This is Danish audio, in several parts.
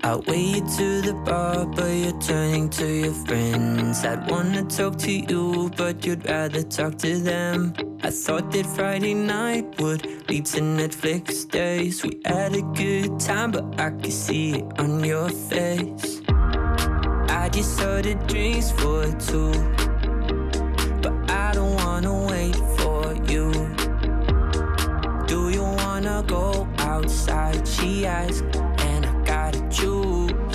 I wait to the bar, but you're turning to your friends. I'd wanna talk to you, but you'd rather talk to them. I thought that Friday night would lead to Netflix days. We had a good time, but I could see it on your face. I just ordered drinks for two, but I don't wanna wait for you. Do you wanna go outside? She asked, and I gotta choose.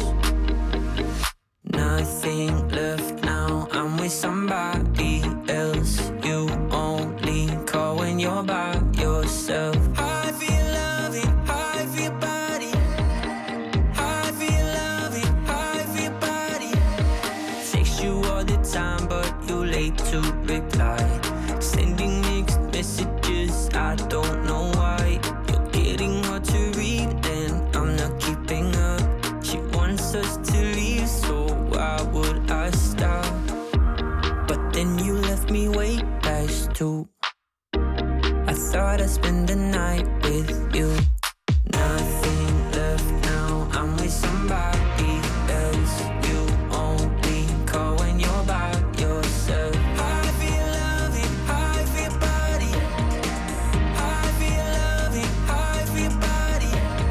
Nothing left now, I'm with somebody else. You only call when you're by yourself. I feel loving, I feel body. I feel loving, I feel body. Text you all the time, but you're late to reply. Sending mixed messages, I don't know why. You're getting hard to read and I'm not keeping up. She wants us to leave, so why would I stop? But then you left me way past 2. I thought I'd spend the night with you. Nothing left now, I'm with somebody else. You only call when you're by yourself. I feel loving, I feel body. I feel loving, I feel body.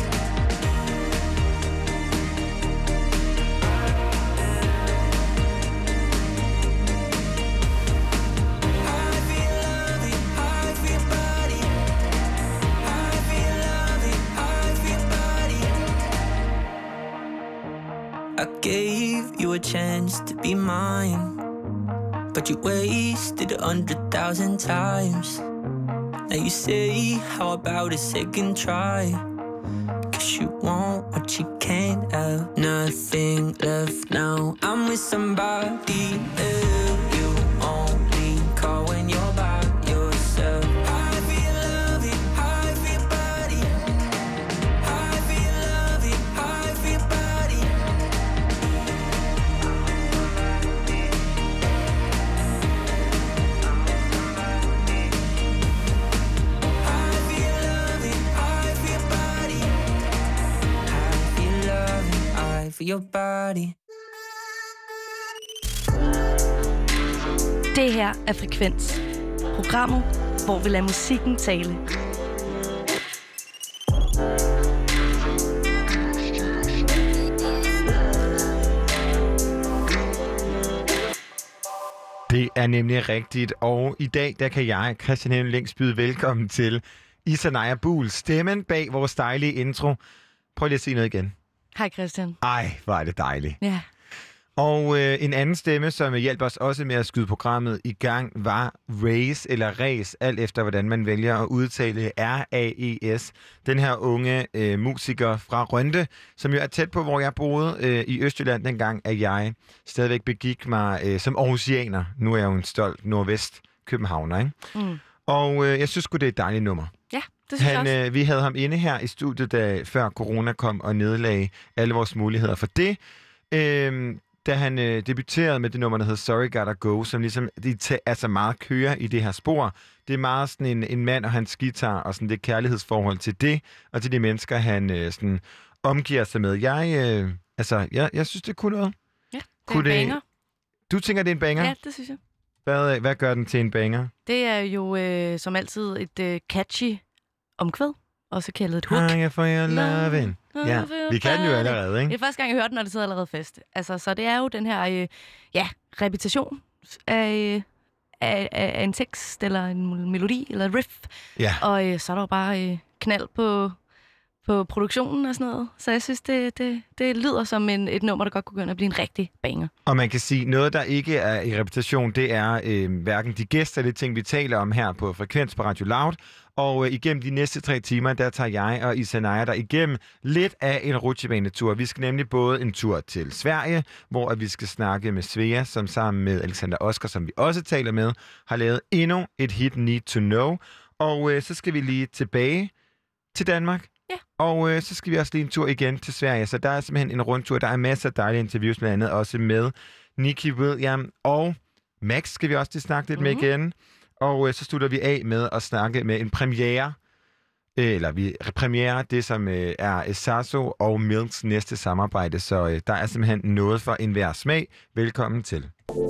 I feel loving, I feel body. I feel loving, I feel body. I gave you a chance to be mine, but you wasted 100,000 times. Now you say, how about a second try? 'Cause you want what you can't have. Nothing left now, I'm with somebody else. You only call when you're by yourself. I feel loving, I feel body. I feel loving, I feel body. I feel loving, I feel body. I feel loving, I feel your body. Det her er Frekvens. Programmet, hvor vi lader musikken tale. Det er nemlig rigtigt, og i dag der kan jeg, Christian Henning Lings, byde velkommen til Isanaya Buhl, stemmen bag vores dejlige intro. Prøv lige at sige noget igen. Hej Christian. Ej, hvor er det dejligt. Ja. Og en anden stemme, som hjalp os også med at skyde programmet i gang, var Race, eller Ræs, alt efter hvordan man vælger at udtale R-A-E-S. Den her unge musiker fra Rønde, som jo er tæt på, hvor jeg boede i Østjylland dengang, at jeg stadigvæk begik mig som aarhusianer. Nu er jeg jo en stolt nordvest-københavner, ikke? Mm. Og jeg synes sgu, det er et dejligt nummer. Ja, det synes jeg også. Vi havde ham inde her i studiet, før corona kom og nedlagde alle vores muligheder for det. Da han debuterede med det nummer, der hedder Sorry Gotta Go, som ligesom altså meget kører i det her spor. Det er meget sådan en mand og hans guitar, og sådan det kærlighedsforhold til det, og til de mennesker, han sådan omgiver sig med. Jeg synes, det kunne noget. Ja, det er en banger. Du tænker, det er en banger? Ja, det synes jeg. Hvad gør den til en banger? Det er jo som altid et catchy omkvæd, også kaldet et hook. Hang for your loving. Ja, vi kan den jo allerede, ikke? Det er første gang, jeg hørte den, og det sidder allerede fast. Altså, så det er jo den her repetition af en tekst, eller en melodi, eller et riff. Ja. Og så er der jo bare knald på produktionen og sådan noget. Så jeg synes, det lyder som et nummer, der godt kunne gå ind og blive en rigtig banger. Og man kan sige, noget, der ikke er i repetition, det er hverken de gæster eller de ting, vi taler om her på Frekvens på Radio Loud. Og igennem de næste 3 timer, der tager jeg og Isanaya der igennem lidt af en rutsjebanetur. Vi skal nemlig både en tur til Sverige, hvor vi skal snakke med Svea, som sammen med Alexander Oskar, som vi også taler med, har lavet endnu et hit, Need to Know. Og så skal vi lige tilbage til Danmark. Ja. Og så skal vi også lige en tur igen til Sverige. Så der er simpelthen en rundtur. Der er masser af dejlige interviews, blandt andet også med Nicky William og Max skal vi også lige snakke lidt med igen. Og så slutter vi af med at snakke med en premiere eller vi premierer det, som er Sasso og Milks næste samarbejde, så der er simpelthen noget for enhver smag. Velkommen til.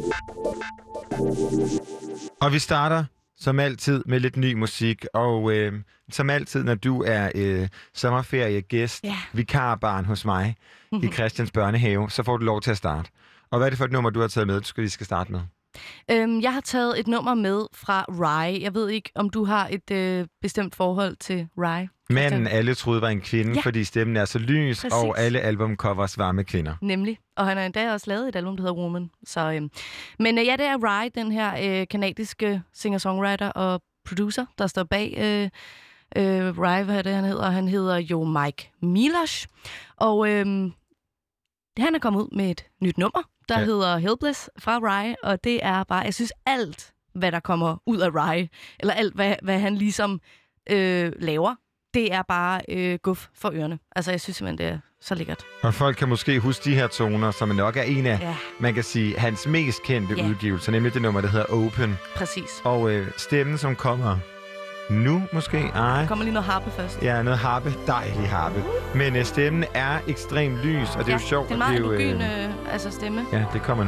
Og vi starter som altid med lidt ny musik, og som altid, når du er sommerferiegæst, vikarbarn hos mig i Christians børnehave, så får du lov til at starte. Og hvad er det for et nummer, du har taget med, vi skal starte med? Jeg har taget et nummer med fra Rhye. Jeg ved ikke, om du har et bestemt forhold til Rhye. Manden alle troede var en kvinde, fordi stemmen er så lys, præcis. Og alle albumcovers var med kvinder. Nemlig. Og han har endda også lavet et album, der hedder Woman. Så, men ja, det er Rhye, den her kanadiske singer-songwriter og producer, der står bag Rhye, hvad er det, han hedder? Han hedder jo Mike Milosh. Og han er kommet ud med et nyt nummer, der hedder Helpless fra Rhye, og det er bare, jeg synes alt, hvad der kommer ud af Rhye, eller alt, hvad han ligesom laver, det er bare guf for ørerne. Altså, jeg synes simpelthen, det er så lækkert. Og folk kan måske huske de her toner, som nok er en af, man kan sige, hans mest kendte udgivelser, nemlig det nummer, der hedder Open. Præcis. Og stemmen, som kommer nu måske? Ej. Der kommer lige noget harpe først. Ja, noget harpe. Dejlig harpe. Men stemmen er ekstremt lys, og det er jo sjovt. Det er meget androgyn altså stemme. Ja, det kommer nu.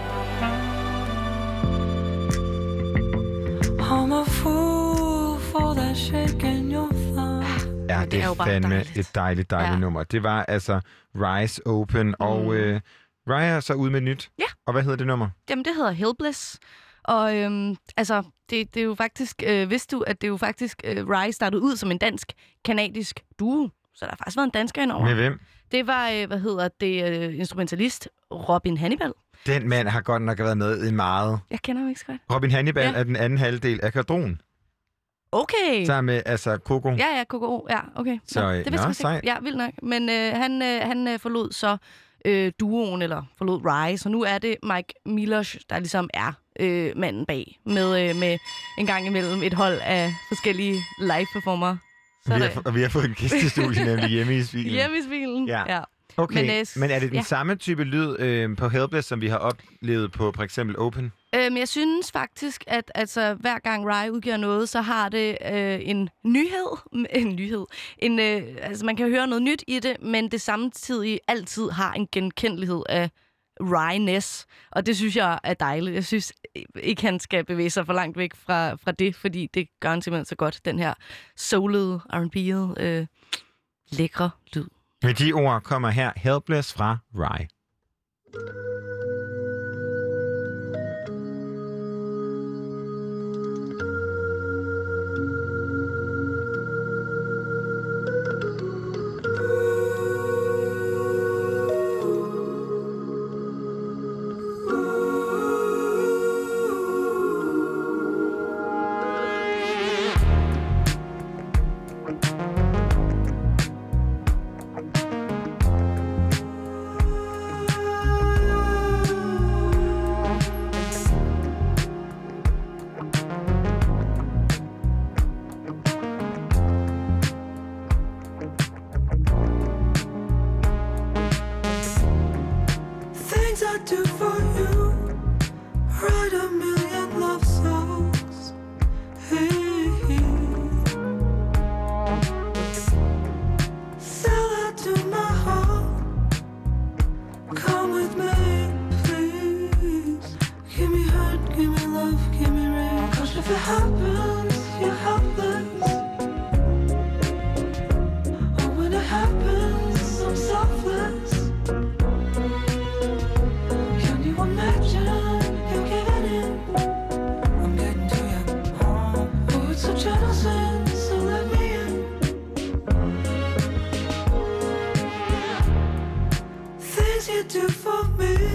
I'm a fool for that shake in your thumb. Ja, det er fandme dejligt. Et dejligt nummer. Det var altså Rhye's Open, og Rhye er så ude med nyt. Ja. Og hvad hedder det nummer? Jamen, det hedder Helpless. Og altså, det er jo faktisk, vidste du, at det er jo faktisk, Rhye startede ud som en dansk-kanadisk duo. Så der har faktisk været en dansker indover. Med hvem? Det var, instrumentalist Robin Hannibal. Den mand har godt nok været med i meget. Jeg kender ham ikke så godt. Robin Hannibal er den anden halvdel af Quadron. Okay. Sammen med, altså, Coco. Ja, Coco. Ja, okay. Så, det vidste jeg ikke. Ja, vildt nok. Men han forlod så duoen, eller forlod Rhye, så nu er det Mike Milosh, der ligesom er manden bag, med en gang imellem et hold af forskellige live-performere. Vi har fået en gæst i studiet, nemlig Hjemme i Svilen. Hjemme i Svilen, ja. Okay, men er det den samme type lyd på Helpless, som vi har oplevet på for eksempel Open? Jeg synes faktisk, at altså, hver gang Rhye udgiver noget, så har det en nyhed. Altså, man kan høre noget nyt i det, men det samtidig altid har en genkendelighed af Rhye-ness. Og det synes jeg er dejligt. Jeg synes ikke, han skal bevæge sig for langt væk fra det, fordi det gør han simpelthen så godt. Den her soulede, R&B'ede, lækre lyd. Med de ord kommer her Helpless fra Rhye.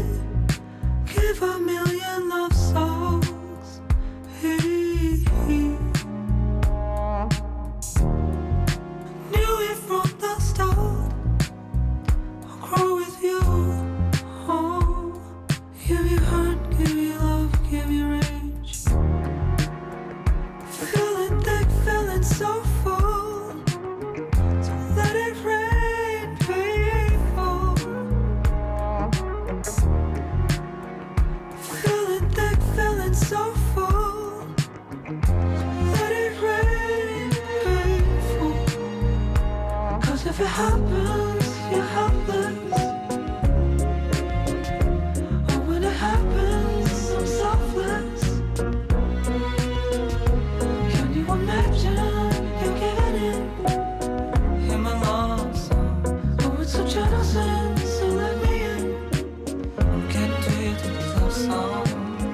Give a million love songs. Hey, hey. it happens, you're helpless. Oh, when it happens, I'm selfless. Can you imagine you're giving in? Hear my love song. Oh, it's so gentle, so let me in. I'm getting to you through these love songs.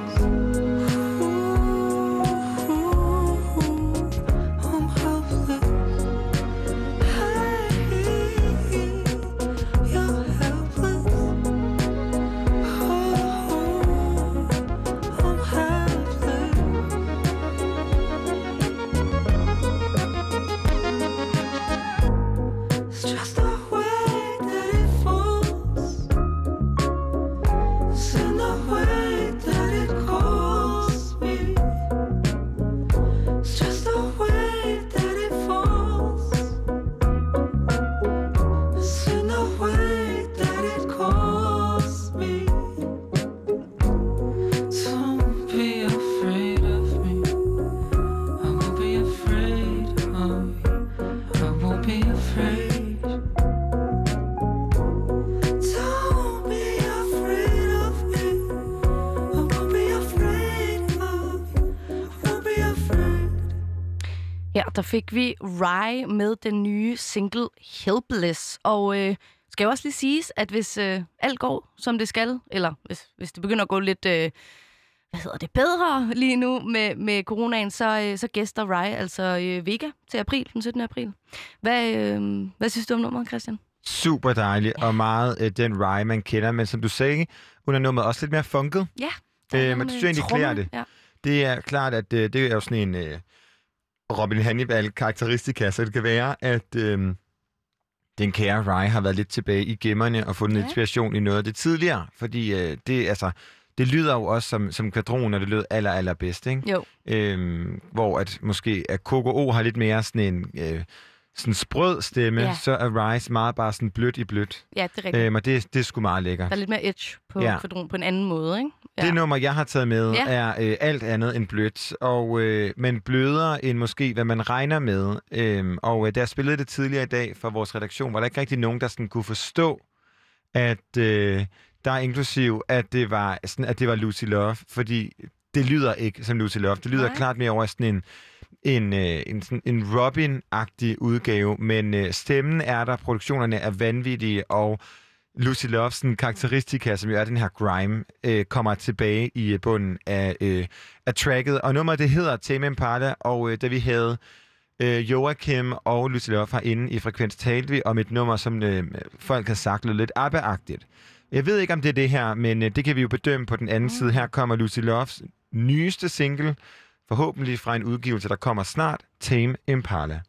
Der fik vi Rhye med den nye single Helpless. Og skal jo også lige siges, at hvis alt går, som det skal, eller hvis det begynder at gå lidt bedre lige nu med coronaen, så gæster Rhye altså Vega til april, den 17. april. Hvad synes du om nummeret, Christian? Super dejligt, og meget den Rhye, man kender. Men som du sagde, under nummeret også lidt mere funket. Ja. Men det synes jeg egentlig klæder det. Ja. Det er klart, at det er jo sådan en Robin Hannibal-karakteristika, så det kan være, at den kære Rhye har været lidt tilbage i gemmerne og fundet inspiration i noget af det tidligere. Fordi det lyder jo også som kvadron, og det lød allerbedst, ikke? Jo. Hvor at måske at KKO har lidt mere sådan en sådan sprød stemme, så er Rhye meget bare sådan blødt i blødt. Ja, det er rigtigt. Og det er sgu meget lækkert. Der er lidt mere edge på kvadron på en anden måde, ikke? Ja. Det nummer, jeg har taget med, er alt andet end blødt, men blødere end måske, hvad man regner med. Da jeg spillede det tidligere i dag for vores redaktion, var der ikke rigtig nogen, der sådan kunne forstå, at der er inklusiv, at det var Lucy Love, fordi det lyder ikke som Lucy Love. Det lyder klart mere over sådan en Robin-agtig udgave, men stemmen er der, produktionerne er vanvittige, og Lucy Loves karakteristika, som jo er den her grime, kommer tilbage i bunden af tracket. Og nummeret, det hedder Tame Impala, og da vi havde Joachim og Lucy Love herinde i Frekvens, talte vi om et nummer, som folk har sagt lød lidt ABBA-agtigt. Jeg ved ikke, om det er det her, men det kan vi jo bedømme på den anden side. Her kommer Lucy Loves nyeste single, forhåbentlig fra en udgivelse, der kommer snart, Tame Impala.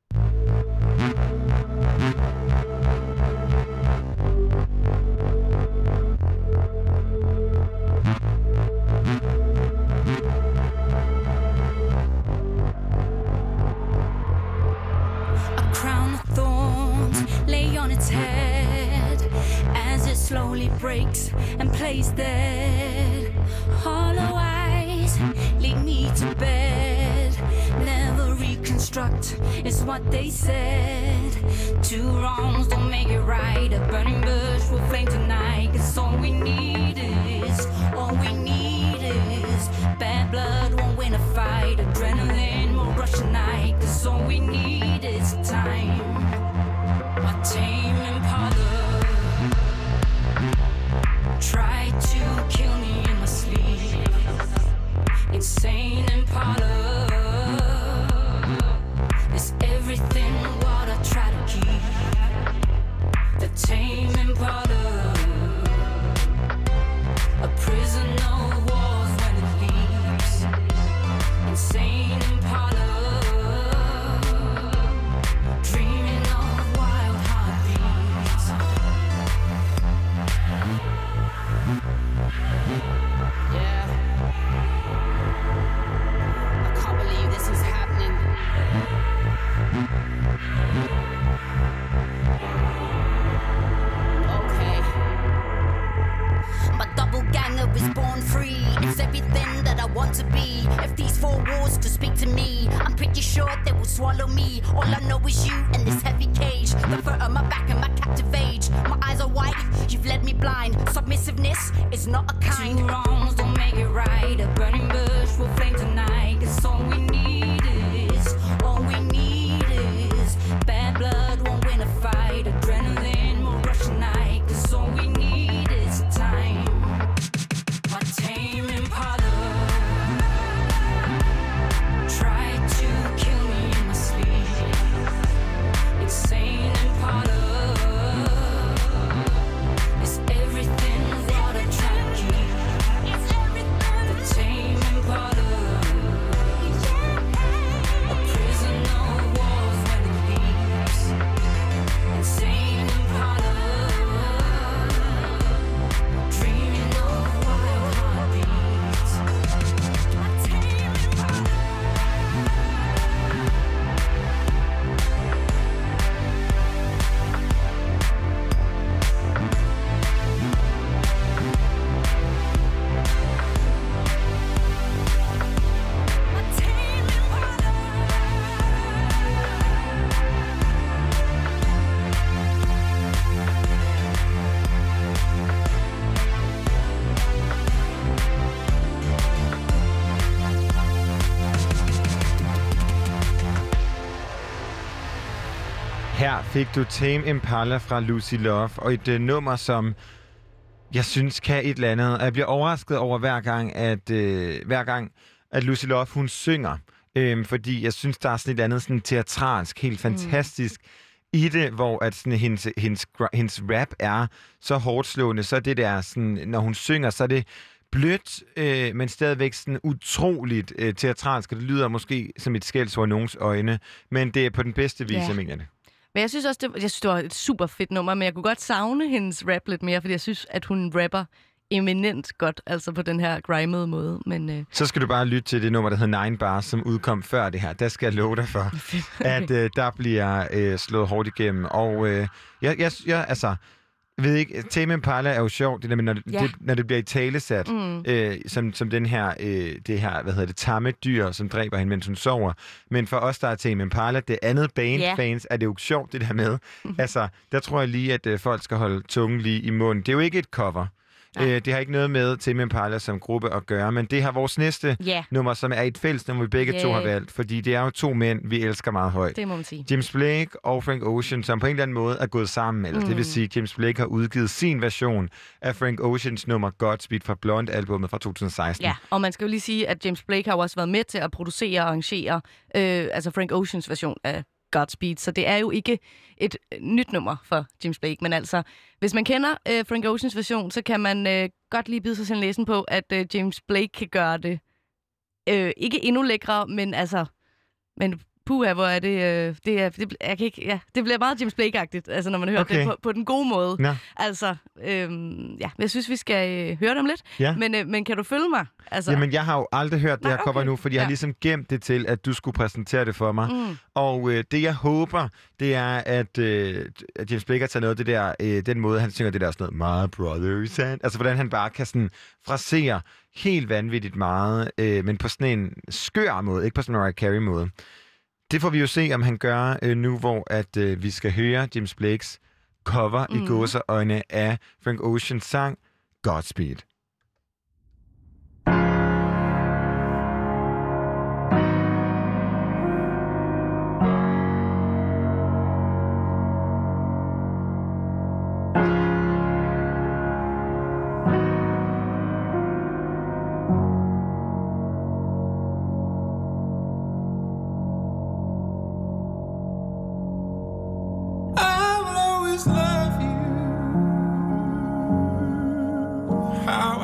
Slowly breaks and plays dead. Hollow eyes lead me to bed. Never reconstruct is what they said. Two wrongs don't make it right. A burning bush will flame tonight. 'Cause all we need is bad blood won't win a fight. Adrenaline will rush tonight. 'Cause all we need is time. A tame Impala try to kill me in my sleep. Insane Impala is everything what I try to keep. The tame Impala, a prisoner of wars when it leaves. Insane Impala, dreaming of wild heartbeats. Yeah, I can't believe this is happening. was everything that I want to be. If these four walls could speak to me, I'm pretty sure they will swallow me. All I know is you and this heavy cage, the fur on my back and my captive age. My eyes are white, you've led me blind. Submissiveness is not a kind. Two wrongs don't make it right. A burning bush will flame tonight. It's all we need is bad blood won't win a fight. Adrenaline will rush tonight. 'Cause all we need is time. My tame Impala tried to kill me in my sleep. Insane Impala is everything what I try to keep. The tame Impala, a prisoner of wars when it leaves. Insane Impala, dreaming of wild heartbeats. My tame Impala. Her fik du Tame Impala fra Lucy Love, og et nummer, som jeg synes kan et eller andet. Jeg bliver overrasket over hver gang, at Lucy Love, hun synger. Fordi jeg synes, der er sådan et andet sådan teatralsk, helt fantastisk i det, hvor at sådan, hendes rap er så hårdt slående, så det der, sådan, når hun synger, så er det blødt, men stadigvæk sådan utroligt teatralsk, og det lyder måske som et skældsord i nogens øjne, men det er på den bedste vis, jeg mener det. Men jeg synes også, det var et super fedt nummer, men jeg kunne godt savne hendes rap lidt mere, fordi jeg synes, at hun rapper eminent godt, altså på den her grimede måde. Men, Så skal du bare lytte til det nummer, der hedder 9 Bars, som udkom før det her. Der skal jeg love dig for, at der bliver slået hårdt igennem. Og jeg ved ikke, Tame Impala er jo sjovt, det der, når det bliver i talesat, som den her, det her, tamme dyr, som dræber hende, mens hun sover. Men for os, der er Tame Impala, det andet bandfans, er det jo sjovt, det der med. Altså, der tror jeg lige, at folk skal holde tungen lige i munden. Det er jo ikke et cover. Det har ikke noget med Tame Impala som gruppe at gøre, men det har vores næste nummer, som er et fælles nummer, vi begge to har valgt, fordi det er jo to mænd, vi elsker meget højt. Det må man sige. James Blake og Frank Ocean, som på en eller anden måde er gået sammen, eller det vil sige, at James Blake har udgivet sin version af Frank Oceans nummer Godspeed fra Blonde-albummet fra 2016. Ja, og man skal jo lige sige, at James Blake har jo også været med til at producere og arrangere altså Frank Oceans version af Godspeed, så det er jo ikke et nyt nummer for James Blake, men altså, hvis man kender Frank Oceans version, så kan man godt lige bide sig sin læsen på, at James Blake kan gøre det ikke endnu lækre, men altså, puha, hvor er det, det bliver meget James Blake-agtigt, altså når man hører det på den gode måde. Ja. Altså, jeg synes, vi skal høre dem lidt, men kan du følge mig? Altså... Jamen, jeg har jo aldrig hørt det her cover nu, fordi jeg har ligesom gemt det til, at du skulle præsentere det for mig. Og det, jeg håber, det er, at James Blake har taget noget af det der, den måde, han synger det der sådan noget, my brother is and... Altså, hvordan han bare kan sådan frasere helt vanvittigt meget, men på sådan en skør måde, ikke på sådan en Mariah Carey-måde. Det får vi jo se, om han gør nu, hvor at vi skal høre James Blakes cover i gåseøjne af Frank Oceans sang Godspeed. Love you. How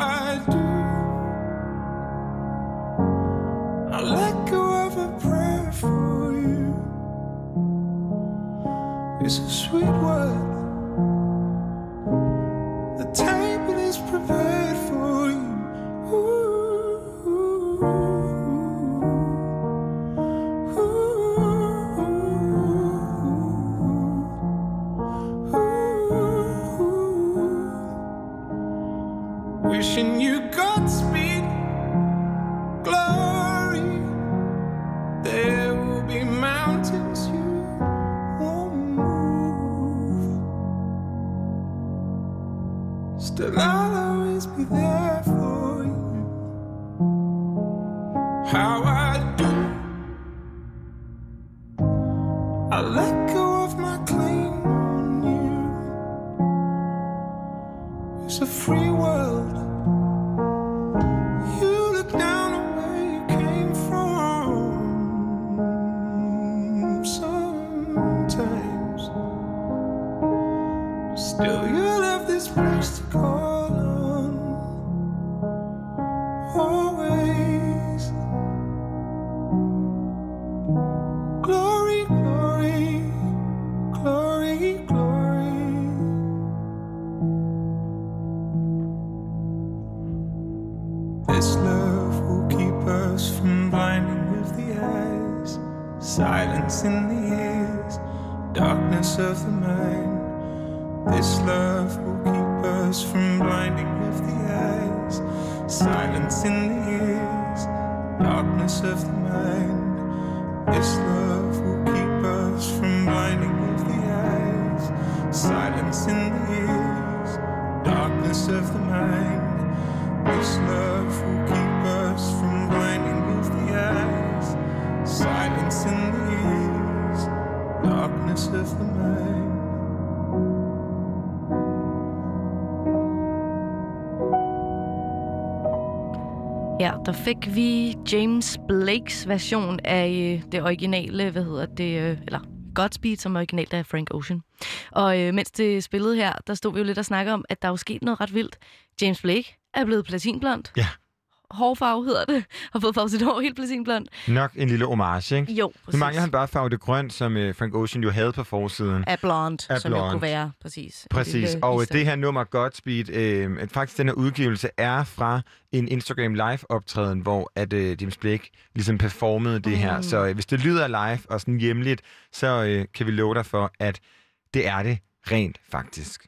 always. Glory, glory, glory, glory. This love will keep us from blinding with the eyes, silence in the ears, darkness of the mind. This love will keep us from blinding with the eyes, silence in the ears, darkness of the mind. This love will keep us from blinding with the eyes, silence in the ears, darkness of the mind. This love will keep us from blinding with the eyes, silence in the ears, darkness of the mind. Ja, der fik vi James Blakes version af det originale, eller Godspeed, som originalt er Frank Ocean. Og mens det spillede her, der stod vi jo lidt og snakkede om, at der er jo sket noget ret vildt. James Blake er blevet platinblond. Ja. Hårfarve hedder det. Har fået farvet sit hår helt platinblond. Nok en lille homage, ikke? Jo, præcis. Nu mangler han bare farve det grønt, som Frank Ocean jo havde på forsiden. Af blonde, som jo kunne være, præcis. Præcis, og det her nummer Godspeed, faktisk den her udgivelse er fra en Instagram live-optræden, hvor at James Blake ligesom performede det her. Så hvis det lyder live og sådan hjemligt, så kan vi love dig for, at det er det rent faktisk.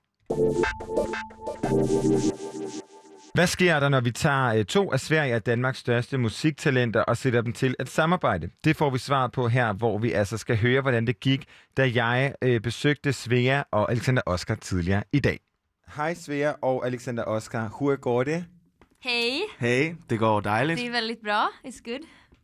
Hvad sker der, når vi tager to af Sverige og Danmarks største musiktalenter og sætter dem til at samarbejde? Det får vi svar på her, hvor vi altså skal høre, hvordan det gik, da jeg besøgte Svea og Alexander Oscar tidligere i dag. Hej Svea og Alexander Oscar. Hur går det? Hej. Hej, det går dejligt. Det är väldigt bra. It's good.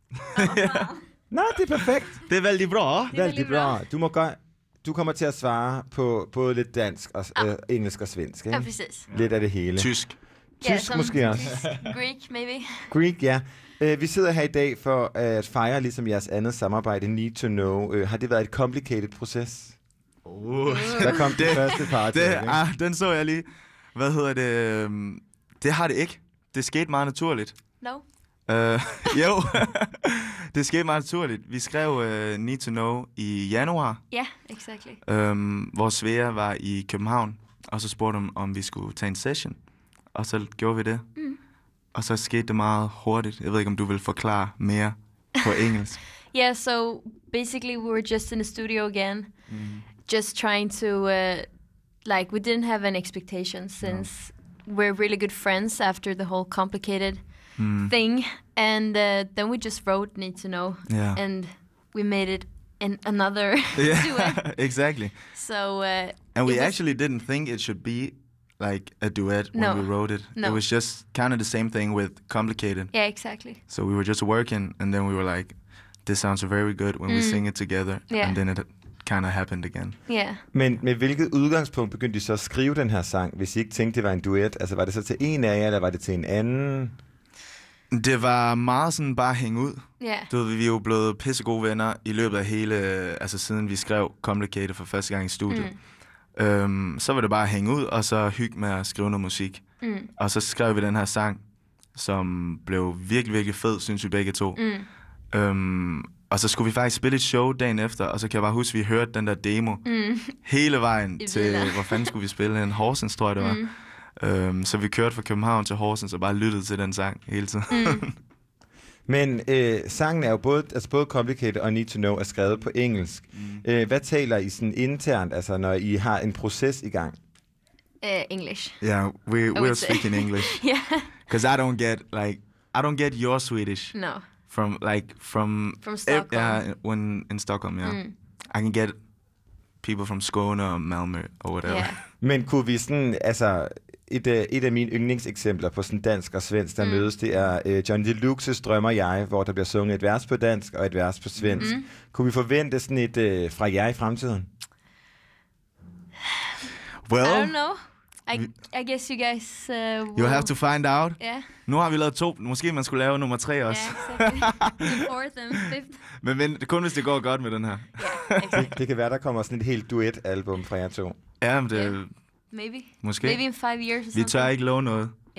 Nej, det er perfekt. Det er vældig bra. Vældig bra. Du kommer til at svare på både lidt dansk og engelsk og svensk, ikke? Ja, precis. Lidt af det hele. Tysk. Tysk måske også. Greek, maybe. Greek, ja. Vi sidder her i dag for at fejre ligesom jeres andet samarbejde, Need to Know. Har det været et complicated proces? Der kom det første part. Den så jeg lige. Hvad hedder det? Det har det ikke. Det skete meget naturligt. No. Jo, det skete meget naturligt. Vi skrev Need to Know i januar. Yeah, exactly. Hvor Svea var i København, og så spurgte de, om vi skulle tage en session. Og så gjorde vi det. Og så skete det meget hurtigt. Jeg ved ikke, om du vil forklare mere på engelsk. Yeah, so basically we were just in the studio again. Just trying to, we didn't have an expectation since we're really good friends after the whole complicated thing. And then we just wrote Need to Know. Yeah. And we made it in another duet. Exactly. So, and we actually didn't think it should be like a duet when we wrote it. No. It was just kind of the same thing with Complicated. Yeah, exactly. So we were just working, and then we were like, this sounds very good when we sing it together. Yeah. And then it kind of happened again. Yeah. Men med hvilket udgangspunkt begyndte I så at skrive den her sang, hvis I ikke tænkte, det var en duet? Altså, var det så til en af jer, eller var det til en anden? Det var meget sådan bare hænge ud. Yeah. Du ved, vi er jo blevet pissegode venner i løbet af hele, altså siden vi skrev Complicated for første gang i studiet. Så var det bare at hænge ud, og så hygge med at skrive noget musik. Og så skrev vi den her sang, som blev virkelig, virkelig fed, synes vi begge to. Og så skulle vi faktisk spille et show dagen efter, og så kan jeg bare huske, at vi hørte den der demo hele vejen til, hvor fanden skulle vi spille hen? Horsens, tror jeg det var. Så vi kørte fra København til Horsens og bare lyttede til den sang hele tiden. Men sangen er jo både Complicated og Need to Know er skrevet på engelsk. Hvad taler I sådan internt, altså når I har en proces i gang? English. Yeah, we're speaking English. Yeah. Because I don't get your Swedish. No. From Stockholm. Yeah, when in Stockholm, yeah. I can get people from Skåne or Malmö or whatever. Yeah. Men kunne vi sådan, altså et af mine yndlingseksempler på sådan dansk og svensk, der mødes, det er Johnny Deluxes Drømmer jeg, hvor der bliver sunget et vers på dansk og et vers på svensk. Kunne vi forvente sådan et fra jer i fremtiden? Well, I don't know. I guess you guys you'll have to find out. Yeah. Nu har vi lavet 2. Måske man skulle lave nummer 3 også. Yeah, exactly. The fourth and fifth. Men kun hvis det går godt med den her. Yeah, exactly. Det kan være, der kommer sådan et helt duet-album fra jer to. Ja, men det... Maybe. Måske. Maybe in 5 years or something. Vi tør ikke love noget. Yeah.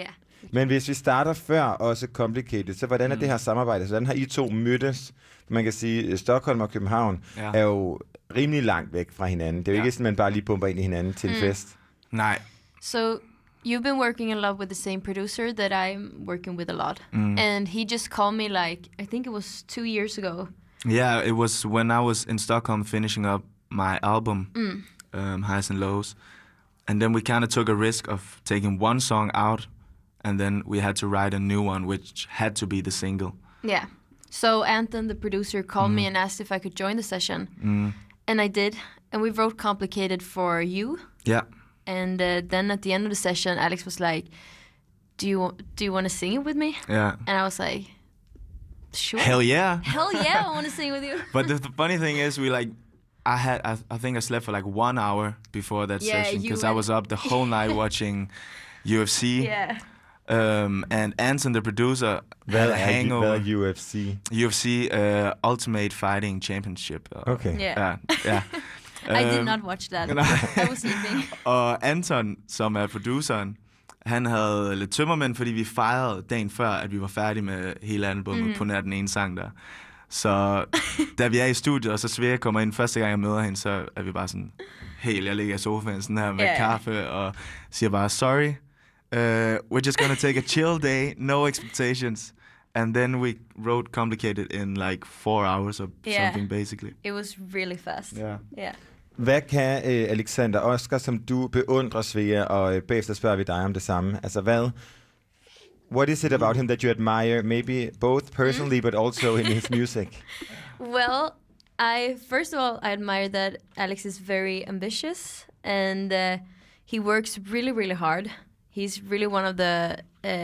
Men hvis vi starter før også Complicated, så hvordan er det her samarbejde? Så hvordan har I to mødtes? Man kan sige, Stockholm og København er jo rimelig langt væk fra hinanden. Det er jo ikke sådan, man bare lige bumper ind i hinanden til en fest. Nej. So you've been working a lot with the same producer that I'm working with a lot. And he just called me like, I think it was 2 years ago. Yeah, it was when I was in Stockholm finishing up my album, Highs and Lows. And then we kind of took a risk of taking one song out, and then we had to write a new one, which had to be the single. Yeah. So Anton, the producer, called me and asked if I could join the session. And I did. And we wrote Complicated for you. Yeah. And then at the end of the session, Alex was like, do you want to sing it with me? Yeah. And I was like, sure. Hell yeah. Hell yeah, I want to sing with you. But the funny thing is, I think I slept for like 1 hour before that session because I was up the whole night watching UFC. Yeah. And Anton, the producer, had a hangover. Hvad er UFC? UFC Ultimate Fighting Championship. Okay. Yeah. Yeah. I did not watch that. I was sleeping. Og Anton, som er produceren, han havde lidt tømmermænd, fordi vi fejrede dagen før, at vi var færdige med hele albumet på nær den ene sang der. Så da vi er i studiet, og så Svea kommer ind første gang, jeg møder hende, så er vi bare sådan, helt, jeg ligger i sofaen sådan her med kaffe, og siger bare, sorry, we're just gonna take a chill day, no expectations. And then we wrote Complicated in like 4 hours or something, basically. It was really fast. Yeah. Hvad kan Alexander Oscar, som du beundrer Svea, og bagefter spørger vi dig om det samme. Altså what is it about him that you admire, maybe both personally, but also in his music? Well, first of all, I admire that Alex is very ambitious and he works really, really hard. He's really one of the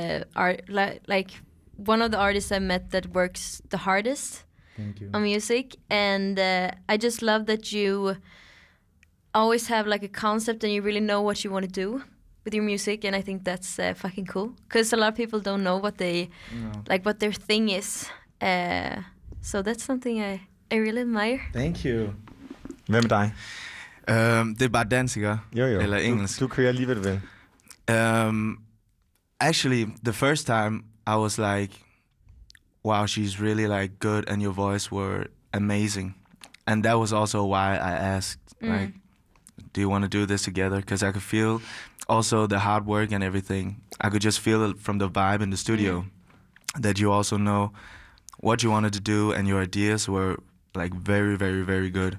one of the artists I met that works the hardest on music. And I just love that you always have like a concept and you really know what you want to do with your music, and I think that's fucking cool because a lot of people don't know what what their thing is. So that's something I really admire. Thank you. Hvem er dig? Det er bare dansk, ikke? Jo. Eller engelsk. Du kører lige, hvad du vil. Actually, the first time I was like, wow, she's really like good, and your voice were amazing. And that was also why I asked, like, do you want to do this together? Because I could feel also the hard work and everything. I could just feel it from the vibe in the studio that you also know what you wanted to do, and your ideas were like very, very, very good.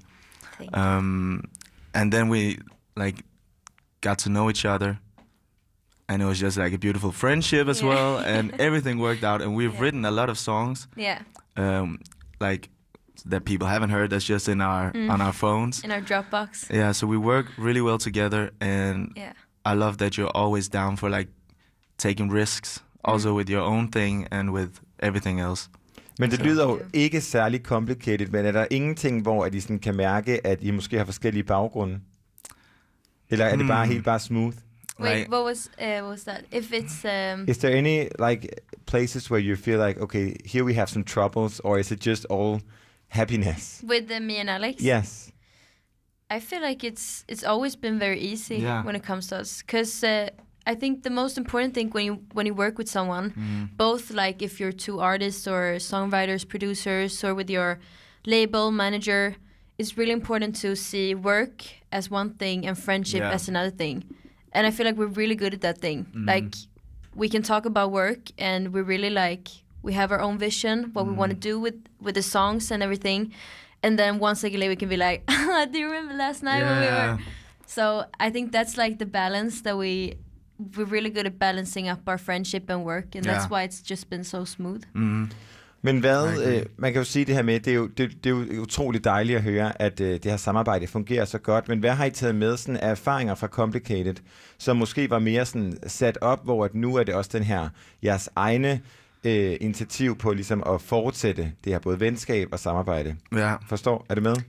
And then we like got to know each other, and it was just like a beautiful friendship as well, and everything worked out. And we've written a lot of songs, like that people haven't heard. That's just in our on our phones, in our Dropbox. Yeah, so we work really well together, and I love that you're always down for like taking risks, also with your own thing and with everything else. Men det lyder jo ikke særlig complicated, men er der ingenting, hvor I sådan kan mærke, at I måske har forskellige baggrunde? Eller er det bare smooth? Wait, what was that? If it's is there any like places where you feel like, okay, here we have some troubles, or is it just all happiness? With me and Alex? Yes. I feel like it's always been very easy when it comes to us, because I think the most important thing when you work with someone, both like if you're two artists or songwriters, producers, or with your label manager, it's really important to see work as one thing and friendship as another thing. And I feel like we're really good at that thing. Like we can talk about work, and we really we have our own vision, what we want to do with the songs and everything. And then one second later we can be like, do you remember last night when we were? So I think that's like the balance that we're really good at balancing up our friendship and work, and that's why it's just been so smooth. Men man kan jo sige det her med, det er jo utroligt dejligt at høre, at det her samarbejde fungerer så godt, men hvad har I taget med sådan af erfaringer fra Complicated, som måske var mere sådan sat op, hvor at nu er det også den her jeres egne initiativ på ligesom at fortsætte det her både venskab og samarbejde? Ja. Forstår? Er det med?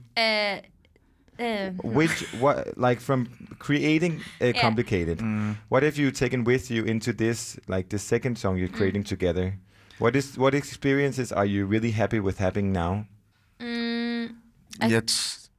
Like from creating Complicated, what have you taken with you into this, like the second song you're creating together? What experiences are you really happy with having now?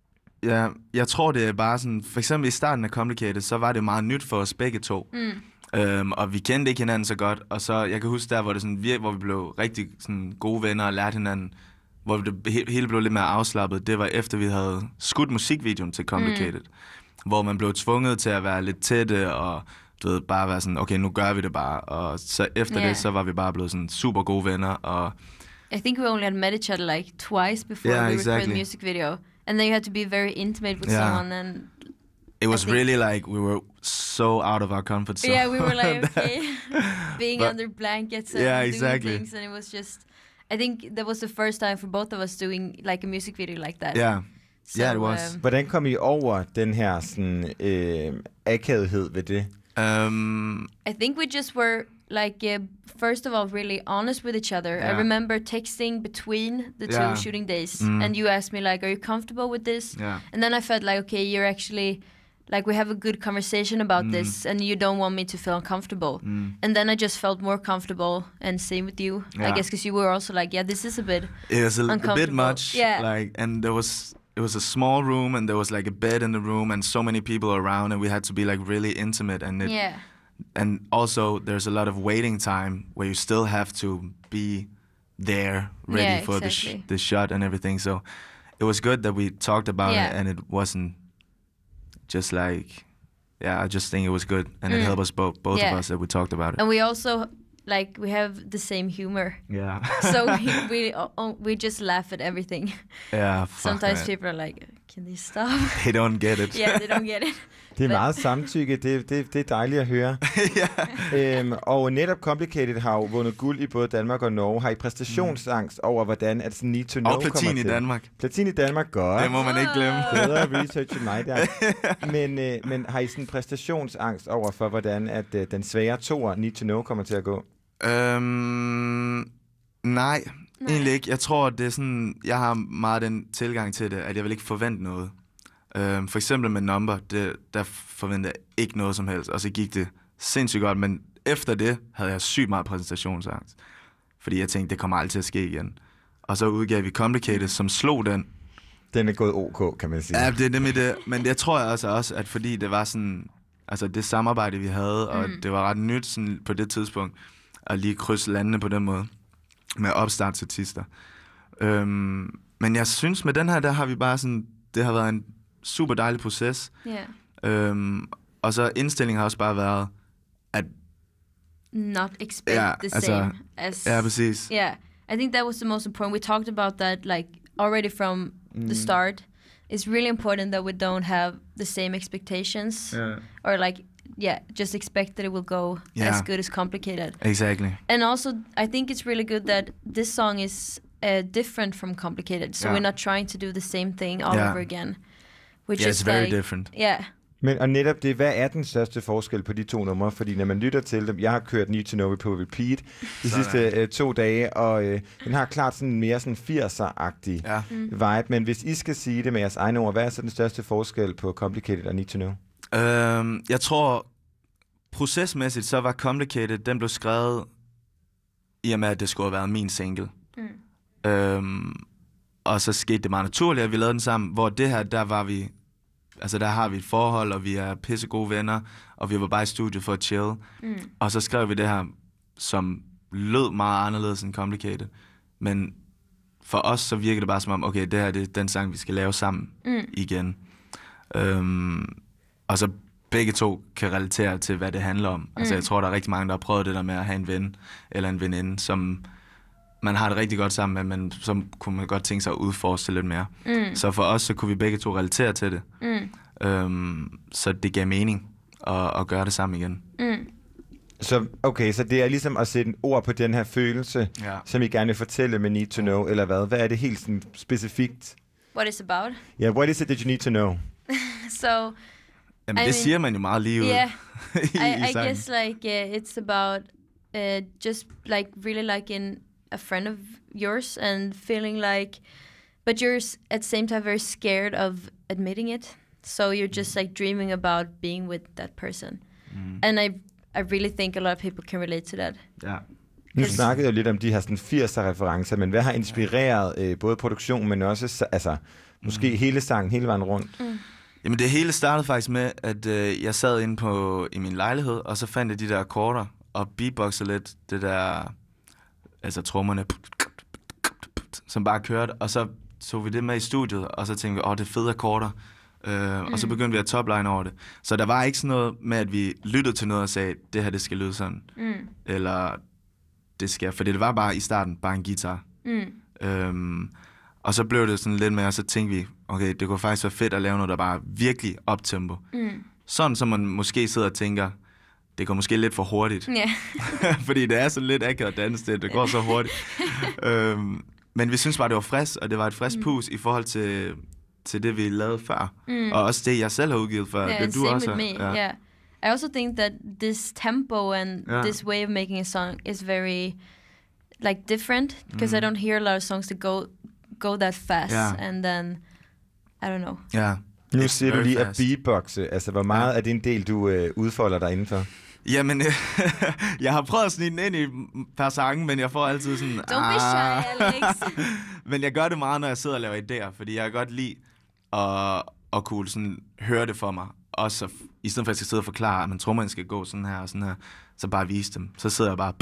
Jeg tror det er bare sådan, for eksempel i starten af Complicated, så var det meget nyt for os begge to. Og vi kendte ikke hinanden så godt, og så, jeg kan huske der, hvor, det sådan, hvor vi blev rigtig sådan, gode venner og lærte hinanden, hvor det hele blev lidt mere afslappet, det var efter vi havde skudt musikvideoen til Complicated, hvor man blev tvunget til at være lidt tætte, og du ved, bare være sådan, okay, nu gør vi det bare, og så efter det, så var vi bare blevet sådan super gode venner, og I think we only had met each other like twice before we recorded the music video, and then you had to be very intimate with someone, and it was really like we were so out of our comfort zone. Yeah, we were like, okay, being under blankets and doing things, and it was just, I think that was the first time for both of us doing like a music video like that. Yeah, so, it was. Hvordan kom I over den her sådan, akavethed ved det? I think we just were like, first of all, really honest with each other. I remember texting between the two shooting days, and you asked me like, are you comfortable with this? Yeah. And then I felt like, okay, you're actually, like, we have a good conversation about this, and you don't want me to feel uncomfortable. And then I just felt more comfortable, and same with you, I guess, because you were also like, yeah, this is a bit it was a bit much. Yeah. Like, and it was a small room, and there was like a bed in the room, and so many people around, and we had to be like really intimate, and and also there's a lot of waiting time where you still have to be there ready for the shot and everything. So it was good that we talked about it, and it wasn't just like, I just think it was good, and it helped us both of us that we talked about it. And we also, like, we have the same humor. Yeah. So we just laugh at everything. Yeah. Sometimes people are like, can they stop? They don't get it. Yeah, they don't get it. Det er meget samtykke, det er dejligt at høre. Og netop Complicated har jo vundet guld i både Danmark og Norge. Har I præstationsangst over, hvordan at sådan Need to Know kommer til? Og platin i Danmark. Platin i Danmark, godt. Det må man ikke glemme. Bedre research end mig der. Men har I sådan præstationsangst over for, hvordan at den svære toer Need to Know kommer til at gå? Nej, egentlig ikke. Jeg tror, det er sådan, jeg har meget den tilgang til det, at jeg vil ikke forvente noget. For eksempel med Number, der forventede jeg ikke noget som helst, og så gik det sindssygt godt, men efter det havde jeg sygt meget præsentationsangst, fordi jeg tænkte, det kommer aldrig til at ske igen. Og så udgav vi Complicated, som slog den. Den er gået OK, kan man sige. Ja, det er nemlig det, men jeg tror også, at fordi det var sådan, altså det samarbejde, vi havde, og det var ret nyt sådan, på det tidspunkt, at lige krydse landene på den måde, med opstartsartister. Men jeg synes, med den her, der har vi bare sådan, det har været en super dejlig proces. Yeah. Og så indstillingen har også bare været, at not expect the same as... Ja, præcis. Yeah, I think that was the most important. We talked about that like already from the start. It's really important that we don't have the same expectations. Or like, just expect that it will go as good as Complicated. Exactly. And also, I think it's really good that this song is different from Complicated. So we're not trying to do the same thing all over again. It's very different. Yeah. Men og netop det, hvad er den største forskel på de to numre? Fordi når man lytter til dem, jeg har kørt Need to Know på repeat de sidste 2 dage, og den har klart sådan mere sådan 80'er-agtig vibe. Men hvis I skal sige det med jeres egne ord, hvad er så den største forskel på Complicated og Need to Know? Jeg tror, procesmæssigt, så var Complicated, den blev skrevet i og med, at det skulle have været min single. Og så skete det meget naturligt, at vi lavede den sammen, hvor det her, der var vi, altså der har vi et forhold, og vi er pissegode venner, og vi var bare i studiet for at chill. Og så skrev vi det her, som lød meget anderledes end Complicated. Men for os, så virkede det bare som om, okay, det her det er den sang, vi skal lave sammen igen. Og så begge to kan relatere til, hvad det handler om. Altså jeg tror, der er rigtig mange, der har prøvet det der med at have en ven eller en veninde, som man har det rigtig godt sammen med, men så kunne man godt tænke sig at udforske lidt mere. Så for os, så kunne vi begge to relatere til det. Så det gav mening at gøre det sammen igen. Så okay, så det er ligesom at sætte en ord på den her følelse, som I gerne vil fortælle med Need to Know, eller hvad? Hvad er det helt sådan specifikt? What it's about? Yeah, what is it that you need to know? So... Jamen, det siger man jo meget lige ud. Yeah, I guess like it's about just like really like in a friend of yours and feeling like, but you're at the same time very scared of admitting it. So you're just like dreaming about being with that person. And I really think a lot of people can relate to that. Ja. Nu snakkede jeg lidt om de her sådan 80'er-referencer, men hvad har inspireret både produktionen, men også altså, måske hele sangen, hele vejen rundt? Jamen det hele startede faktisk med, at jeg sad inde i min lejlighed, og så fandt jeg de der akkorder, og beatboxede lidt det der, altså trommerne, som bare kørte, og så tog vi det med i studiet, og så tænkte vi, det er fede akkorder, og så begyndte vi at topline over det. Så der var ikke sådan noget med, at vi lyttede til noget og sagde, det her, det skal lyde sådan, eller det skal, fordi det var bare i starten bare en guitar. Og så blev det sådan lidt mere, og så tænkte vi, okay, det kunne faktisk være fedt at lave noget, der bare virkelig optempo. Sådan, som man måske sidder og tænker, det går måske lidt for hurtigt. Yeah. Fordi det er så lidt akavet danse, det går så hurtigt. Men vi synes bare, det var frisk, og det var et frisk pus i forhold til det, vi lavede før. Og også det, jeg selv har udgivet før. Yeah, det du også with me. Yeah. I also think that this tempo and this way of making a song is very like different, because I don't hear a lot of songs that go that fast, and then I don't know. Ja. Nu siger du lige at beatboxe. Altså, hvor meget af din del, du udfolder dig indenfor? Jamen, jeg har prøvet at snige den ind i per sange, men jeg får altid sådan... Don't be shy, Alex. Men jeg gør det meget, når jeg sidder og laver idéer, fordi jeg kan godt lide at kunne sådan høre det for mig. Og så, i stedet for at jeg skal sidde og forklare, at man tror, man skal gå sådan her og sådan her, så bare vise dem. Så sidder jeg bare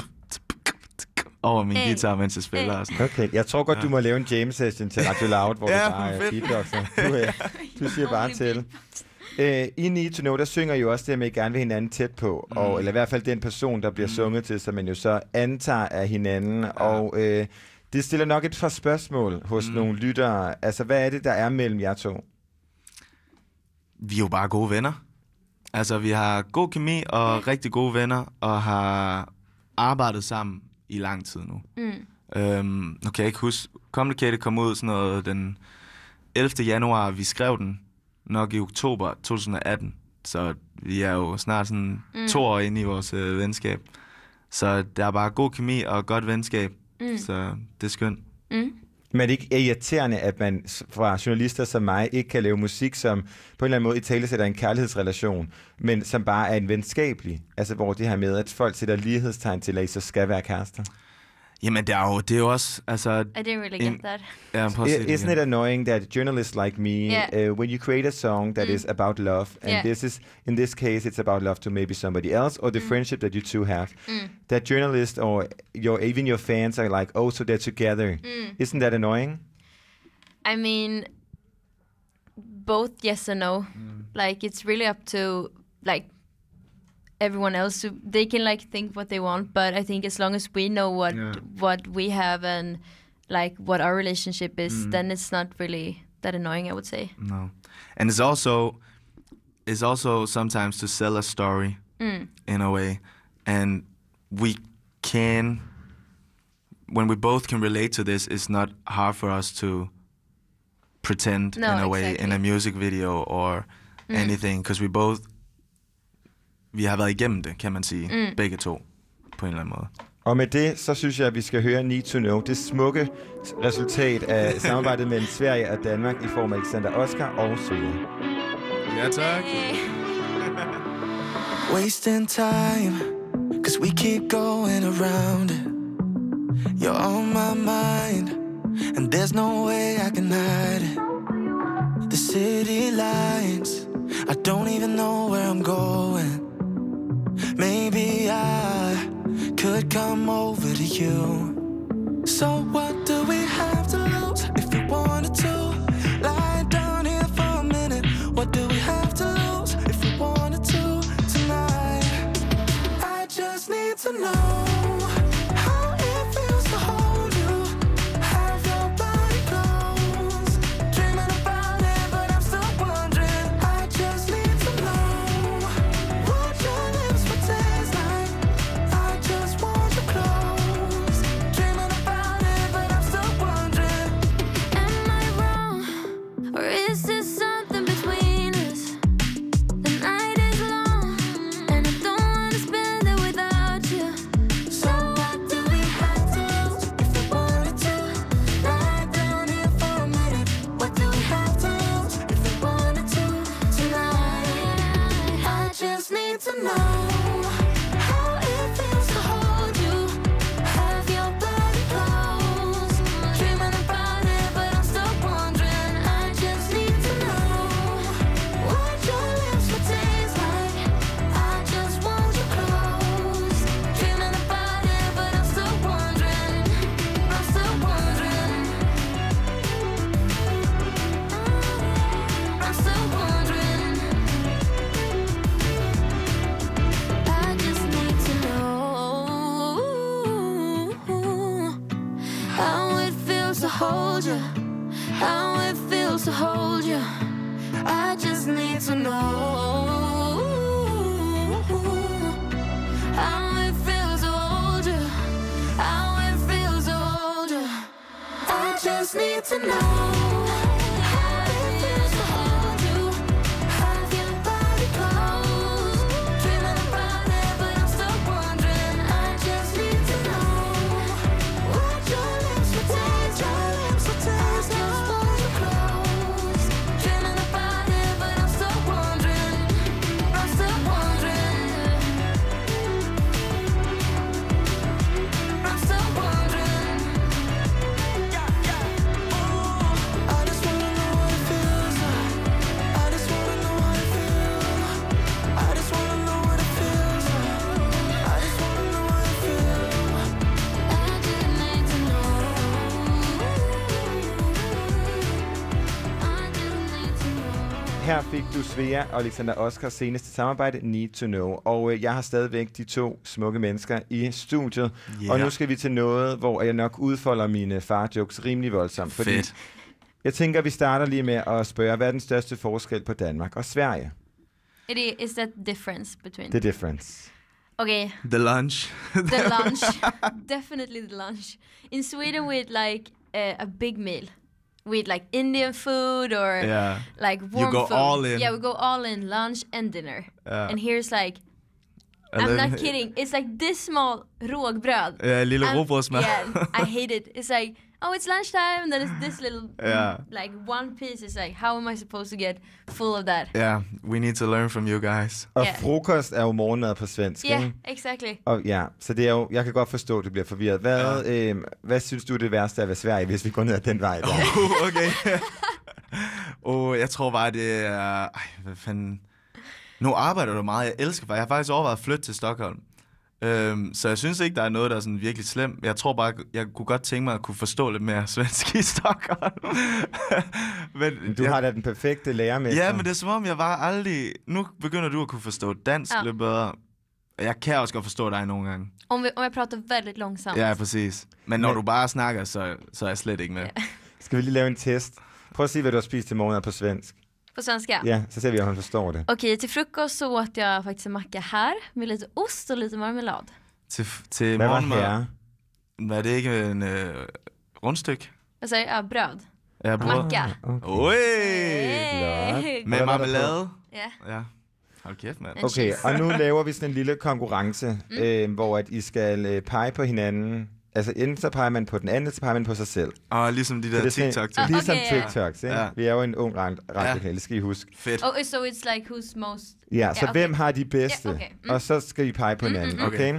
over min guitar, mens jeg spiller. Og sådan. Okay, jeg tror godt, du må lave en jam session til Radio Loud, hvor du bare beatboxer. Du siger bare til. I Need to Know, der synger jo også det, at I gerne vil hinanden tæt på, eller i hvert fald den person, der bliver sunget til, som man jo så antager af hinanden, og det stiller nok et par spørgsmål hos nogle lyttere. Altså, hvad er det, der er mellem jer to? Vi er jo bare gode venner. Altså, vi har god kemi og rigtig gode venner, og har arbejdet sammen i lang tid nu. Nu kan jeg ikke huske, Complicated kom ud sådan noget den 11. januar, vi skrev den nok i oktober 2018, så vi er jo snart sådan 2 år inde i vores venskab. Så der er bare god kemi og godt venskab, så det er skønt. Men det ikke er irriterende, at man fra journalister som mig ikke kan lave musik, som på en eller anden måde italesætter en kærlighedsrelation, men som bare er en venskabelig, altså hvor det her med, at folk sætter lighedstegn til, at I så skal være kærester. Jamen, det er jo også, altså... I didn't really get that. Isn't it annoying that journalists like me, when you create a song that is about love, and in this case, it's about love to maybe somebody else, or the friendship that you two have, that journalists or even your fans are like, oh, so they're together. Isn't that annoying? I mean, both yes and no. Like, it's really up to, like, everyone else, they can like think what they want, but I think as long as we know what we have and like what our relationship is, then it's not really that annoying, I would say. No, and it's also sometimes to sell a story in a way, and when we both can relate to this, it's not hard for us to pretend in a way in a music video or anything, because vi har været igennem det, kan man sige, begge to, på en eller anden måde. Og med det, så synes jeg, at vi skal høre Need to Know, det smukke resultat af samarbejdet mellem Sverige og Danmark i form af Alexander Oscar og Søge. Ja, tak. Wasting time, 'cause we keep going around it. You're on my mind, and there's no way I can hide it. The city lights, I don't even know where I'm going. Maybe I could come over to you. So what do we have to lose if we wanted to? Lie down here for a minute. What do we have to lose if we wanted to tonight? I just need to know how it feels to hold you. Have your body close. Dreaming about it, but I'm still wondering. I just need to know what your lips would taste like. I just want you close. Dreaming about it, but I'm still to hold you, how it feels to hold you. I just need to know how it feels to hold you, how it feels to hold you. I just need to know. Her fik du Svea og Alexander Oscars seneste samarbejde, Need to Know. Og jeg har stadigvæk de to smukke mennesker i studiet. Yeah. Og nu skal vi til noget, hvor jeg nok udfolder mine far-jokes rimelig voldsomt. Fordi Fedt. jeg tænker, vi starter lige med at spørge, hvad er den største forskel på Danmark og Sverige? Is that difference between? The difference. Okay. The lunch. The lunch. Definitely the lunch. In Sweden we eat like a big meal. We eat like Indian food or like warm You go food. all in. Yeah, we go all in, lunch and dinner. And here's like, And I'm then- not kidding, it's like this small rågbröd. Ja, lille rugbrødsmad. Yeah, I hate it. It's like, oh, it's lunchtime, and then it's this little, like one piece. It's like, how am I supposed to get full of that? Yeah, we need to learn from you guys. Og Ja. frokost er jo morgenmad på svensk, Yeah, ikke? exactly. Og ja, så det er jo, jeg kan godt forstå, at du bliver forvirret. Hvad synes du er det værste af at være Sverige, hvis vi går ned ad den vej der? Okay. Jeg tror bare, det er... hvad fanden... Nu arbejder du meget. Jeg elsker bare. Jeg har faktisk overvejet at flytte til Stockholm. Så jeg synes ikke, der er noget, der er sådan virkelig slemt. Jeg tror bare, jeg kunne godt tænke mig at kunne forstå lidt mere svensk i Stockholm. men Du har da den perfekte lærermester. Ja, men det er som om, jeg var aldrig... Nu begynder du at kunne forstå dansk lidt bedre. Jeg kan også godt forstå dig nogle gange. Om jag pratar väldigt långsamt. Ja, præcis. Men når du bare snakker, så er jeg slet ikke med. Skal vi lige lave en test? Prøv at sige, hvad du har spist til morgenmad på svensk. På svenska? Ja, så ser vi, om han forstår det. Okej, till frukost så åt jag faktiskt en macka här med lite ost och lite marmelad. Til Hvad var morgenmad. her? Var det ikke en rundstykke? Vad säger jag? Bröd. Ja, brød. Macka. Oj! Hey. Med marmelade. Ja. Ja. Hold kæft, mand. Okay, og nu laver vi sådan en lille konkurrence, hvor at I skal pege på hinanden. Altså enten så peger man på den anden, så peger man på sig selv. Og ligesom de der TikTok-ting. Ligesom Okay, TikToks, ikke? Ja. Vi er jo en ung radiokanal, det skal I huske. Fedt. Oh, so it's like who's most... Ja, så okay. hvem har de bedste? Ja, okay. Og så skal I pege på hinanden, okay?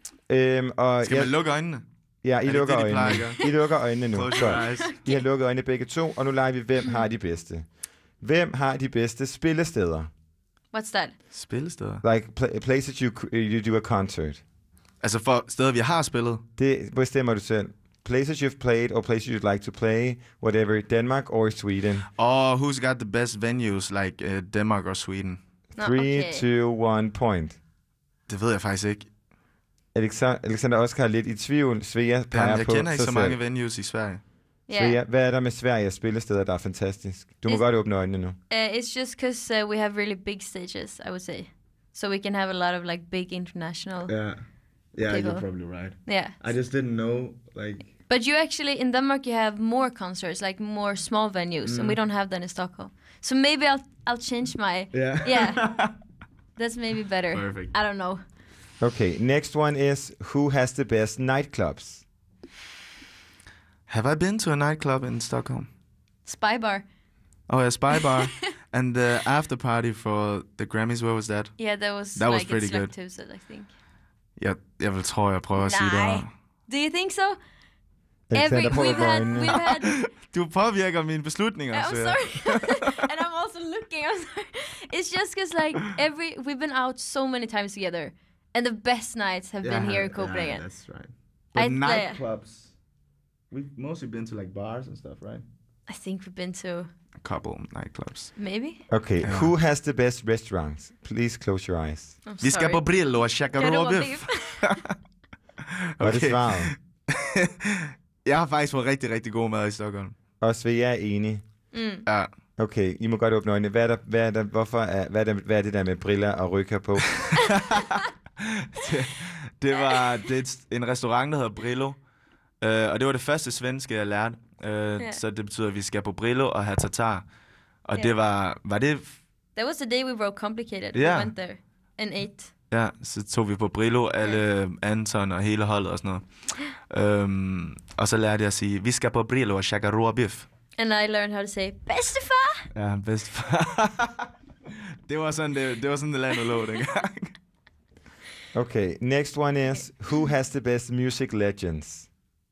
Og Skal man lukke øjnene? Ja, I det lukker det, de plejer øjnene. at gøre? I lukker øjnene nu. Close your Godt. eyes. I har lukket øjnene begge to, og nu leger vi, hvem har de bedste. Hvem har de bedste spillesteder? What's that? Spillesteder? Like places you do a concert. Altså for steder, vi har spillet? Det bestemmer du selv. Places you've played, or places you'd like to play, whatever, Denmark or Sweden. Og who's got the best venues, like Denmark or Sweden? 3, 2, 1 point. Det ved jeg faktisk ikke. Alexander Oscar er lidt i tvivl. Svea peger Jamen, jeg på kender ikke sig så mange selv. venues i Sverige. Svea, hvad er der med Sverige spillesteder, der er fantastisk? Du må godt åbne øjnene nu. It's just because we have really big stages, I would say. So we can have a lot of like big international... Yeah, people. you're probably right. Yeah. I just didn't know, like... But you actually, in Denmark, you have more concerts, like more small venues, and we don't have that in Stockholm. So maybe I'll change my... Yeah. That's maybe better. Perfect. I don't know. Okay, next one is, who has the best nightclubs? Have I been to a nightclub in Stockholm? Spy Bar. Oh, yeah, Spy Bar. And the after party for the Grammys, where was that? Yeah, that was pretty good. Tuesday, I think. Jeg vil tro, jeg prøver at sige det. Do you think so? Alexander, prøv at We've had... Du påvirker mine beslutninger. I'm sorry. And I'm also looking. I'm sorry. It's just because like we've been out so many times together, and the best nights have been here in Copenhagen. Yeah, that's right. But I- nightclubs, we've mostly been to like bars and stuff, right? I think we've been to A couple nightclubs. maybe. Okay, who has the best restaurants? Please close your eyes. I'm Vi skal på Brillo og shakke råbiff. Hvad er det svaret? Jeg har faktisk fået rigtig, rigtig god mad i Stockholm. Og Svea er enig. Ja. Okay, I må godt åbne øjnene. Hvad er det der med briller og rykker på? det er en restaurant, der hedder Brillo. Og det var det første svenske, jeg lærte. Så det betyder, at vi skal på Brillo og have tartar. Og det var det... That was the day we wrote Complicated. Yeah. We went there and ate. Ja, så tog vi på Brillo, alle Anton og hele holdet og sådan noget. Og så lærte jeg at sige, vi skal på Brillo og shakke råbiff. And I learned how to say, bedstefar! Ja, bedstefar. det var sådan, det landet lå dengang. Okay, next one is, who has the best music legends?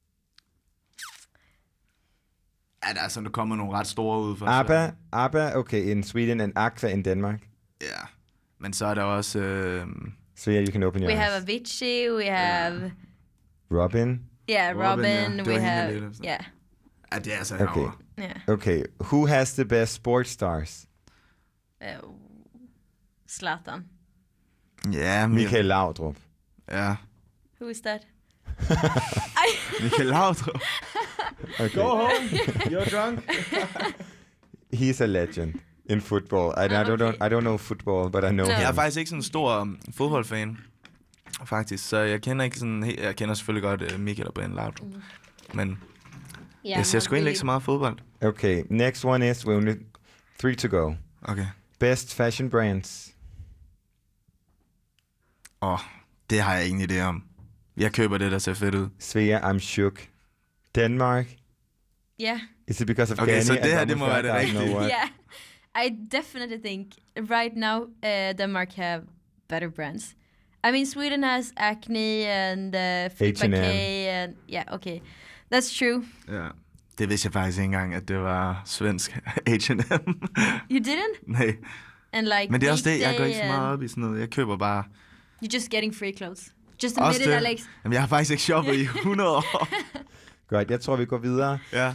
Ja, der er sådan, der kommer nogle ret store ud for. ABBA, okay, in Sweden, and Aqua in Denmark. Ja, men så er der også... So yeah, you can open your We eyes. have Avicii, we have... Robin? Yeah, Robin, ja. we have... Yeah. Ja, det er altså Okay. herovre. Yeah. Okay, who has the best sports stars? Zlatan. Ja, Michael Laudrup. Ja. Who is that? Michael Laudrup. Okay. Go home, you're drunk. He's a legend in football. I don't know football, but I know him. Jeg er faktisk ikke sådan en stor fodboldfan, faktisk. Så jeg kender ikke sådan... Jeg kender selvfølgelig godt Michael og Ben Laudrup. Men jeg ser sgu egentlig ikke så meget fodbold. Okay, next one is, we only 3 to go. Okay. Best fashion brands. Det har jeg ingen idé om. Jeg køber det, der ser fedt ud. Svea, I'm shook. Denmark. Yeah. Is it because of Okay, Danny? så det her, det må være det rigtige. Yeah. I definitely think right now Denmark have better brands. I mean, Sweden has Acne and Flip H&M. and yeah, okay. That's true. Ja. Det vidste jeg faktisk ikke engang, at det var svensk H&M. You didn't? Nej. And like Men det er også det, jeg Weekday går ikke så meget and- op i sådan noget. Jeg køber bare... You're just getting free clothes. Just Også admit it, det. Alex. Jamen, jeg har faktisk ikke shoppet i 100 år. Godt, jeg tror, vi går videre. Ja.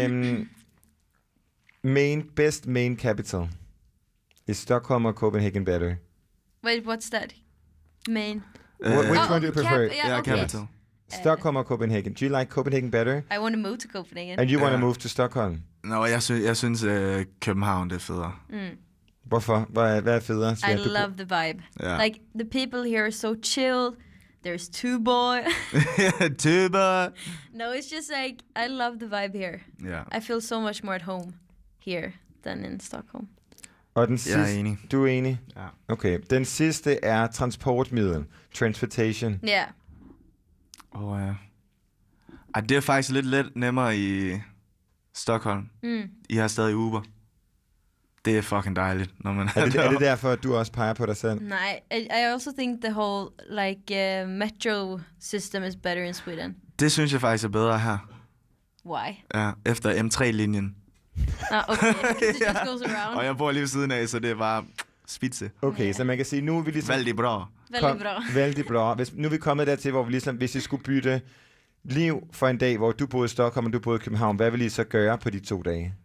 Best main capital. Is Stockholm or Copenhagen better? Wait, what's that? Main. Which one do you prefer? Ja, okay. Capital. Stockholm or Copenhagen? Do you like Copenhagen better? I want to move to Copenhagen. And you want to Ja. move to Stockholm? Nå, jeg synes København, det er federe. Hvorfor? Hvad er federe? I Svea? Du- love the vibe. Ja. Like, the people here are so chill. There's Tuborg. Tuber. No, it's just like, I love the vibe here. Ja. I feel so much more at home here than in Stockholm. Og den Jeg er sidste... enig. Du er enig? Ja. Okay. Den sidste er transportmiddel. Transportation. Yeah. Ja. Ej, det er faktisk lidt nemmere i Stockholm. I har stadig Uber. Det er fucking dejligt, når man Er det derfor, at du også peger på dig selv? Nej, I also think the whole like metro system is better in Sweden. Det synes jeg faktisk er bedre her. Why? Ja, efter M3-linjen. Okay, it just goes around. Og jeg bor lige ved siden af, så det er bare spidse. Okay, så man kan sige, nu er vi ligesom... Vældig bra. Veldig bra. Vældig bra. Nu er vi kommet dertil, hvor vi ligesom, hvis I skulle bytte liv for en dag, hvor du boede i Stockholm og du boede i København, hvad vil I så gøre på de 2 dage?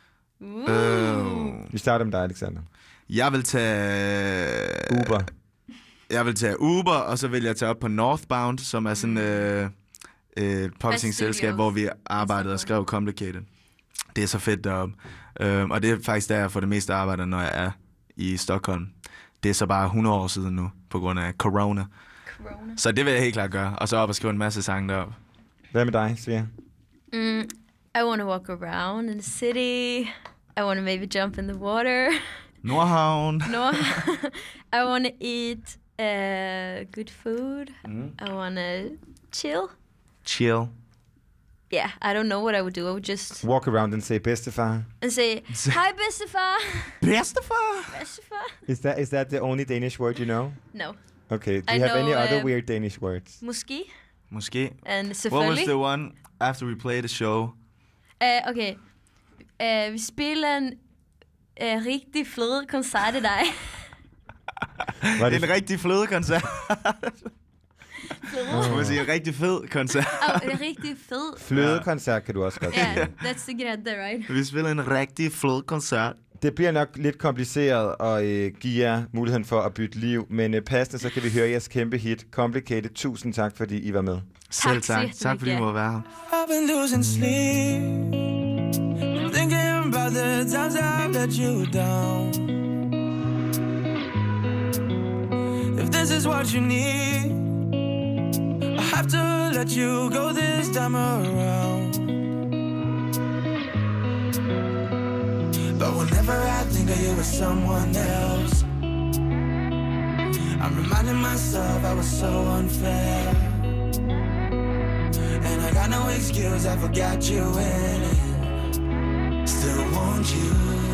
Vi starter med dig, Alexander. Jeg vil tage... Uber. Jeg vil tage Uber, og så vil jeg tage op på Northbound, som er sådan et publishing-selskab, hvor vi arbejdede og skrev Complicated. Det er så fedt deroppe. Og det er faktisk der, jeg får det meste arbejde, når jeg er i Stockholm. Det er så bare 100 år siden nu, på grund af corona. Så det vil jeg helt klart gøre. Og så op og skrive en masse sange deroppe. Hvad med dig, Svea? I want to walk around in the city. I want to maybe jump in the water. Nordhavn. No, I want to eat good food. I want to chill. Chill. Yeah, I don't know what I would do. I would just Walk around and say bedstefar. and say, "Hi, Bestefar." Bedstefar. Bestefar. Is that the only Danish word you know? No. Okay. Do I you have any know, other weird Danish words? Måske. Måske. And What was selvfølgelig. the one after we played the show? Okay. Vi spiller en rigtig fed koncert i dag. Var En rigtig flødekoncert. Skal man sige en rigtig fed koncert? En rigtig fed. Flødekoncert kan du også godt sige. Yeah, that's the get there, right? Vi spiller en rigtig flødekoncert. Det bliver nok lidt kompliceret at give jer muligheden for at bytte liv, men passende, så kan vi høre jeres kæmpe hit, Complicated. Tusind tak, fordi I var med. Selv tak. Tak, fordi I må være her. I've been losing sleep, thinking about the times I've let you down. If this is what you need, I have to let you go this time around. But whenever I think of you with someone else, I'm reminding myself I was so unfair. And I got no excuse, I forgot you in it. Still want you,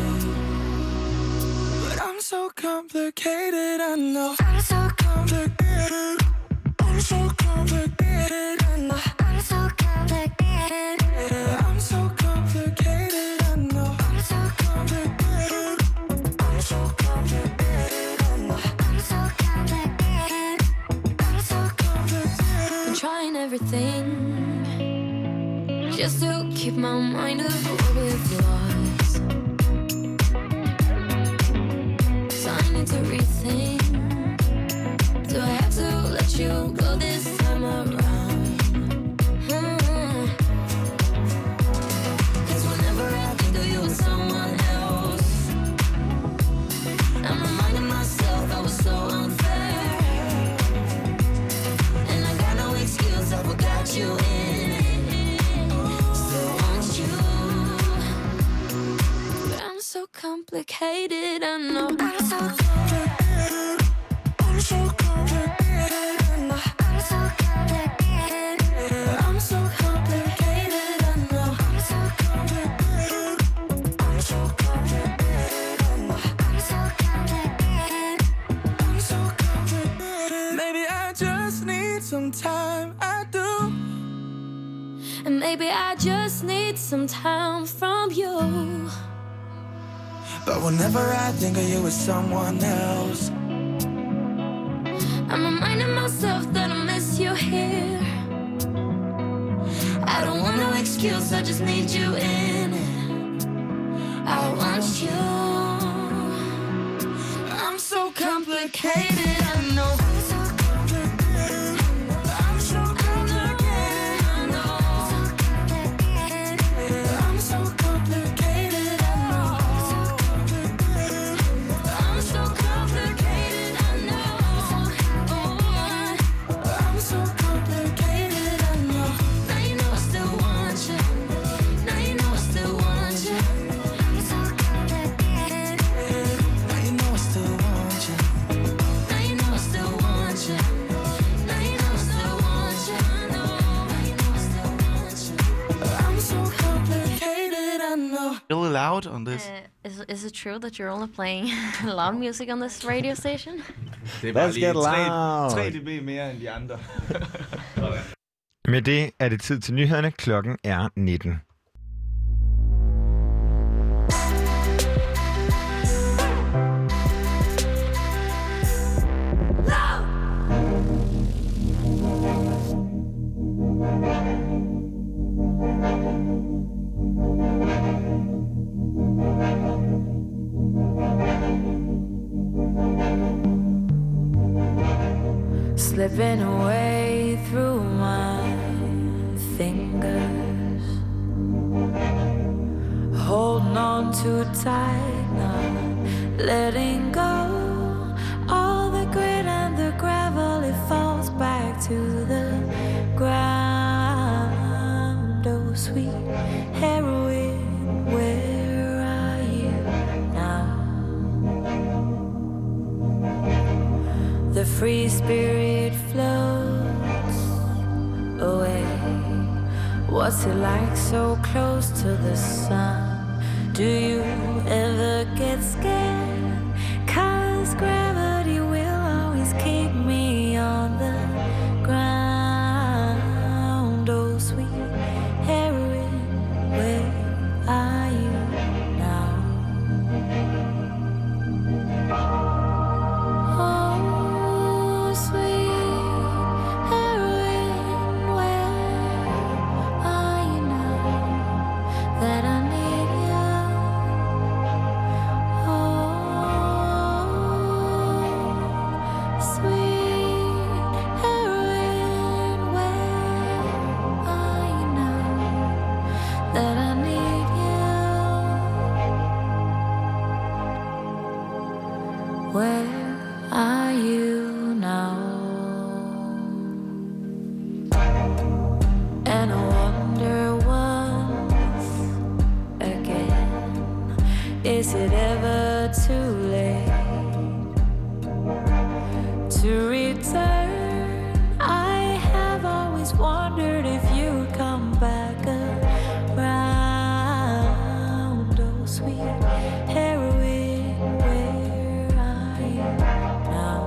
but I'm so complicated, I know. I'm so complicated, I'm so complicated, I know. I'm so complicated, I'm so complicated, I know. I'm so complicated, I'm so complicated, I know. I'm so complicated, I'm so complicated. Been trying everything just to keep my mind above with yours. So I need to rethink. Do I have to let you go this time around? Cause whenever I think of you with someone else, I'm reminding myself I was so unfair. And I got no excuse, I forgot you in it. Still want you, but I'm so complicated, I know. I'm so complicated, I'm so complicated, I know. I'm so complicated, I'm so complicated, I know. I'm so complicated, I'm so complicated, I know. I'm so complicated, I'm so complicated. Maybe I just need some time, I do. And maybe I just need some time from you. But whenever I think of you with someone else, I'm reminding myself that I miss you here. I don't want no excuse, I just need you in it. I want you. I'm so complicated, I know. I'm so complicated, I'm so complicated, I know. I'm so complicated, I know. I'm so complicated, I know. I'm so complicated, I know. Now you know I still want you. Now you know I still want you. I'm so complicated. Now you know I still want you. Now you know I still want you. Now you know I still want you. Now you know I still want you. I'm so complicated, I know. Really loud on this. Is it true that you're only playing loud music on this radio station? Det er bare Let's get loud. 3 dB mere end de andre. Med det er det tid til nyhederne. Klokken er 19. Slipping away through my fingers, holding on too tight, not letting go. All the grit and the gravel, it falls back to the ground. Oh, sweet heroine, where are you now? The free spirit floats away. What's it like so close to the sun? Do you ever get scared? 'Cause gravity will always keep me on the ground. Oh, sweet heroine, where are you now? Oh, sweet heroine, where are you now that I need you? Is it ever too late to return? I have always wondered if you'd come back around. Oh, sweet heroine, where are you now?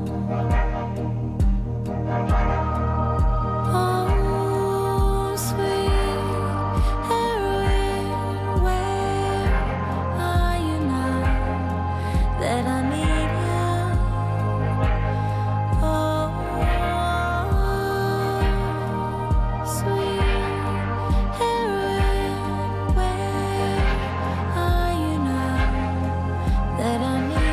Oh, sweet heroine, where are you now that I need you? Oh, sweet heroine, where are you now that I need you?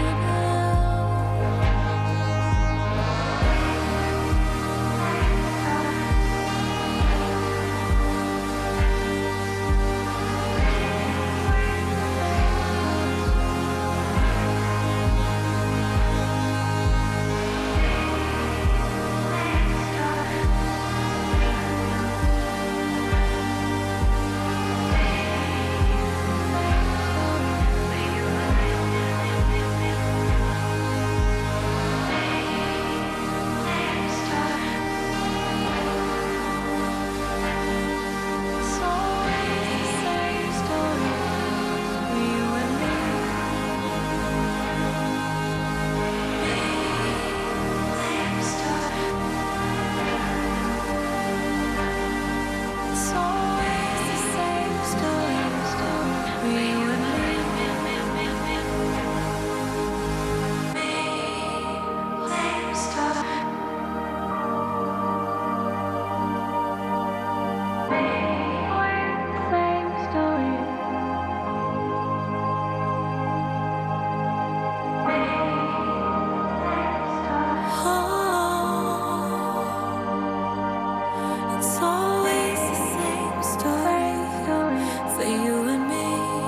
It's always the same story for you and me.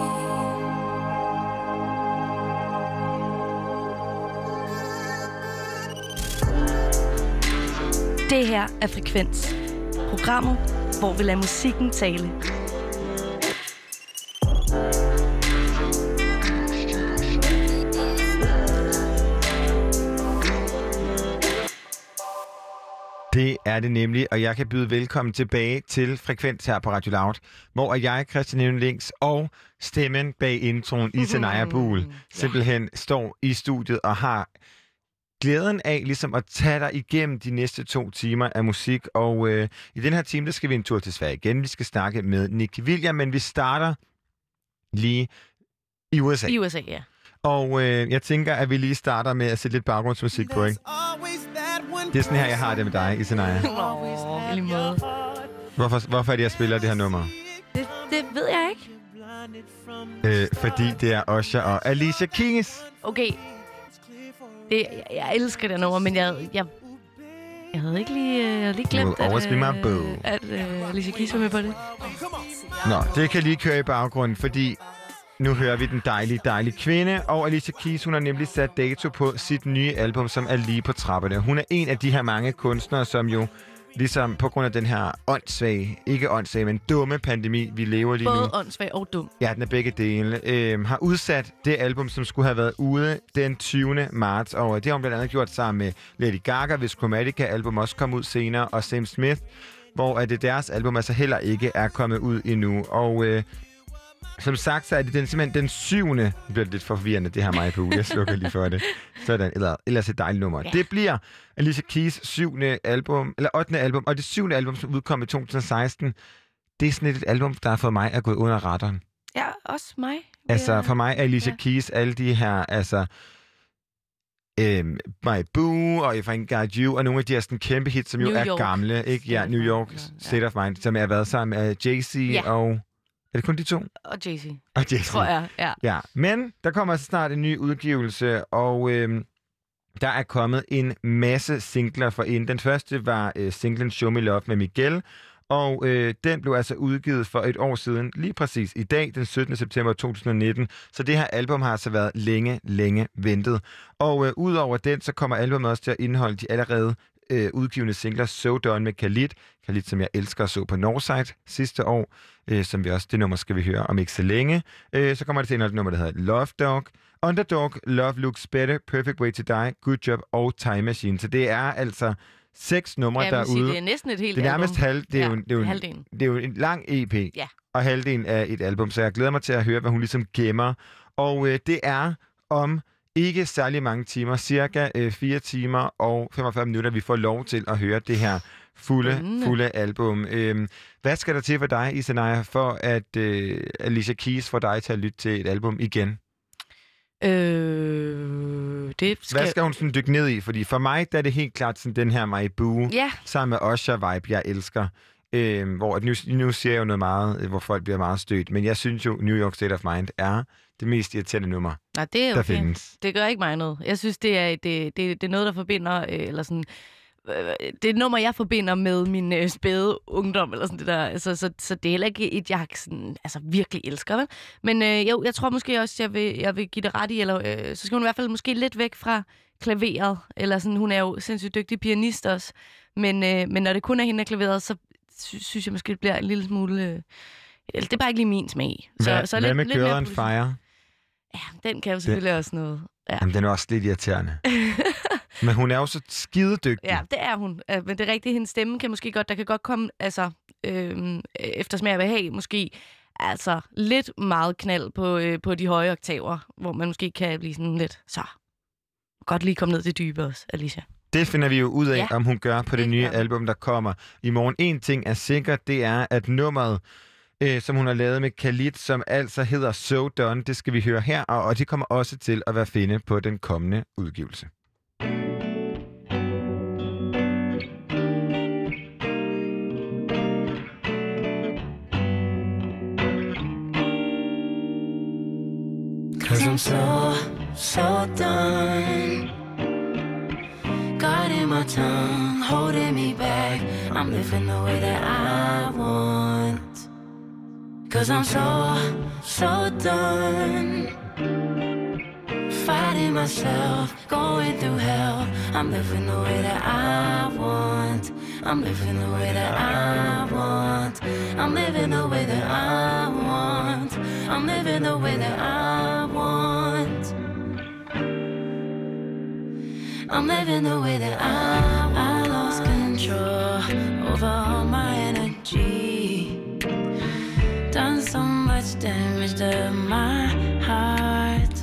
Det her er Frekvens. Programmet, hvor vi lader musikken tale. Det er det nemlig, og jeg kan byde velkommen tilbage til Frekvens her på Radio Loud, hvor jeg, Christian Evne-Links, og stemmen bag introen, Isanaya Buhl, simpelthen står i studiet og har glæden af ligesom at tage dig igennem de næste 2 timer af musik. Og i den her time, der skal vi en tur til Sverige igen. Vi skal snakke med Nicky William, men vi starter lige i USA. I USA, ja. Og jeg tænker, at vi lige starter med at sætte lidt baggrundsmusik på, ikke? Det er sådan her, jeg har det med dig, Isanaya. I lige måde. Hvorfor er det, jeg spiller det her nummer? Det ved jeg ikke. Fordi det er Usher og Alicia Keys. Okay. Jeg elsker det nummer, men jeg havde ikke lige glemt, at Alicia Keys var med på det. Nå, det kan lige køre i baggrunden, fordi nu hører vi den dejlige kvinde, og Alicia Keys, hun har nemlig sat dato på sit nye album, som er lige på trapperne. Hun er en af de her mange kunstnere, som jo ligesom på grund af den her ikke men dumme pandemi, vi lever lige nu. Både åndssvag og dum. Ja, den er begge dele. Har udsat det album, som skulle have været ude den 20. marts. Og det har hun blandt andet gjort sammen med Lady Gaga, hvis Chromatica-album også kom ud senere, og Sam Smith, hvor det deres album altså heller ikke er kommet ud endnu. Og som sagt, så er det simpelthen den 7. Det bliver lidt forvirrende, det her mig på uge. Jeg slukker lige for det. Sådan, ellers et dejligt nummer. Ja. Det bliver Alicia Keys 8. album, og det 7. album, som udkom i 2016. Det er sådan et album, der har fået mig at gå under radaren. Ja, også mig. Altså, for mig er Alicia Keys alle de her, altså My Boo og If I Ain't Got You, og nogle af de her sådan kæmpe hits, som jo er gamle. Ikke? Ja, New York, State of Mind, som har været sammen med Jay-Z og... Er det kun de 2? Og Jay-Z. Og Jay-Z. Tror jeg, ja. Men der kommer altså snart en ny udgivelse, og der er kommet en masse singler for ind. Den første var singlen Show Me Love med Miguel, og den blev altså udgivet for et år siden, lige præcis i dag, den 17. september 2019. Så det her album har altså været længe ventet. Og udover den, så kommer albumet også til at indeholde de allerede udgivende singler So Done med Khalid. Khalid, som jeg elsker og så på Northside sidste år. Som vi også, det nummer skal vi høre om ikke så længe. Så kommer det til et nummer, der hedder Love Dog. Underdog, Love Looks Better, Perfect Way to Die, Good Job og Time Machine. Så det er altså 6 numre derude. Sige, det er næsten et helt album. Det er nærmest det er jo en lang EP. Ja. Og halvdelen af et album, så jeg glæder mig til at høre, hvad hun ligesom gemmer. Og det er om ikke særlig mange timer, cirka 4 timer og 45 minutter, vi får lov til at høre det her fulde album. Hvad skal der til for dig, Isanaya, for at Alicia Keys får dig til at lytte til et album igen? Hvad skal hun sådan dykke ned i? Fordi for mig, der er det helt klart sådan den her My Boo, sammen med Usher-vibe, jeg elsker. Hvor nu siger jeg jo noget meget, hvor folk bliver meget stødt, men jeg synes jo, New York State of Mind er det mest irriterende nummer, det er der findes. Det gør ikke mig noget. Jeg synes, det er noget, der forbinder, eller sådan, det er et nummer, jeg forbinder med min spæde ungdom, eller sådan det der. Altså, så det er heller ikke et, jeg sådan, altså, virkelig elsker, vel? Men jeg tror måske også, jeg vil give det ret i, eller så skal hun i hvert fald måske lidt væk fra klaveret, eller sådan, hun er jo sindssygt dygtig pianist også, men når det kun er hende, der klaveret, så synes jeg måske, det bliver en lille smule... det er bare ikke lige min smag. Så hvad med Girl on Fire? Ja, den kan jo selvfølgelig også noget. Ja. Jamen, den er også lidt irriterende. Men hun er jo så skidedygtig. Ja, det er hun. Men det er rigtigt, hendes stemme kan måske godt... Der kan godt komme, altså, efter smag af behag, måske altså lidt meget knald på de høje oktaver, hvor man måske kan blive sådan lidt... Så, godt lige komme ned til dybe også, Alicia. Det finder vi jo ud af, om hun gør på det nye album, der kommer i morgen. En ting er sikkert, det er, at nummeret, som hun har lavet med Khalid, som altså hedder So Done, det skal vi høre her, og det kommer også til at være finde på den kommende udgivelse. Cause I'm so done. God in my tongue, holding me back. I'm living the way that I want. Cause I'm so done. Fighting myself, going through hell. I'm living the way that I want. I'm living the way that I want. I'm living the way that I want. I'm living the way that I want. I'm living the way that I lost control over all my energy. Done so much damage to my heart.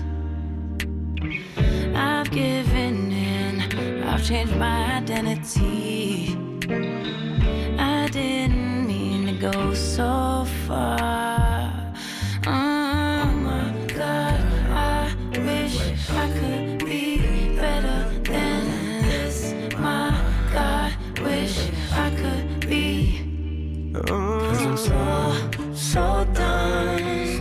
I've given in, I've changed my identity. I didn't mean to go so far. Oh my God, I wish I could be better than this. My God, wish I could be. Cause I'm so done.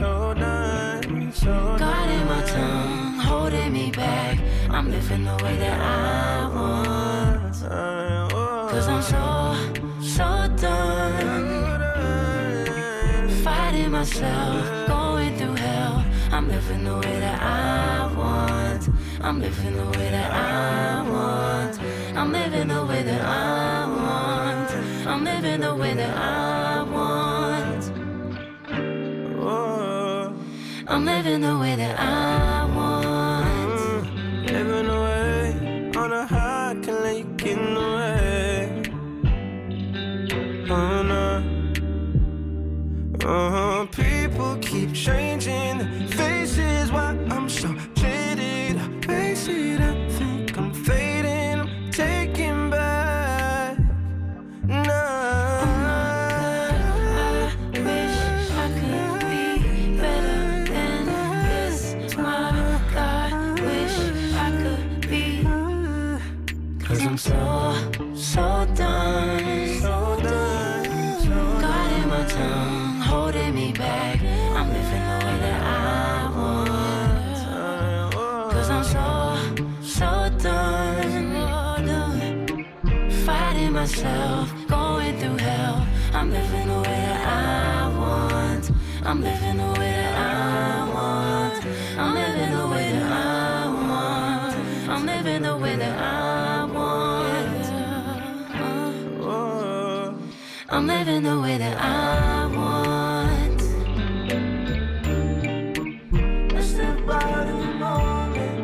God in my tongue, holding me back. I'm living the way that I want. Cause I'm so done. Fighting myself, going through hell. I'm living the way that I want. I'm living the way that I want. I'm living the way that I want. I'm living the way that I want. I'm living the way that I want. Living away on a high, can let you get in the way. Oh no. People keep changing their faces. Why I'm so jaded. I face it, I think I'm fading. I'm taking back. No. I'm so done. God in my tongue, holding me back. I'm living the way that I want. Cause I'm so done. Fighting myself, going through hell. I'm living the way that I want. I'm living the way that I want. I'm living the way that I want. I'm living the way that I want. I'm living the way that I want. Let's step out in the moment.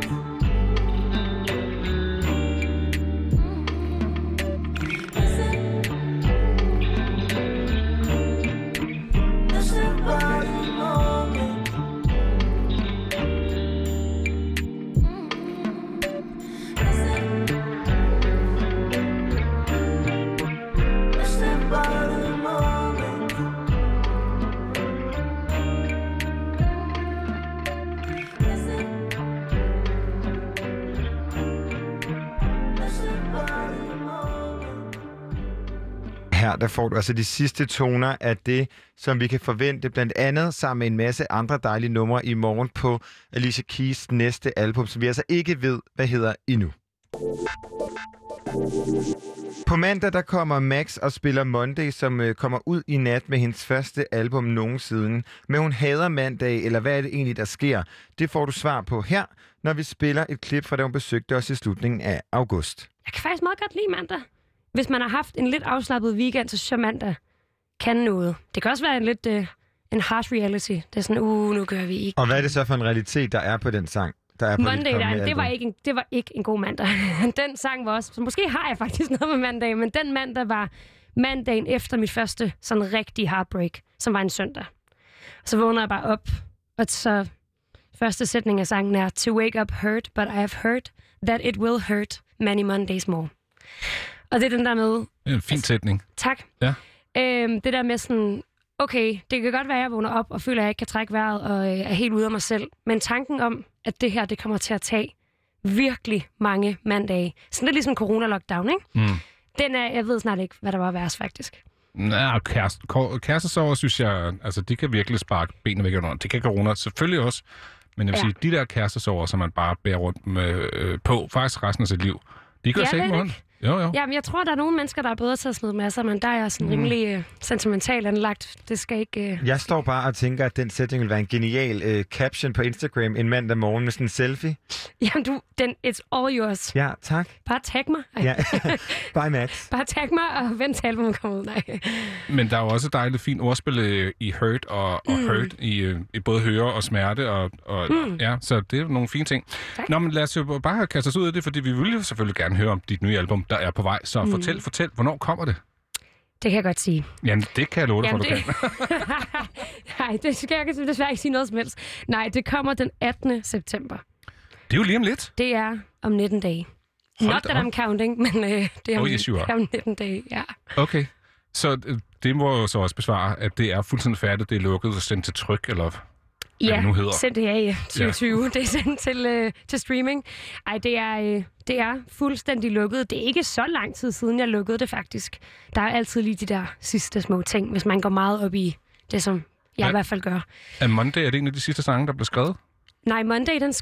Let's step out in the moment. Let's step out in the moment. Her der får du altså de sidste toner af det, som vi kan forvente, blandt andet sammen med en masse andre dejlige numre i morgen på Alicia Keys næste album, som vi altså ikke ved, hvad hedder endnu. På mandag der kommer Max og spiller Monday, som kommer ud i nat med hendes første album nogensinde. Men hun hader mandag, eller hvad er det egentlig, der sker? Det får du svar på her, når vi spiller et klip fra da hun besøgte os i slutningen af august. Jeg kan faktisk meget godt lide mandag. Hvis man har haft en lidt afslappet weekend, så synes jeg mandag kan noget. Det kan også være en lidt en harsh reality. Det er sådan, nu gør vi ikke. Og hvad er det så for en realitet, der er på den sang? Der er på Monday, det var ikke en god mandag. Den sang var også... Så måske har jeg faktisk noget med mandag, men den mandag var mandagen efter mit første sådan rigtig heartbreak, som var en søndag. Så vågner jeg bare op, og så første sætning af sangen er To wake up hurt, but I have heard that it will hurt many Mondays more. Og det er den der med... Det er en fin sætning. Tak. Ja. Det der med sådan... Okay, det kan godt være, at jeg vågner op og føler, at jeg ikke kan trække vejret og er helt ude af mig selv. Men tanken om, at det her det kommer til at tage virkelig mange mandage. Sådan lidt ligesom corona-lockdown, ikke? Mm. Den er, jeg ved snart ikke, hvad der var værst, faktisk. Nej, kærestesorger, synes jeg, altså de kan virkelig sparke benene væk under. Det kan corona selvfølgelig også. Men jeg vil sige, de der kærestesorger, som man bare bærer rundt med, på faktisk resten af sit liv, de gør sig ikke med ondt. Jo. Jamen, jeg tror, der er nogle mennesker, der er bedre til at smide masser, men der er jeg sådan rimelig sentimentalt anlagt. Det skal ikke... Jeg står bare og tænker, at den sætning vil være en genial caption på Instagram en mandag morgen med sådan en selfie. Jamen, it's all yours. Ja, tak. Bare tag mig. Ja. Bye, Max. Bare tag mig og vent til albumet kommer ud. Nej. Men der er jo også et dejligt fint ordspil i hurt og hurt i både høre og smerte. Ja, så det er nogle fine ting. Tak. Nå, men lad os jo bare kaste os ud af det, fordi vi vil jo selvfølgelig gerne høre om dit nye album, der er på vej. Så fortæl, hvornår kommer det? Det kan jeg godt sige. Jamen, det kan jeg love dig, for du kan. Nej, det skal jeg desværre ikke sige noget som helst. Nej, det kommer den 18. september. Det er jo lige om lidt. Det er om 19 dage. Not that I'm counting, men det er om 19 dage, ja. Okay, så det må jo så også besvare, at det er fuldstændig færdigt, det er lukket og sendt til tryk, eller... Ja, sendt det her i 2020. Ja. Det er sendt til streaming. Ej, det er fuldstændig lukket. Det er ikke så lang tid siden, jeg lukkede det faktisk. Der er altid lige de der sidste små ting, hvis man går meget op i det, som jeg i hvert fald gør. Er Monday, er det en af de sidste sange, der blev skrevet? Nej, Monday, den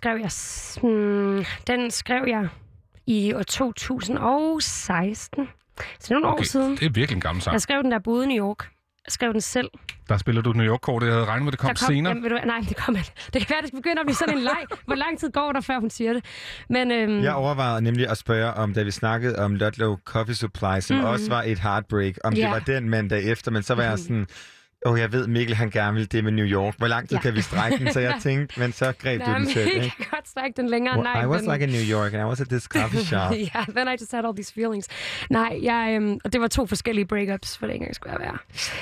skrev jeg i år 2016. Så det er nogle år siden. Det er virkelig en gammel sang. Jeg skrev den der boede i New York. Jeg skrev den selv. Der spiller du New York-kortet. Jeg havde regnet med, det kom senere. Jamen, nej, det kommer ikke. Det kan være, det begynder at blive sådan en leg. Hvor lang tid går der, før hun siger det? Men, jeg overvejede nemlig at spørge om, da vi snakkede om Ludlow Coffee Supply, som også var et heartbreak, om det var den mandag efter, men så var jeg sådan... jeg ved, Mikkel, han gerne vil det med New York. Hvor lang tid kan vi strække den? Så jeg tænkte, men så greb du den selv, ikke? Jeg kan godt strække den længere. Nej, I was like in New York, and I was at this coffee shop. Yeah, then I just had all these feelings. Nej, og det var 2 forskellige breakups, for det engang skulle jeg være.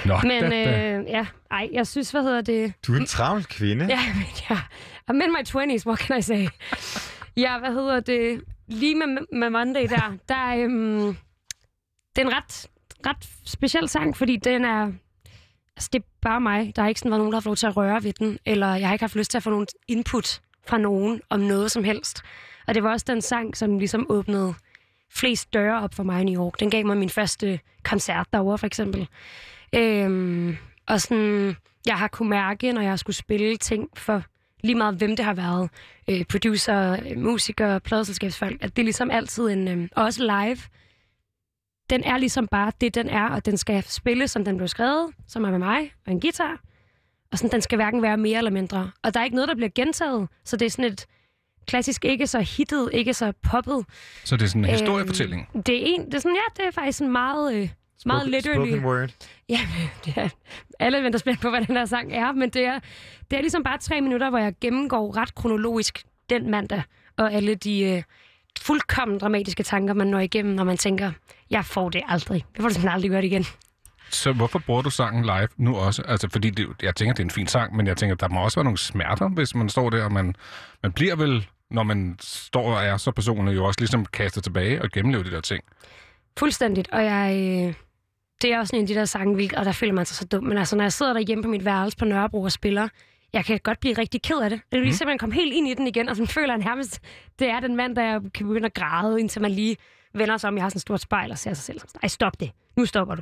Men jeg synes, hvad hedder det? Du er en travl kvinde. Ja, I'm in my 20s, what can I say? Ja, hvad hedder det? Lige med Monday der det er en ret speciel sang, fordi den er... Altså, det er bare mig. Der har ikke sådan været nogen, der har fået lov til at røre ved den, eller jeg har ikke haft lyst til at få nogen input fra nogen om noget som helst. Og det var også den sang, som ligesom åbnede flest døre op for mig i New York. Den gav mig min første koncert derovre, for eksempel. Og sådan, jeg har kunnet mærke, når jeg skulle spille ting for lige meget, hvem det har været. Producer, musikere, pladeselskabsfolk, at det er ligesom altid en... også live. Den er ligesom bare det, den er, og den skal spille, som den blev skrevet, som er med mig og en guitar. Og sådan, den skal hverken være mere eller mindre. Og der er ikke noget, der bliver gentaget, så det er sådan et klassisk, ikke så hittet, ikke så poppet. Så det er sådan en historiefortælling? Det er faktisk en meget Meget literally. Spoken word. Ja, alle venter spændt på, hvad den her sang er, men det er ligesom bare 3 minutter, hvor jeg gennemgår ret kronologisk den mandag, og alle de fuldkommen dramatiske tanker, man når igennem, når man tænker, jeg får det aldrig. Jeg får det simpelthen aldrig gjort igen. Så hvorfor bruger du sangen live nu også? Altså, fordi jeg tænker, det er en fin sang, men jeg tænker, der må også være nogle smerter, hvis man står der, og man bliver vel, når man står og er så personligt, jo også ligesom kastet tilbage og gennemleve de der ting. Fuldstændigt, og det er også en af de der sange, og der føler man sig så dum, men altså, når jeg sidder derhjemme på mit værelse på Nørrebro og spiller, jeg kan godt blive rigtig ked af det. Det er lige simpelthen komme helt ind i den igen, og så føler jeg nærmest, det er den mand, der jeg kan begynde at græde, indtil man lige vender sig om. Jeg har sådan et stort spejl og ser sig selv. Ej, stop det. Nu stopper du.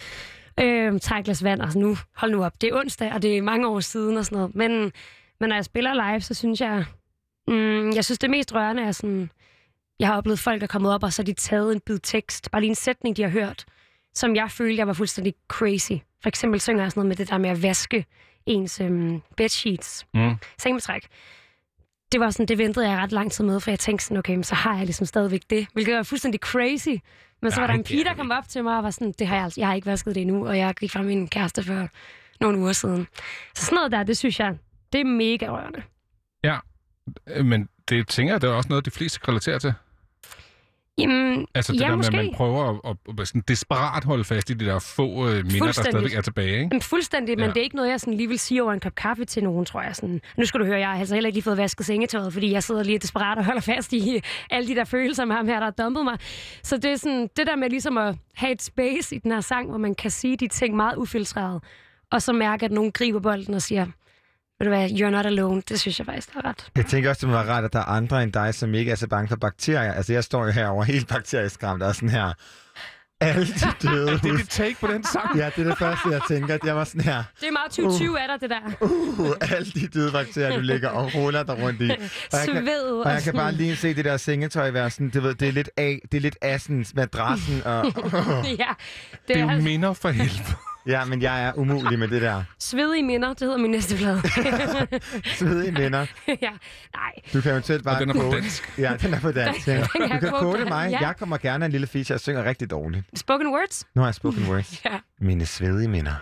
Tag et glas vand, og nu, hold nu op. Det er onsdag, og det er mange år siden og sådan noget. Men når jeg spiller live, så synes jeg, jeg synes det mest rørende er sådan, jeg har oplevet folk, der er kommet op, og så har de taget en bid tekst, bare lige en sætning, de har hørt, som jeg følte, jeg var fuldstændig crazy. For eksempel synger jeg sådan noget med det der med at vaske ens bedsheets. Sengetræk. Det var sådan, det ventede jeg ret lang tid med, for jeg tænkte sådan, okay, så har jeg ligesom stadigvæk det, hvilket var fuldstændig crazy. Men så var der en pige, der kom op til mig og var sådan, det har jeg har ikke vasket det endnu, og jeg gik fra min kæreste for nogle uger siden. Så sådan noget der, det synes jeg, det er mega rørende. Ja, men det tænker jeg, det er også noget, de fleste kan relatere til. Jamen, altså det ja, der med, måske. at man prøver at sådan desperat holde fast i de der få minder, der stadigvæk er tilbage, ikke? Jamen, fuldstændig, men det er ikke noget, jeg sådan lige vil sige over en kop kaffe til nogen, tror jeg. Sådan. Nu skal du høre, jeg har altså heller ikke lige fået vasket sengetøjet, fordi jeg sidder lige desperat og holder fast i alle de der følelser med ham her, der har dumpet mig. Så det er sådan, det der med ligesom at have et space i den her sang, hvor man kan sige de ting meget ufiltreret, og så mærke, at nogen griber bolden og siger, ved du hvad, you're not alone. Det synes jeg faktisk er ret. Jeg tænker også, det må være rart, at der er andre end dig, som ikke er så bange for bakterier. Altså, jeg står jo herovre helt bakterieskræmt og sådan her. Alle de døde. Det er dit take på den sang. Ja, det er det første, jeg tænker. Jeg var sådan her. Det er meget 2020 af dig, det der. Alle de døde bakterier, du ligger og ruller der rundt i. Og jeg kan bare lige se det der sengetøj være sådan, det er lidt assens, madrassen og... Ja, det er minder for helvede. Ja, men jeg er umulig med det der. Svedige minder, det hedder min næste plade. Svedige minder. Ja, nej. Du kan eventuelt bare... Og den er på dansk. Ja, den er på dansk. Ja. Du kan kode mig. Ja. Jeg kommer gerne af en lille feature. Jeg synger rigtig dårligt. Spoken words? Nu har jeg spoken words. Ja. Mine svedige minder.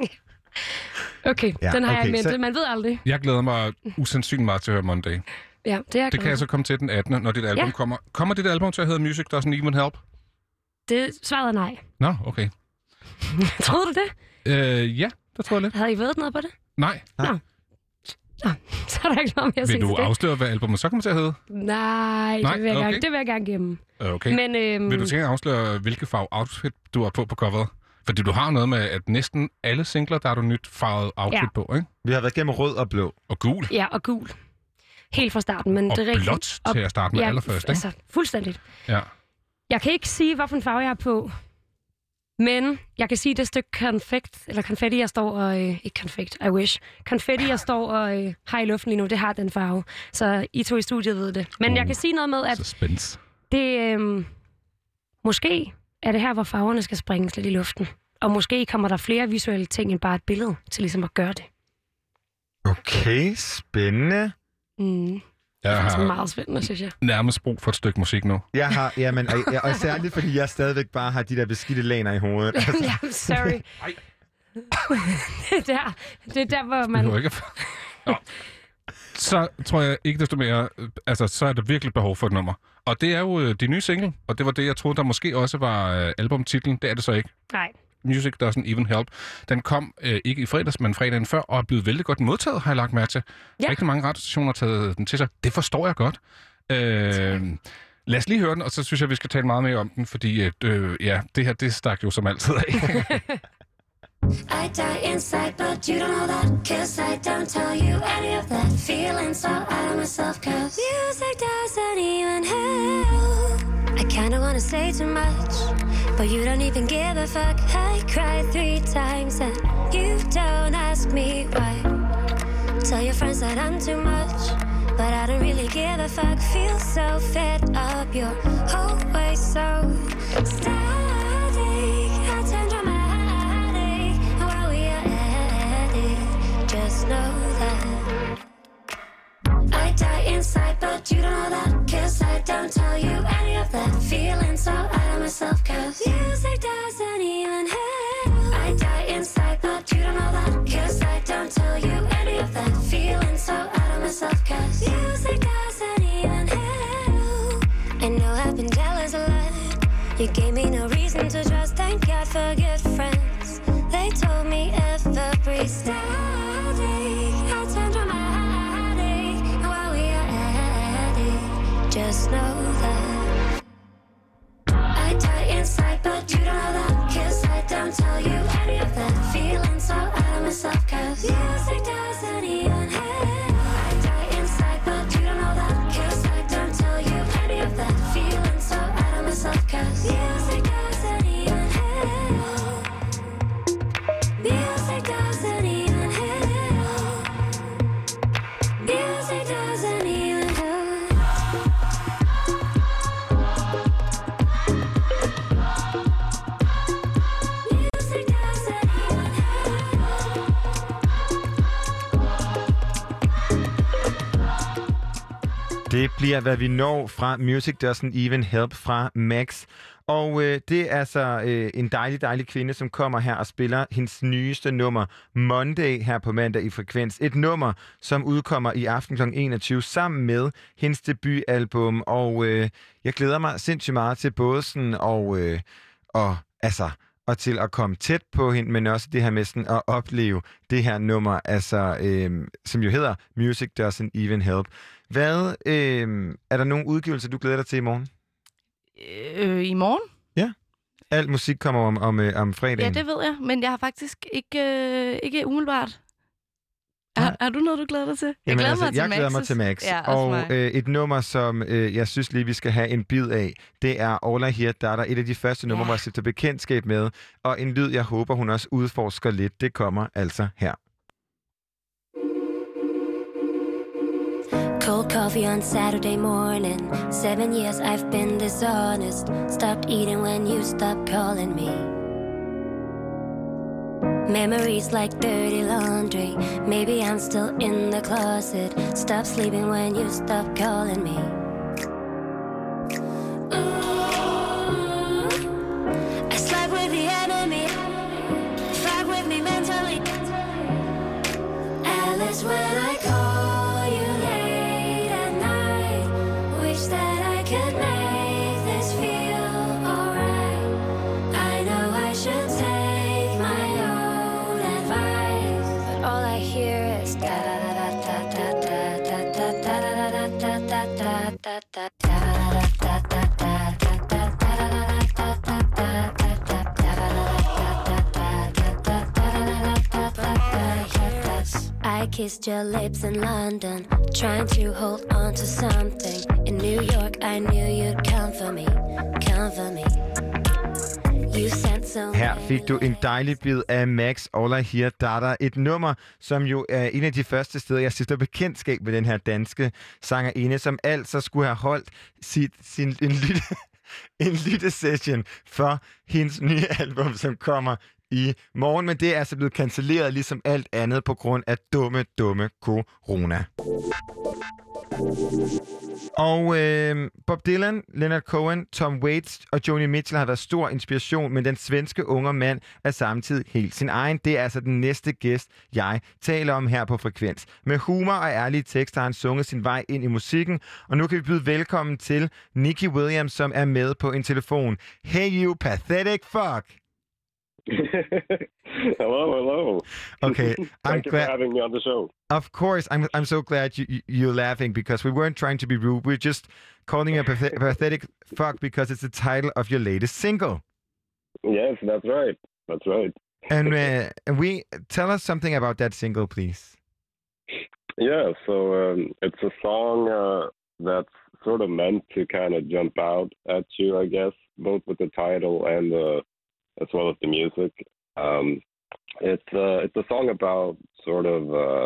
Okay, ja, den har jeg i mente. Man ved aldrig. Jeg glæder mig usandsynligt meget til at høre Monday. Ja, det kan jeg så komme til den 18. når dit album kommer. Kommer dit album til at hedde Music Doesn't Even Help? Det svarede er nej. Nå, okay. Troede du det? Ja, det tror jeg lidt. Havde I ved noget på det? Nej. Nå, så er der ikke noget mere at sige. Vil du afsløre, hvad albumet så kommer til at hedde? Nej, det vil jeg gerne gemme. Okay. Men, vil du tænke at afsløre, hvilke farve outfit du har på coveret? Fordi du har noget med, at næsten alle singler, der har du nyt farvet outfit på, ikke? Vi har været gennem rød og blå. Og gul. Ja, og gul. Helt fra starten. Men og det er blåt til at starte med allerførst, ikke? Altså, fuldstændigt. Ja. Jeg kan ikke sige, hvilken farve jeg er på. Men jeg kan sige, det stykke konfetti, jeg står og... ikke konfekt, I wish. Konfetti, jeg står og har i luften lige nu, det har den farve. Så I to i studiet ved det. Men jeg kan sige noget med, at... Suspense. Det... måske er det her, hvor farverne skal springes lidt i luften. Og måske kommer der flere visuelle ting end bare et billede til ligesom at gøre det. Okay, spændende. Jeg det er så meget spændende, synes jeg. Nærmest brug for et stykke musik nu. Jeg har, jamen, og særligt fordi jeg stadigvæk bare har de der beskidte laner i hovedet. Ja, sorry. det er der, hvor man... Ikke... Så tror jeg ikke desto mere, altså så er der virkelig behov for et nummer. Og det er jo de nye single, og det var det, jeg troede, der måske også var albumtitlen. Det er det så ikke. Nej. Music Doesn't Even Help. Den kom ikke i fredags, men fredagen før, og er blevet vældig godt modtaget, har jeg lagt mærke til. Ja. Rigtig mange radiostationer har taget den til sig. Det forstår jeg godt. Lad os lige høre den, og så synes jeg, vi skal tale meget mere om den, fordi det her, det stak jo som altid af. I die inside, but you don't know that. 'Cause I don't tell you any of that. Feeling so out of myself, 'cause music doesn't even help. I kinda wanna say too much, but you don't even give a fuck. I cried 3 times and you don't ask me why. Tell your friends that I'm too much, but I don't really give a fuck. Feel so fed up, you're always so static. I turn dramatic, and while we are at it, just know that I die inside, but you don't know that. 'Cause I don't tell you any of that. Feeling so out of myself, 'cause music doesn't even You gave me no reason to trust, thank God for good friends. They told me every static I turned from my headache. And while we are at it, just know that I die inside, but you don't know that. 'Cause I don't tell you any of that. Feeling so out of myself, 'cause music doesn't even hit. I die inside, but you don't know that. 'Cause I don't tell you any of that. Feeling so out of myself, 'cause music doesn't even hit. Music doesn't even hit. Music doesn't even do. Music doesn't even Det bliver, hvad vi når fra Music Doesn't Even Help fra Max. Og det er altså en dejlig kvinde, som kommer her og spiller hendes nyeste nummer Monday her på mandag i Frekvens. Et nummer, som udkommer i aften kl. 21 sammen med hendes debutalbum. Og jeg glæder mig sindssygt meget til både sådan og til at komme tæt på hende, men også det her med sådan at opleve det her nummer, altså, som jo hedder Music Doesn't Even Help. Hvad, er der nogle udgivelser, du glæder dig til i morgen? I morgen? Ja. Alt musik kommer om fredagen. Ja, det ved jeg, men jeg har faktisk ikke umiddelbart. Har du noget, du glæder dig til? Jeg glæder mig til Max. Ja, og et nummer, som jeg synes lige, vi skal have en bid af, det er All I Hear. Der er et af de første numre, hvor jeg sætter bekendtskab med, og en lyd, jeg håber, hun også udforsker lidt. Det kommer altså her. Cold coffee on Saturday morning. 7 years I've been dishonest. Stopped eating when you stopped calling me. Memories like dirty laundry. Maybe I'm still in the closet. Stop sleeping when you stop calling me. Ooh, I slept with the enemy. Fuck with me mentally. Alice, when I call you late at night, wish that I could make this feel alright. I know I should take my own advice, but all I hear is da da da da da da da da da da da da da da da. I kissed your lips in London, trying to hold on to something. In New York, I knew you'd come for me, come for me. You sent so Her fik du en dejlig bid af Max, All I Hear, Dada. Et nummer, som jo er en af de første steder, jeg stifter bekendtskab med den her danske sangerinde, som altså skulle have holdt en lyttesession for hendes nye album, som kommer i morgen, men det er altså blevet cancelleret ligesom alt andet på grund af dumme corona. Og Bob Dylan, Leonard Cohen, Tom Waits og Joni Mitchell har været stor inspiration, men den svenske unge mand er samtidig helt sin egen. Det er altså den næste gæst, jeg taler om her på Frekvens. Med humor og ærlige tekster har han sunget sin vej ind i musikken, og nu kan vi byde velkommen til Nicky Williams, som er med på en telefon. Hey you pathetic fuck! Hello. Okay, Thank you for having me on the show. Of course, I'm so glad you're laughing because we weren't trying to be rude. We're just calling you a pathetic fuck because it's the title of your latest single. Yes, that's right. That's right. And we tell us something about that single, please. Yeah, so it's a song that's sort of meant to kind of jump out at you, I guess, both with the title and as well as the music. It's a song about sort of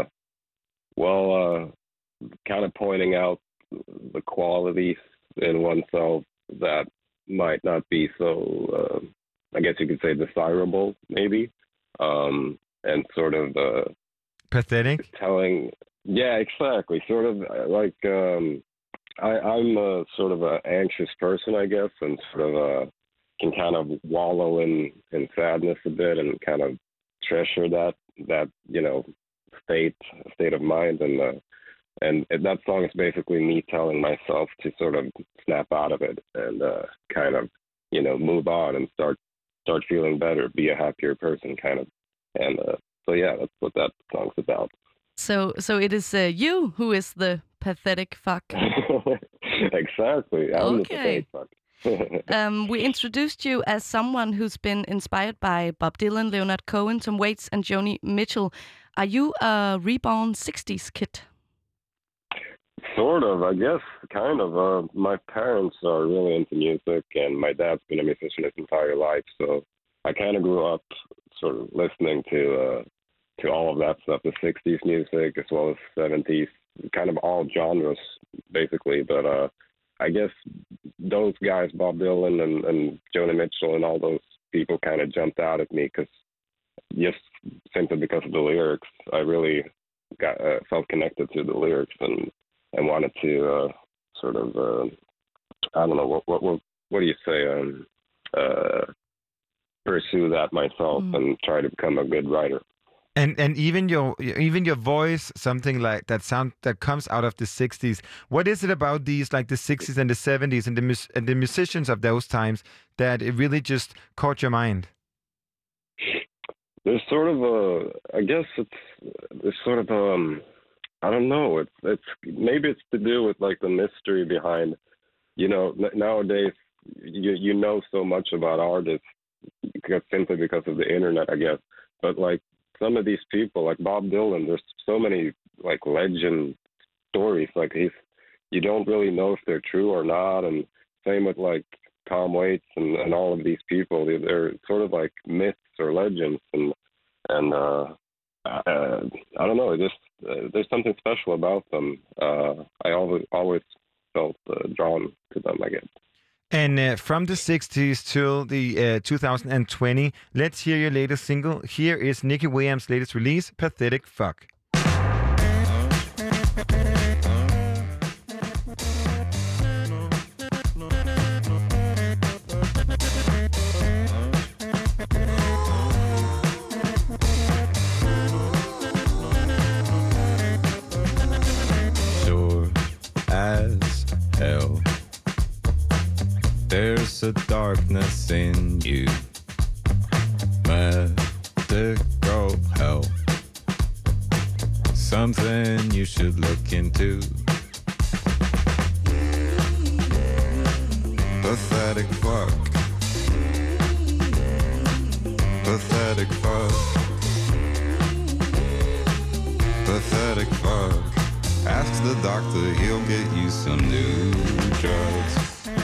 kind of pointing out the qualities in oneself that might not be so, I guess you could say, desirable, maybe, and sort of pathetic. Yeah, exactly. Sort of like I'm a sort of an anxious person, I guess, and sort of can kind of wallow in sadness a bit and kind of treasure that state of mind, and that song is basically me telling myself to sort of snap out of it and kind of move on and start feeling better, be a happier person, kind of. And so yeah, that's what that song's about. So it is you who is the pathetic fuck. Exactly. I'm the pathetic fuck. We introduced you as someone who's been inspired by Bob Dylan, Leonard Cohen, Tom Waits, and Joni Mitchell. Are you a reborn 60s kid? Sort of, I guess, kind of. My parents are really into music, and my dad's been a musician his entire life, so I kind of grew up sort of listening to all of that stuff, the 60s music as well as 70s, kind of all genres, basically. But I guess those guys, Bob Dylan and Joni Mitchell and all those people kind of jumped out at me just simply because of the lyrics. I really felt connected to the lyrics and wanted to sort of, I don't know, what do you say, pursue that myself and try to become a good writer. And even your voice, something like that sound that comes out of the 60s. What is it about these, like the 60s and the 70s and the musicians of those times that it really just caught your mind? There's sort of I don't know. It's maybe it's to do with like the mystery behind, nowadays you know so much about artists simply because of the internet, I guess. But like some of these people, like Bob Dylan, there's so many like legend stories. Like you don't really know if they're true or not. And same with like Tom Waits and all of these people. They're sort of like myths or legends. And I don't know. There's something special about them. I always felt drawn to them, I guess. And from the 60s till the 2020, let's hear your latest single. Here is Nicky Williams' latest release, Pathetic Fuck. Sure as hell. There's a darkness in you, medical help, something you should look into. Pathetic fuck, pathetic fuck, pathetic fuck. Ask the doctor, he'll get you some new drugs.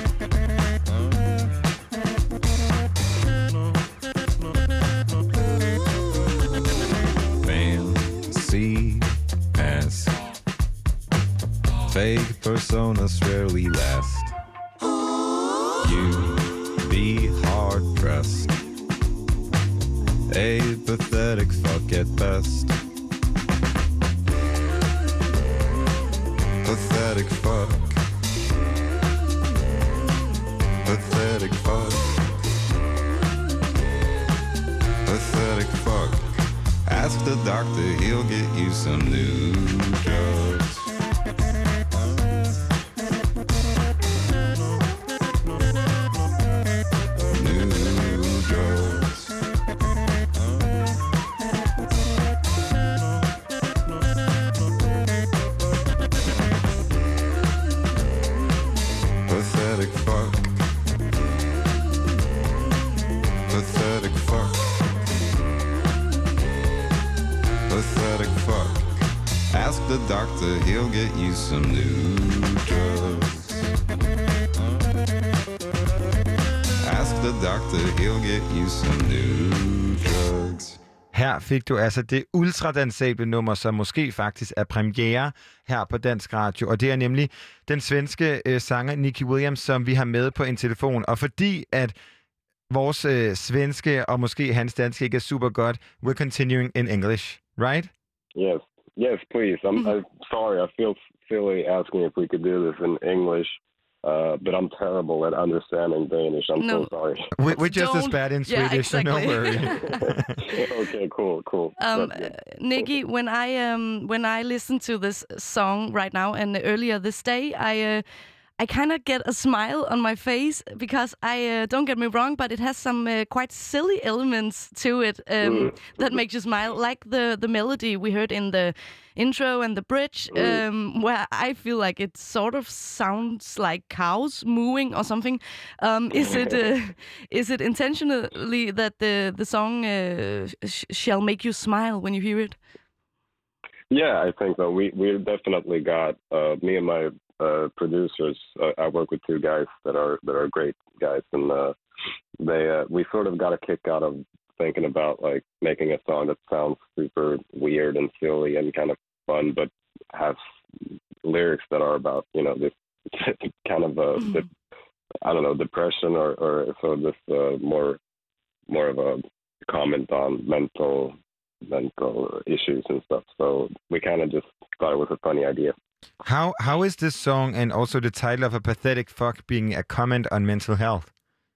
Fake personas rarely last. You be hard-pressed, a pathetic fuck at best. Pathetic fuck, pathetic fuck, pathetic fuck. Ask the doctor, he'll get you some new drugs. The doctor, he'll get you some new drugs. Ask the doctor, he'll get you some new drugs. Her fik du altså det ultradansable nummer, som måske faktisk er premiere her på Dansk Radio. Og det er nemlig den svenske sanger Nicky Williams, som vi har med på en telefon. Og fordi at vores svenske og måske hans danske ikke er super godt, we're continuing in English, right? Yes. Yes, please. I'm sorry. I feel silly asking if we could do this in English, but I'm terrible at understanding Danish. I'm so sorry. We're just as bad in Swedish, so no worry. Okay, cool. Nicky, when I listen to this song right now and earlier this day, I kind of get a smile on my face because I don't get me wrong, but it has some quite silly elements to it that make you smile, like the melody we heard in the intro and the bridge, where I feel like it sort of sounds like cows mooing or something. Is it intentionally that the song shall make you smile when you hear it? Yeah, I think so. We definitely got me and my producers. I work with two guys that are great guys, and we sort of got a kick out of thinking about like making a song that sounds super weird and silly and kind of fun, but has lyrics that are about this kind of I don't know, depression or so this more of a comment on mental issues and stuff. So we kind of just thought it was a funny idea. How is this song and also the title of A Pathetic Fuck being a comment on mental health?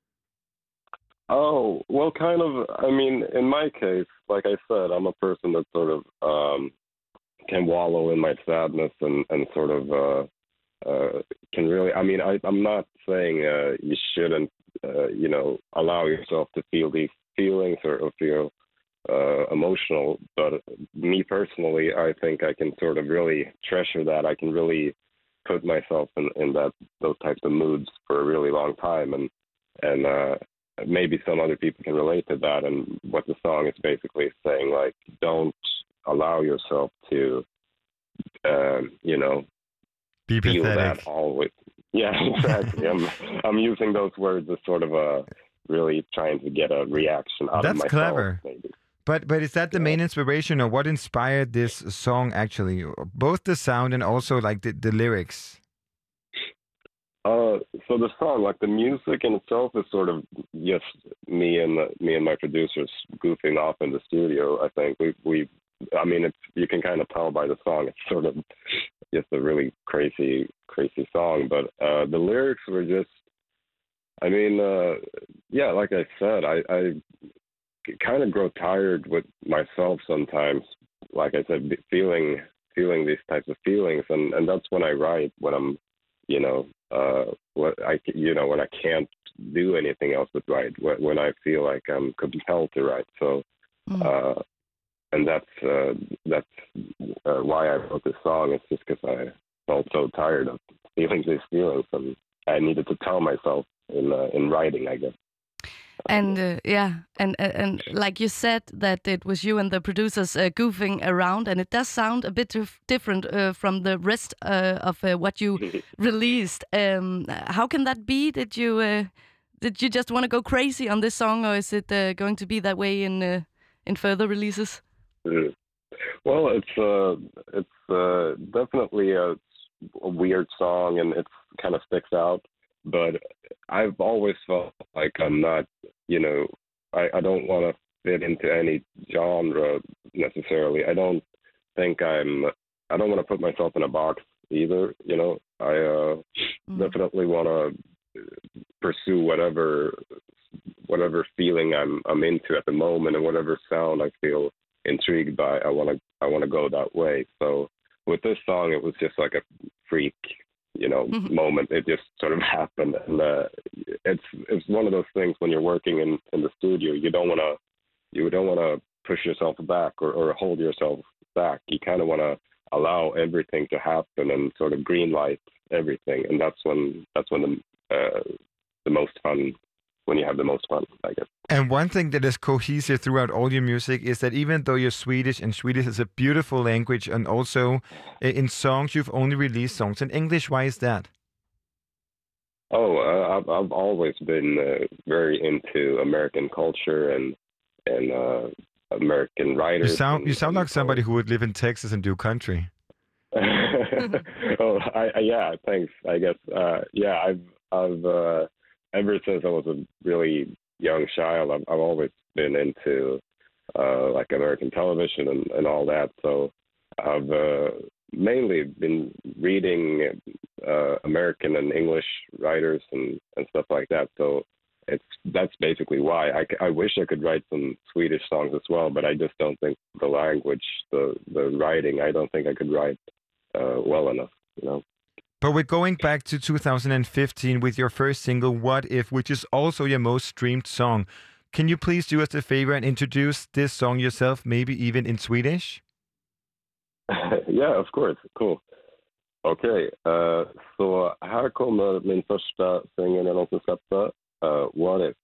Oh, well, kind of. I mean, in my case, like I said, I'm a person that sort of can wallow in my sadness and sort of can really. I mean, I'm not saying you shouldn't, allow yourself to feel these feelings or feel emotional, but me personally, I think I can sort of really treasure that. I can really put myself in those types of moods for a really long time, and maybe some other people can relate to that. And what the song is basically saying, like, don't allow yourself to, be feel pathetic. that always. Yeah, exactly. I'm using those words as sort of really trying to get a reaction out of myself. That's clever. Maybe. But is that the main inspiration, or what inspired this song actually? Both the sound and also like the lyrics. So the song, like the music in itself, is sort of just me and my producers goofing off in the studio. I think I mean, you can kind of tell by the song. It's sort of just a really crazy song. But the lyrics were just, I mean, yeah, like I said, I kind of grow tired with myself sometimes. Like I said, feeling these types of feelings, and that's when I write. When I'm, when I can't do anything else but write. When I feel like I'm compelled to write. So, and that's why I wrote this song. It's just because I felt so tired of feeling these feelings, and I needed to tell myself in writing, I guess. And and like you said, that it was you and the producers goofing around, and it does sound a bit different from the rest of what you released. How can that be? Did you just want to go crazy on this song, or is it going to be that way in further releases? Well, it's definitely a weird song, and it kind of sticks out. But I've always felt like I'm not, I don't want to fit into any genre necessarily. I don't want to put myself in a box either. I definitely want to pursue whatever feeling I'm into at the moment, and whatever sound I feel intrigued by. I want to go that way. So with this song, it was just like a freak, moment. It just sort of happened, and it's one of those things when you're working in the studio. You don't want to push yourself back or hold yourself back. You kind of want to allow everything to happen and sort of green light everything, and that's when the most fun. When you have the most fun, I guess. And one thing that is cohesive throughout all your music is that even though you're Swedish, and Swedish is a beautiful language, and also in songs you've only released songs in English. Why is that? Oh, I've always been very into American culture and American writers. You sound like somebody who would live in Texas and do country. Oh, yeah, thanks. I guess, yeah, I've ever since I was a really young child, I've always been into like American television and all that. So I've mainly been reading American and English writers and stuff like that. So that's basically why. I wish I could write some Swedish songs as well, but I just don't think the language, the writing, I don't think I could write well enough, But we're going back to 2015 with your first single, What If, which is also your most streamed song. Can you please do us a favor and introduce this song yourself, maybe even in Swedish? Yeah, of course. Cool. Okej, så här kommer min första singel jag någonsin släppte, What If.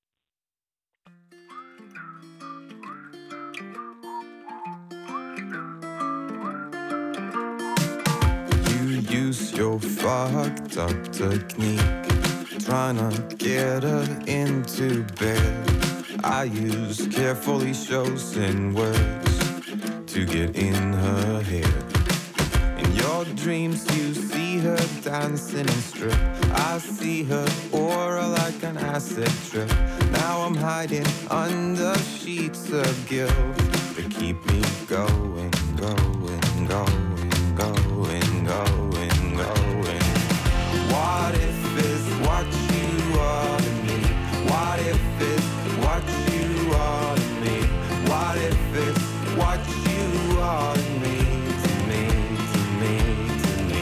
You use your fucked up technique, trying to get her into bed. I use carefully chosen words to get in her head. In your dreams you see her dancing and strip. I see her aura like an acid trip. Now I'm hiding under sheets of guilt that keep me going, going, going, going, going, going. What if is what you are to me? What if is what you are to me? What if it's what you are to me, to me, to me, to me?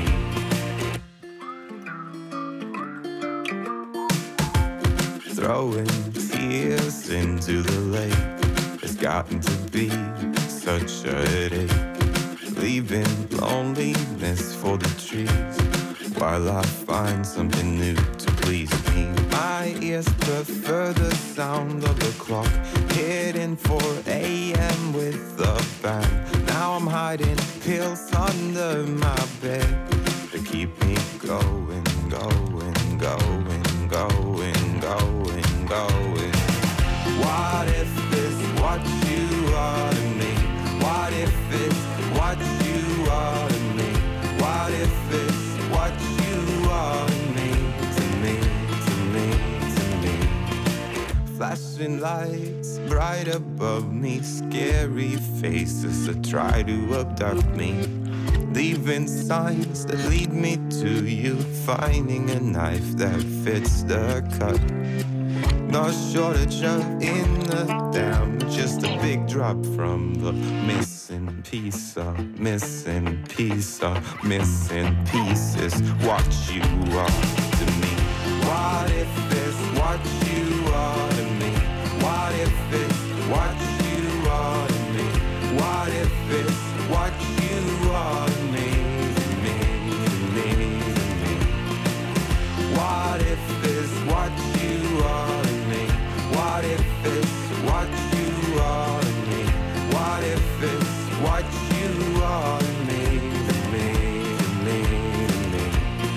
Throwing tears into the lake has gotten to be such a headache, leaving loneliness for the trees while I find something new to please me. My ears prefer the sound of the clock hitting 4 a.m. with a bang. Now I'm hiding pills under my bed to keep me going, going, going, going, going, going. What if it's what you are to me? What if it's what you are to me? What if it's what you are to me, to me, to me, to me? Flashing lights bright above me, scary faces that try to abduct me, leaving signs that lead me to you, finding a knife that fits the cut. No shortage of in the dam, just a big drop from the missing piece of missing piece of missing pieces. What you are to me? What if it's what you are to me? What if it's what you are to me? What if it's what you are to me, to me, to me, to me? What if it's what you are to me? What if it's what you are to me? What if it's what you are to me, to me, to me, to me?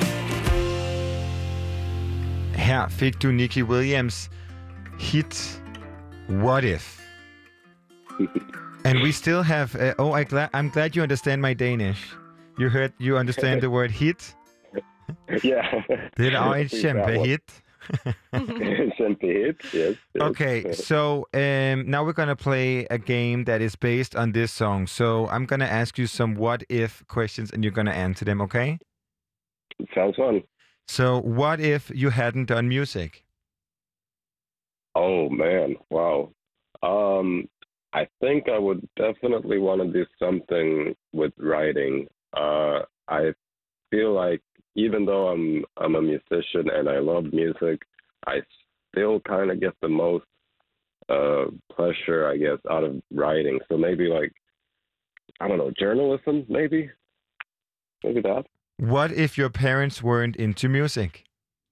Her fik du Nicky Williams hit What If. And we still have... I'm glad you understand my Danish. You understand the word hit? Yeah. Det er et kæmpe hit. Yes. Okay, so now we're going to play a game that is based on this song. So I'm going to ask you some what-if questions and you're going to answer them, okay? Sounds fun. So what if you hadn't done music? Oh, man. Wow. I think I would definitely want to do something with writing. I feel like even though I'm a musician and I love music, I still kind of get the most pleasure, I guess, out of writing. So maybe like, I don't know, journalism, maybe? Maybe that. What if your parents weren't into music?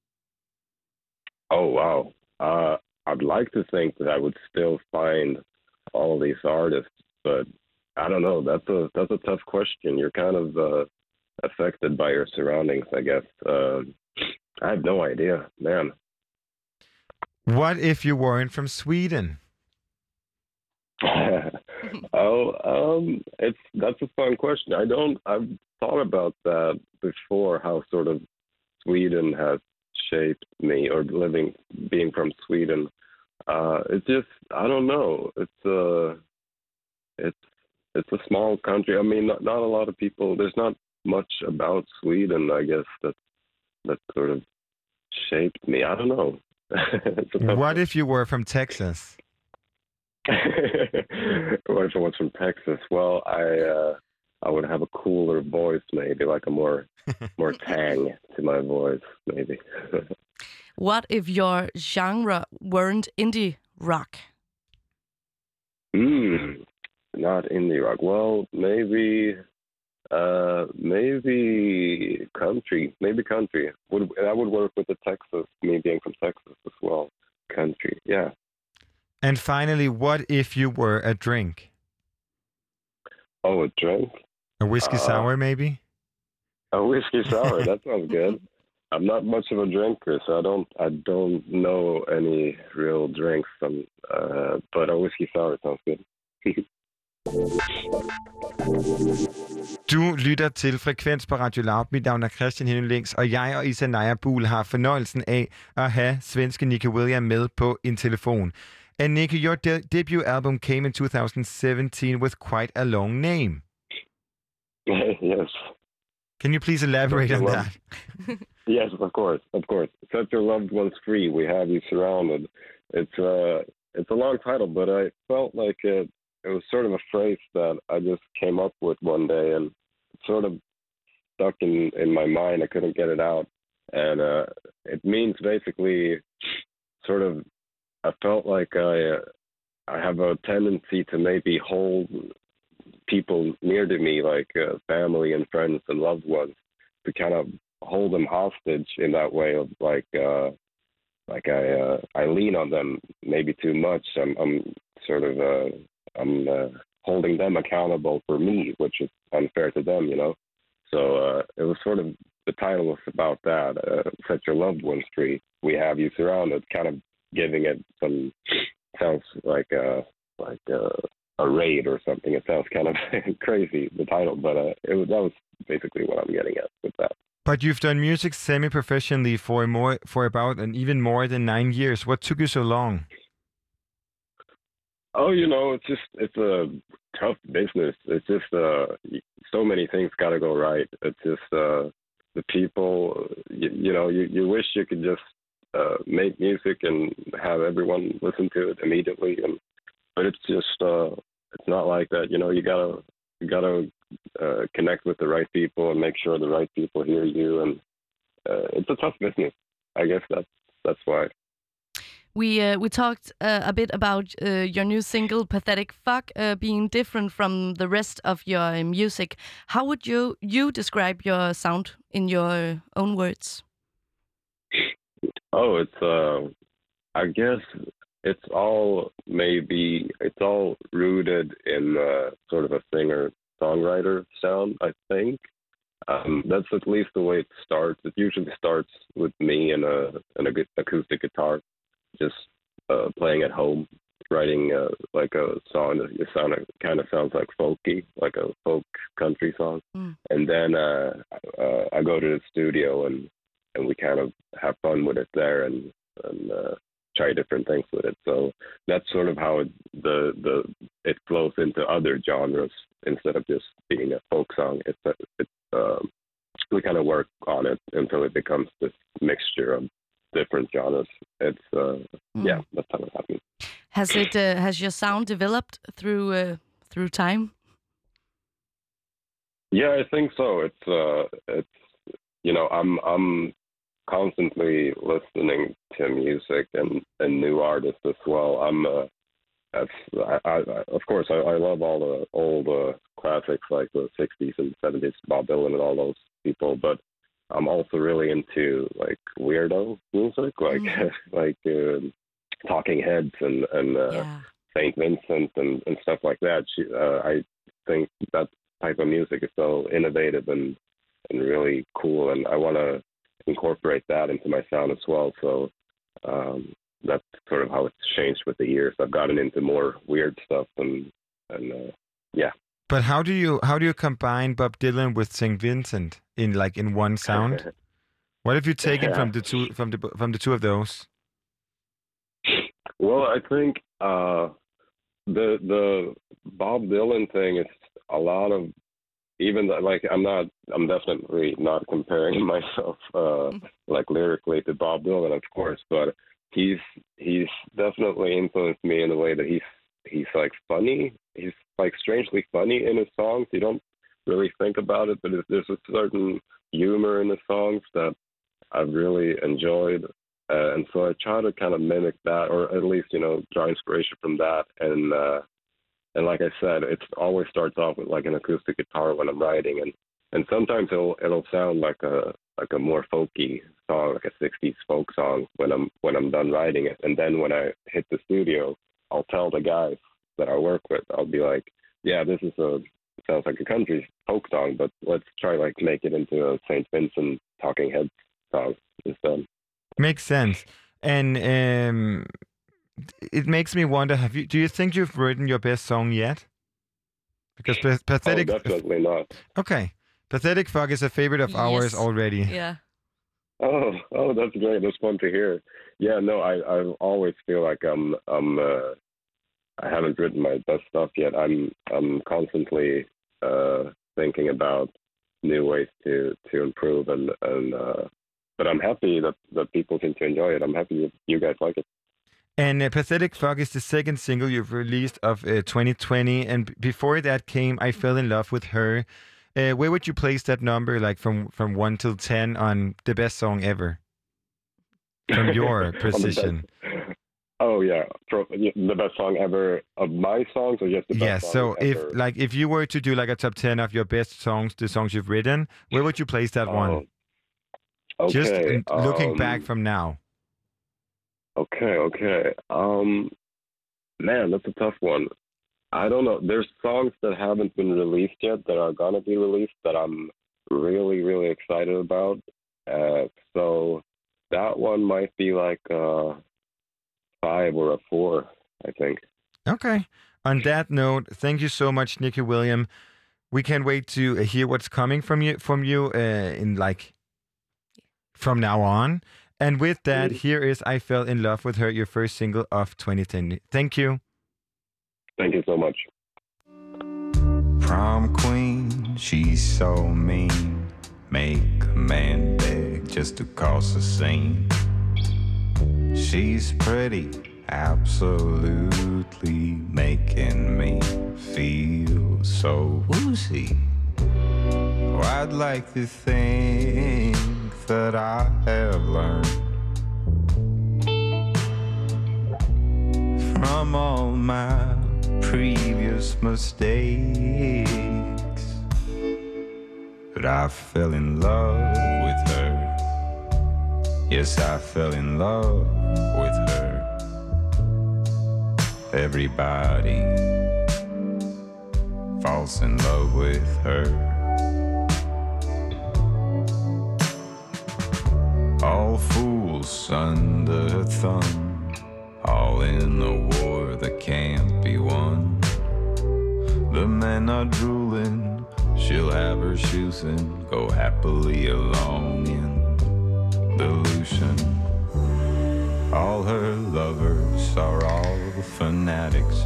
Oh, wow. I'd like to think that I would still find all these artists, but I don't know. That's a tough question. You're kind of affected by your surroundings, I guess. I have no idea, man. What if you weren't from Sweden? That's a fun question. I've thought about that before, how sort of Sweden has shaped me, or being from Sweden. It's just, I don't know. It's a small country. I mean, not a lot of people. There's not much about Sweden, I guess, that sort of shaped me. I don't know. What if you were from Texas? What if I was from Texas? Well, I would have a cooler voice, maybe like a more tang to my voice, maybe. What if your genre weren't indie rock? Not indie rock. Well, maybe country. Maybe country. That would work with the Texas, me being from Texas as well. Country, yeah. And finally, what if you were a drink? Oh, a drink? A whiskey sour, maybe? A whiskey sour. That sounds good. I'm not much of a drinker, so I don't know any real drinks. But a whiskey sour sounds good. Du lytter til Frekvens på Radio Loud. Mit navn er Christian Henning Links, og jeg og Isanaya Buhl har fornøjelsen af at have svenske Nicky William med på en telefon. And Nicky, your debut album came in 2017 with quite a long name. Yes. Can you please elaborate on that? Yes, of course. Set your loved ones free. We have you surrounded. It's a long title, but I felt like it was sort of a phrase that I just came up with one day, and it sort of stuck in my mind. I couldn't get it out, and it means basically sort of. I felt like I have a tendency to maybe hold people near to me, like family and friends and loved ones, to kind of hold them hostage in that way of like I lean on them maybe too much. I'm sort of holding them accountable for me, which is unfair to them, you know. So it was sort of, the title was about that. Set your loved ones free. We have you surrounded. Kind of giving it some, sounds like a raid or something. It sounds kind of crazy, the title, but that was basically what I'm getting at with that. But you've done music semi-professionally for about and even more than 9 years. What took you so long? Oh, you know, it's a tough business. It's just so many things got to go right. It's just the people. You know, you wish you could just make music and have everyone listen to it immediately, but it's just it's not like that. You know, you gotta connect with the right people and make sure the right people hear you, and it's a tough business. I guess that's why. We talked a bit about your new single "Pathetic Fuck" being different from the rest of your music. How would you describe your sound in your own words? Oh, it's I guess it's all rooted in sort of a singer-songwriter sound, I think. That's at least the way it starts. It usually starts with me and a good acoustic guitar, just playing at home, writing like a song that kind of sounds like folky, like a folk country song. And then I go to the studio and we kind of have fun with it there and try different things with it. So that's sort of how it flows into other genres instead of just being a folk song. We kind of work on it until it becomes this mixture of different genres. It's yeah, that's how it happens. Has your sound developed through time? Yeah, I think so. It's you know, I'm constantly listening to music and new artists as well. Of course I love all the old classics like the 60s and 70s, Bob Dylan and all those people, but I'm also really into like weirdo music, like Talking Heads and St. Vincent and stuff like that. I think that type of music is so innovative and really cool, and I want to incorporate that into my sound as well. So that's sort of how it's changed with the years. I've gotten into more weird stuff and yeah. But how do you combine Bob Dylan with St. Vincent in one sound? What have you taken from the two of those? Well, I think the Bob Dylan thing is a lot of, even like I'm definitely not comparing myself like lyrically to Bob Dylan, of course, but he's definitely influenced me in the way that he's like funny. He's like strangely funny in his songs. You don't really think about it, but there's a certain humor in the songs that I've really enjoyed. And so I try to kind of mimic that, or at least, draw inspiration from that. And like I said, it always starts off with like an acoustic guitar when I'm writing. And sometimes it'll sound like a more folky song, like a 60s folk song when I'm done writing it. And then when I hit the studio, I'll tell the guys that I work with, I'll be like, yeah, this sounds like a country folk song, but let's try like make it into a St. Vincent Talking Heads song instead. Makes sense. And it makes me wonder, do you think you've written your best song yet? Because Pathetic... Oh, definitely not. Okay. Pathetic Fuck is a favorite of ours already. Yeah. Oh, that's great. That's fun to hear. Yeah, no, I always feel like I haven't written my best stuff yet. I'm constantly thinking about new ways to improve, but I'm happy that people seem to enjoy it. I'm happy you guys like it. And Pathetic Fuck is the second single you've released of 2020, and before that came I Fell in Love with Her. Where would you place that number, like from 1 till 10 on the best song ever? From your position. Oh yeah, the best song ever of my songs, or just the best song ever? Yeah, so if you were to do like a top 10 of your best songs, the songs you've written, where would you place that one? Okay. Just looking back from now. Okay. Man, that's a tough one. I don't know. There's songs that haven't been released yet that are gonna be released that I'm really, really excited about. So that one might be like 5 or a 4, I think. Okay. On that note, thank you so much, Nicky William. We can't wait to hear what's coming from you in like from now on. And with that, here is I Fell in Love with Her, your first single of 2010. Thank you. Thank you so much. Prom queen, she's so mean. Make a man beg just to cause a scene. She's pretty, absolutely making me feel so woozy. Oh, I'd like to think that I have learned from all my previous mistakes. But I fell in love with her. Yes, I fell in love with her. Everybody falls in love with her. All fools under her thumb, all in a war that can't be won. The men are drooling, she'll have her shoes and go happily along in delusion. All her lovers are all fanatics.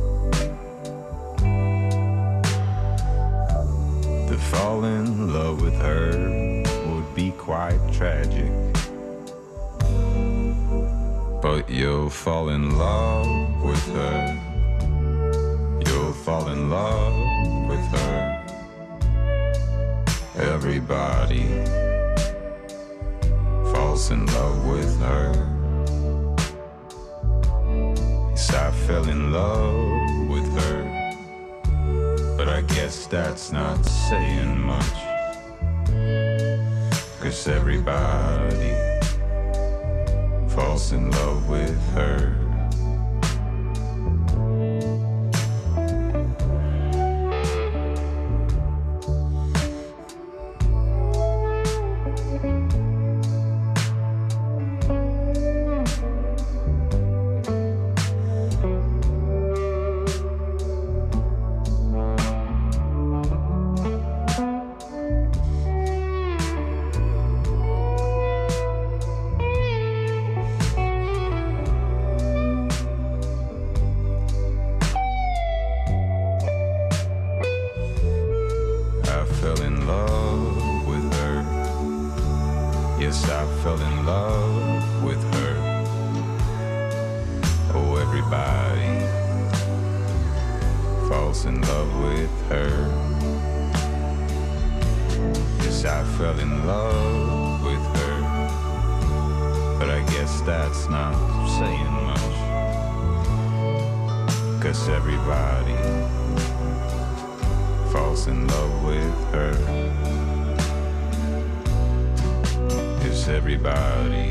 To fall in love with her would be quite tragic. But you'll fall in love with her. You'll fall in love with her. Everybody falls in love with her. Yes, I fell in love with her. But I guess that's not saying much. 'Cause everybody falls in love with her. 'cause I fell in love with her. But I guess that's not saying much, 'cause everybody falls in love with her. Yes, everybody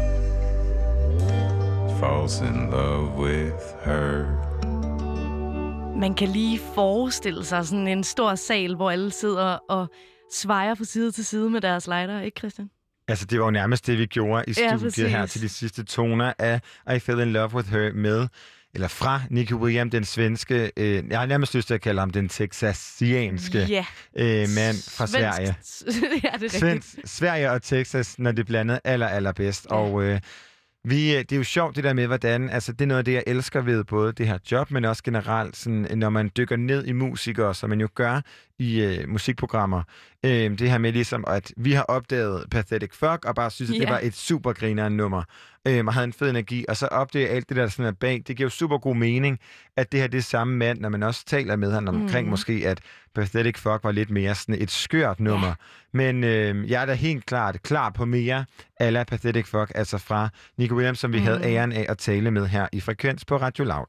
falls in love with her. Man kan lige forestille sig sådan en stor sal, hvor alle sidder og svejer fra side til side med deres lighter, ikke Christian? Altså, det var jo nærmest det, vi gjorde i studiet her til de sidste toner af I Fell in Love with Her med, eller fra Nicky Williams, den svenske, jeg har nærmest lyst til at kalde ham den texasianske mand fra Sverige. Ja, det er rigtigt. Sverige og Texas, når det blandet allerbedst. Ja. Og det er jo sjovt det der med, hvordan, altså det er noget af det, jeg elsker ved både det her job, men også generelt, sådan, når man dykker ned i musikere, som man jo gør i musikprogrammer. Det her med ligesom, at vi har opdaget Pathetic Fuck, og bare synes, at det var et super grinerende nummer, og havde en fed energi, og så opdager alt det der sådan er bag. Det giver jo super god mening, at det her det er samme mand, når man også taler med ham omkring måske, at Pathetic Fuck var lidt mere sådan et skørt nummer. Men jeg er da helt klar på mere a la Pathetic Fuck, altså fra Nicky Williams, som vi havde æren af at tale med her i Frekvens på Radio Loud.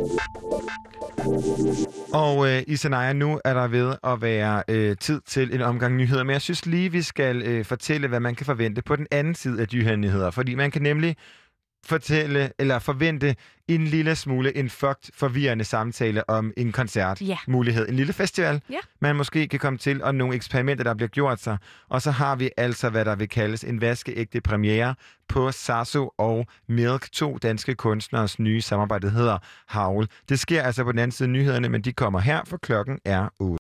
Og Isanaya, nu er der ved at være tid til en omgang nyheder, men jeg synes lige, vi skal fortælle, hvad man kan forvente på den anden side af de her nyheder, fordi man kan nemlig forvente en lille smule en forvirrende samtale om en koncertmulighed. En lille festival, man måske kan komme til, og nogle eksperimenter, der bliver gjort sig. Og så har vi altså, hvad der vil kaldes en vaskeægte premiere på Sasso og Milk, 2 danske kunstneres nye samarbejde, der hedder Howl. Det sker altså på den anden side af nyhederne, men de kommer her, for klokken er 8.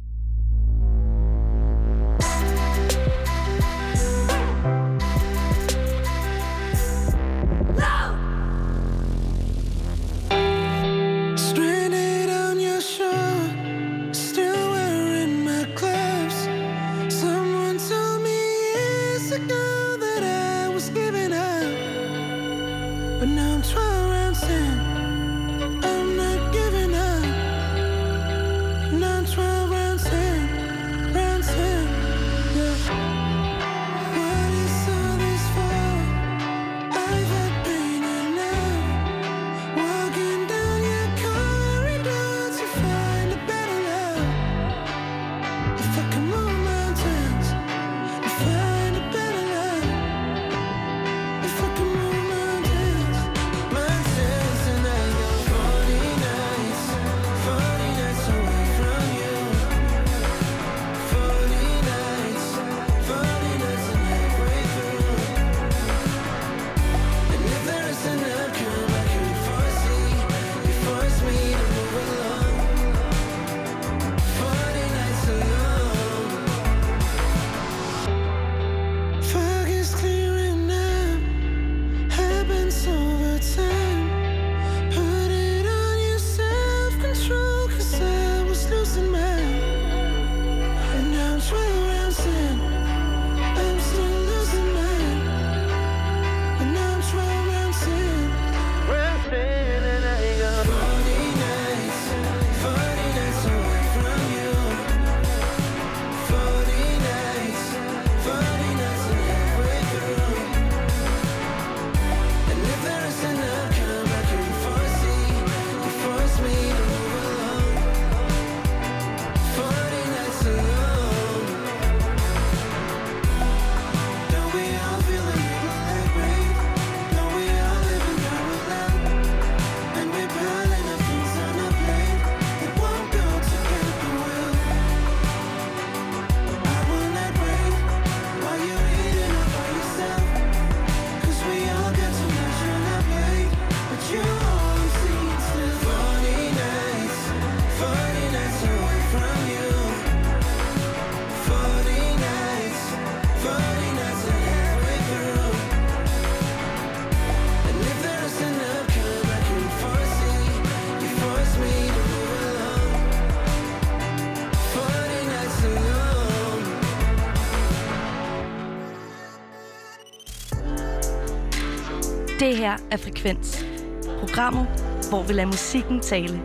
Det her er Frekvens. Programmet, hvor vi lader musikken tale.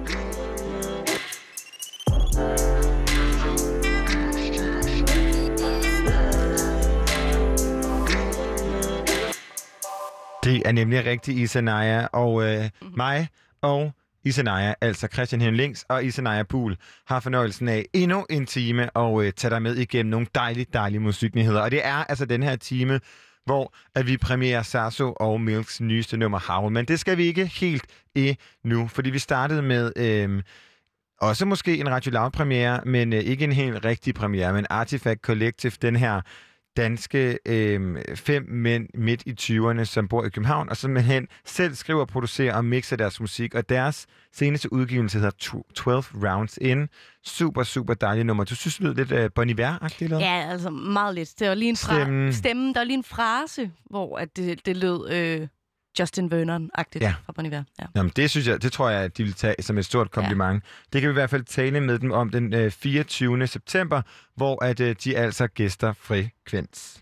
Det er nemlig rigtig Isanaya, og mig og Isanaya, altså Christian Henning Links og Isanaya Buhl, har fornøjelsen af endnu en time og tage dig med igennem nogle dejlige musiknyheder. Og det er altså den her time, hvor at vi premierer Sasso og Milks nyeste nummer Howl. Men det skal vi ikke helt endnu, fordi vi startede med også måske en Radio Loud-premiere, men ikke en helt rigtig premiere, men Artifact Collective, den her danske 5 mænd midt i 20'erne, som bor i København, og simpelthen selv skriver, producerer og mixer deres musik. Og deres seneste udgivelse hedder 12 Rounds In. Super dejlig nummer. Du synes, det lyder lidt Bon Iver-agtigt, eller? Ja, altså meget lidt. Det var lige en stemme. Der var lige en frase, hvor at det lød Justin Vernon-agtigt fra Bon Iver. Ja. Jamen, det tror jeg, at de vil tage som et stort kompliment. Ja. Det kan vi i hvert fald tale med dem om den 24. september, hvor at de altså gæster Frekvens.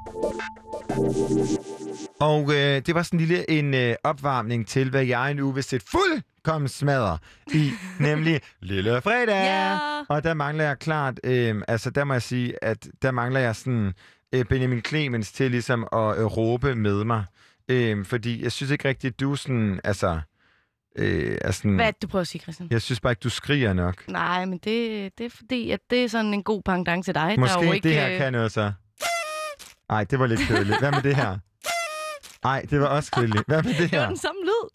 Og det var sådan en opvarmning til, hvad jeg nu vil sætte fuldkommen smadre i, nemlig Lille Fredag. Yeah. Og der mangler jeg klart, altså der må jeg sige, at der mangler jeg sådan Benjamin Clemens til ligesom at råbe med mig. Fordi jeg synes ikke rigtigt, at du sådan, altså... er sådan, hvad er det, du prøver at sige, Christian? Jeg synes bare ikke, du skriger nok. Nej, men det er fordi, at det er sådan en god pendant til dig. Måske der er jo ikke, det her kan noget så. Ej, det var lidt kedeligt. Hvad med det her? Ej, det var også kedeligt. Hvad med det her? Det var den samme lyd.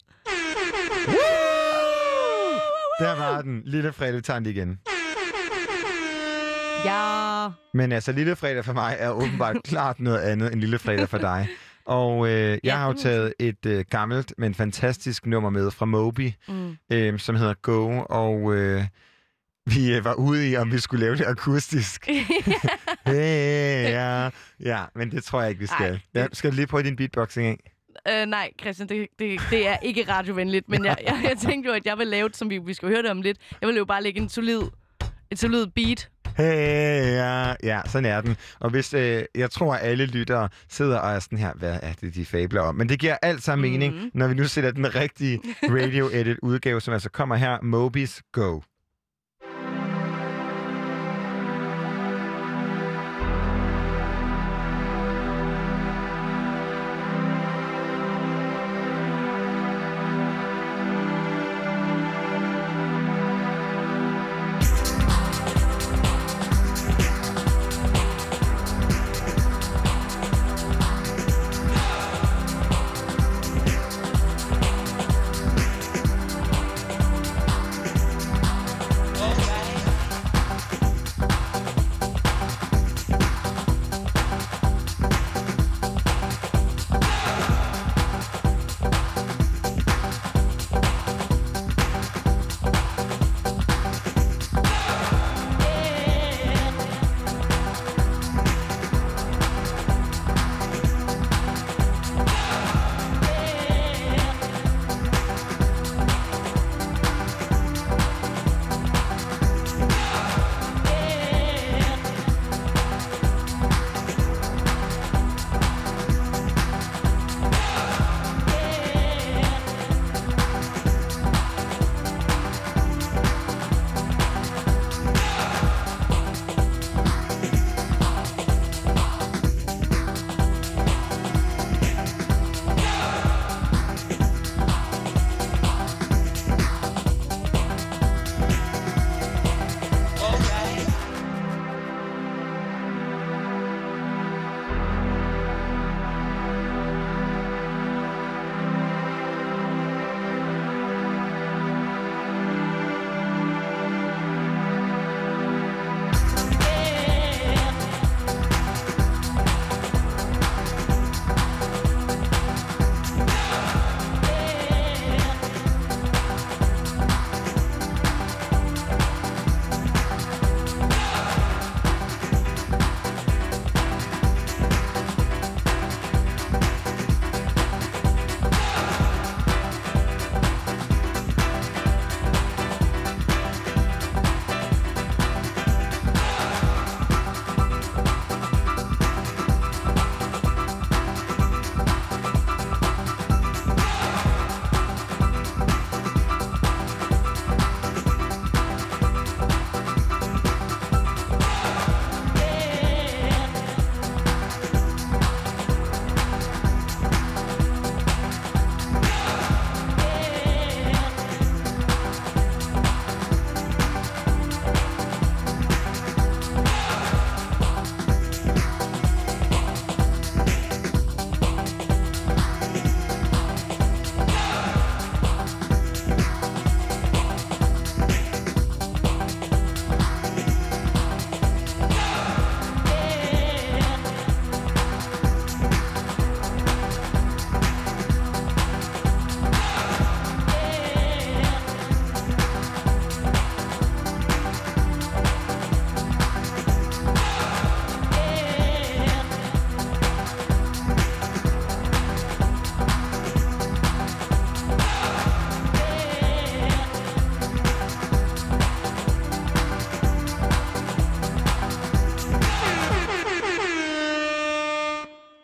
Der var den. Lille Fredag tager den igen. Ja. Men altså, Lille Fredag for mig er åbenbart klart noget andet end Lille Fredag for dig. Og jeg har jo taget et gammelt, men fantastisk nummer med fra Moby, som hedder Go, og vi var ude i, om vi skulle lave det akustisk. Ja, men det tror jeg ikke, vi skal. Skal du lige prøve din beatboxing af? Nej, Christian, det er ikke radiovenligt, men jeg tænkte jo, at jeg vil lave det, som vi skal høre det om lidt. Jeg vil jo bare lægge et solid beat. Ja, sådan er den. Og hvis jeg tror, at alle lyttere sidder og er sådan her, hvad er det, de fabler om? Men det giver alt sammen mening, når vi nu sætter den rigtige radio-edit udgave, som altså kommer her, Moby's Go.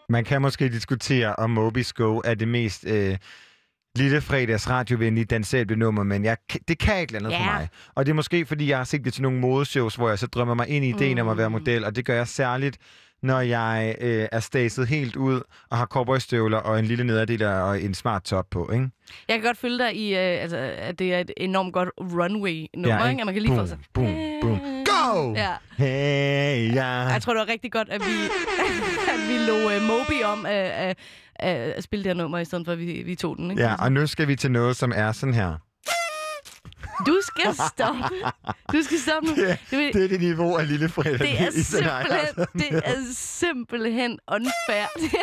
Man kan måske diskutere, om Moby's Go er det mest lille fredags radiovenlige dansable nummer, men det kan ikke andet for mig. Og det er måske, fordi jeg har set det til nogle modeshows, hvor jeg så drømmer mig ind i ideen om at være model, og det gør jeg særligt, når jeg er staset helt ud og har cowboystøvler og en lille nederdel og en smart top på, ikke? Jeg kan godt følge dig i, at det er et enormt godt runway-nummer, ikke? At man kan lige få sig... Boom, boom, go! Ja. Hey, ja. Jeg tror, det var rigtig godt, at vi lå Moby om at spille det her nummer, i stedet for, at vi tog den, ikke? Ja, og nu skal vi til noget, som er sådan her. Du skal stoppe. Du skal stoppe nu. Det er det niveau af lille fredag. Det er simpelthen unfair.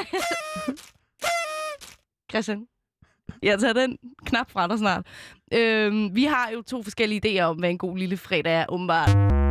Christian, jeg tager den knap fra dig snart. Vi har jo 2 forskellige idéer om, hvad en god lille fredag er, åbenbart.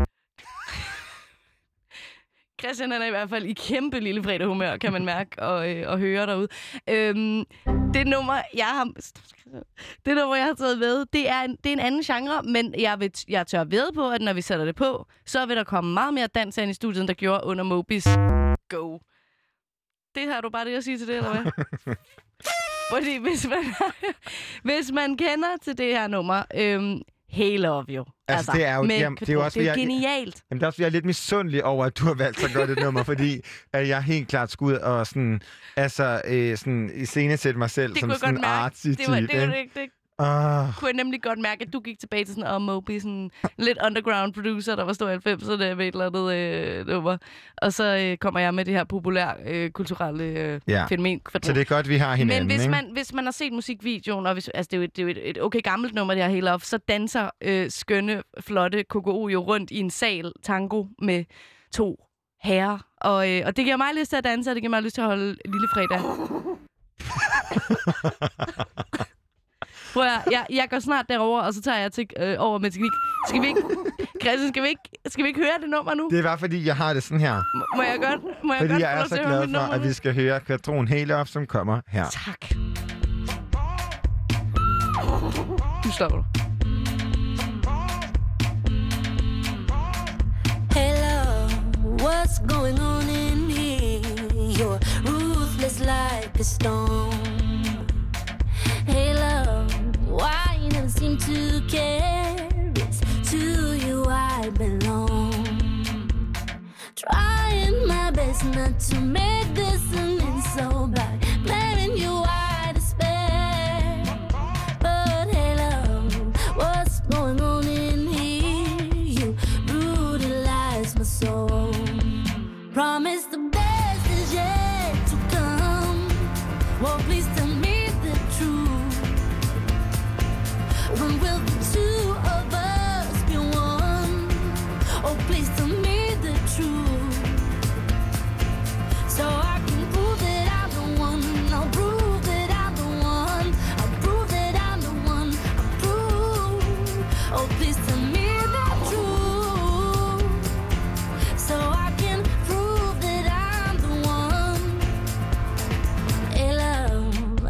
Christian er i hvert fald i kæmpe lille fredag humør, kan man mærke og høre derude. Det nummer, jeg har taget ved, det er en anden genre, men jeg tør ved på, at når vi sætter det på, så vil der komme meget mere dans ind i studiet, end der gjorde under Moby's Go. Det har du bare det at sige til det, eller hvad? Fordi hvis man kender til det her nummer, Hey Love You. Altså, det er jo, det er jo også, det er genialt. Jamen, der er også, jeg er lidt misundelig over, at du har valgt så godt et nummer, fordi at jeg helt klart skulle ud og sådan, sådan iscenesætte mig selv som sådan en artsy type. Kunne jeg nemlig godt mærke, at du gik tilbage til sådan Moby, sådan lidt underground producer, der var stor 90'erne med et eller andet nummer. Og så kommer jeg med det her populære kulturelle fænomen. Så det er godt, vi har hinanden, men hvis man har set musikvideoen, og det er jo et okay gammelt nummer, det her Hey Love, så danser skønne, flotte KKO jo rundt i en sal tango med 2 herrer. Og det giver mig lyst til at danse, og det giver mig lyst til at holde lille fredag. Jeg går snart derover, og så tager jeg over med teknik. Christian, skal vi ikke høre det nummer nu? Det er bare fordi, jeg har det sådan her. Må jeg godt? Fordi jeg er så glad for, at vi skal høre Katron Hey Love, som kommer her. Tak. Nu stopper du. Hello, what's going on in here? You're ruthless like a stone. Hey love, why you never seem to care? It's to you I belong. Trying my best not to make this an insult by blaming you I despair. But hey love, what's going on in here? You brutalize my soul. Promise the best is yet to come. Well, please tell me the truth. When will the two of us be one? Oh, please tell me the truth. So I can prove that I'm the one. I'll prove that I'm the one. I'll prove that I'm the one. I'll prove. Oh, please tell me the truth. So I can prove that I'm the one. Hey love,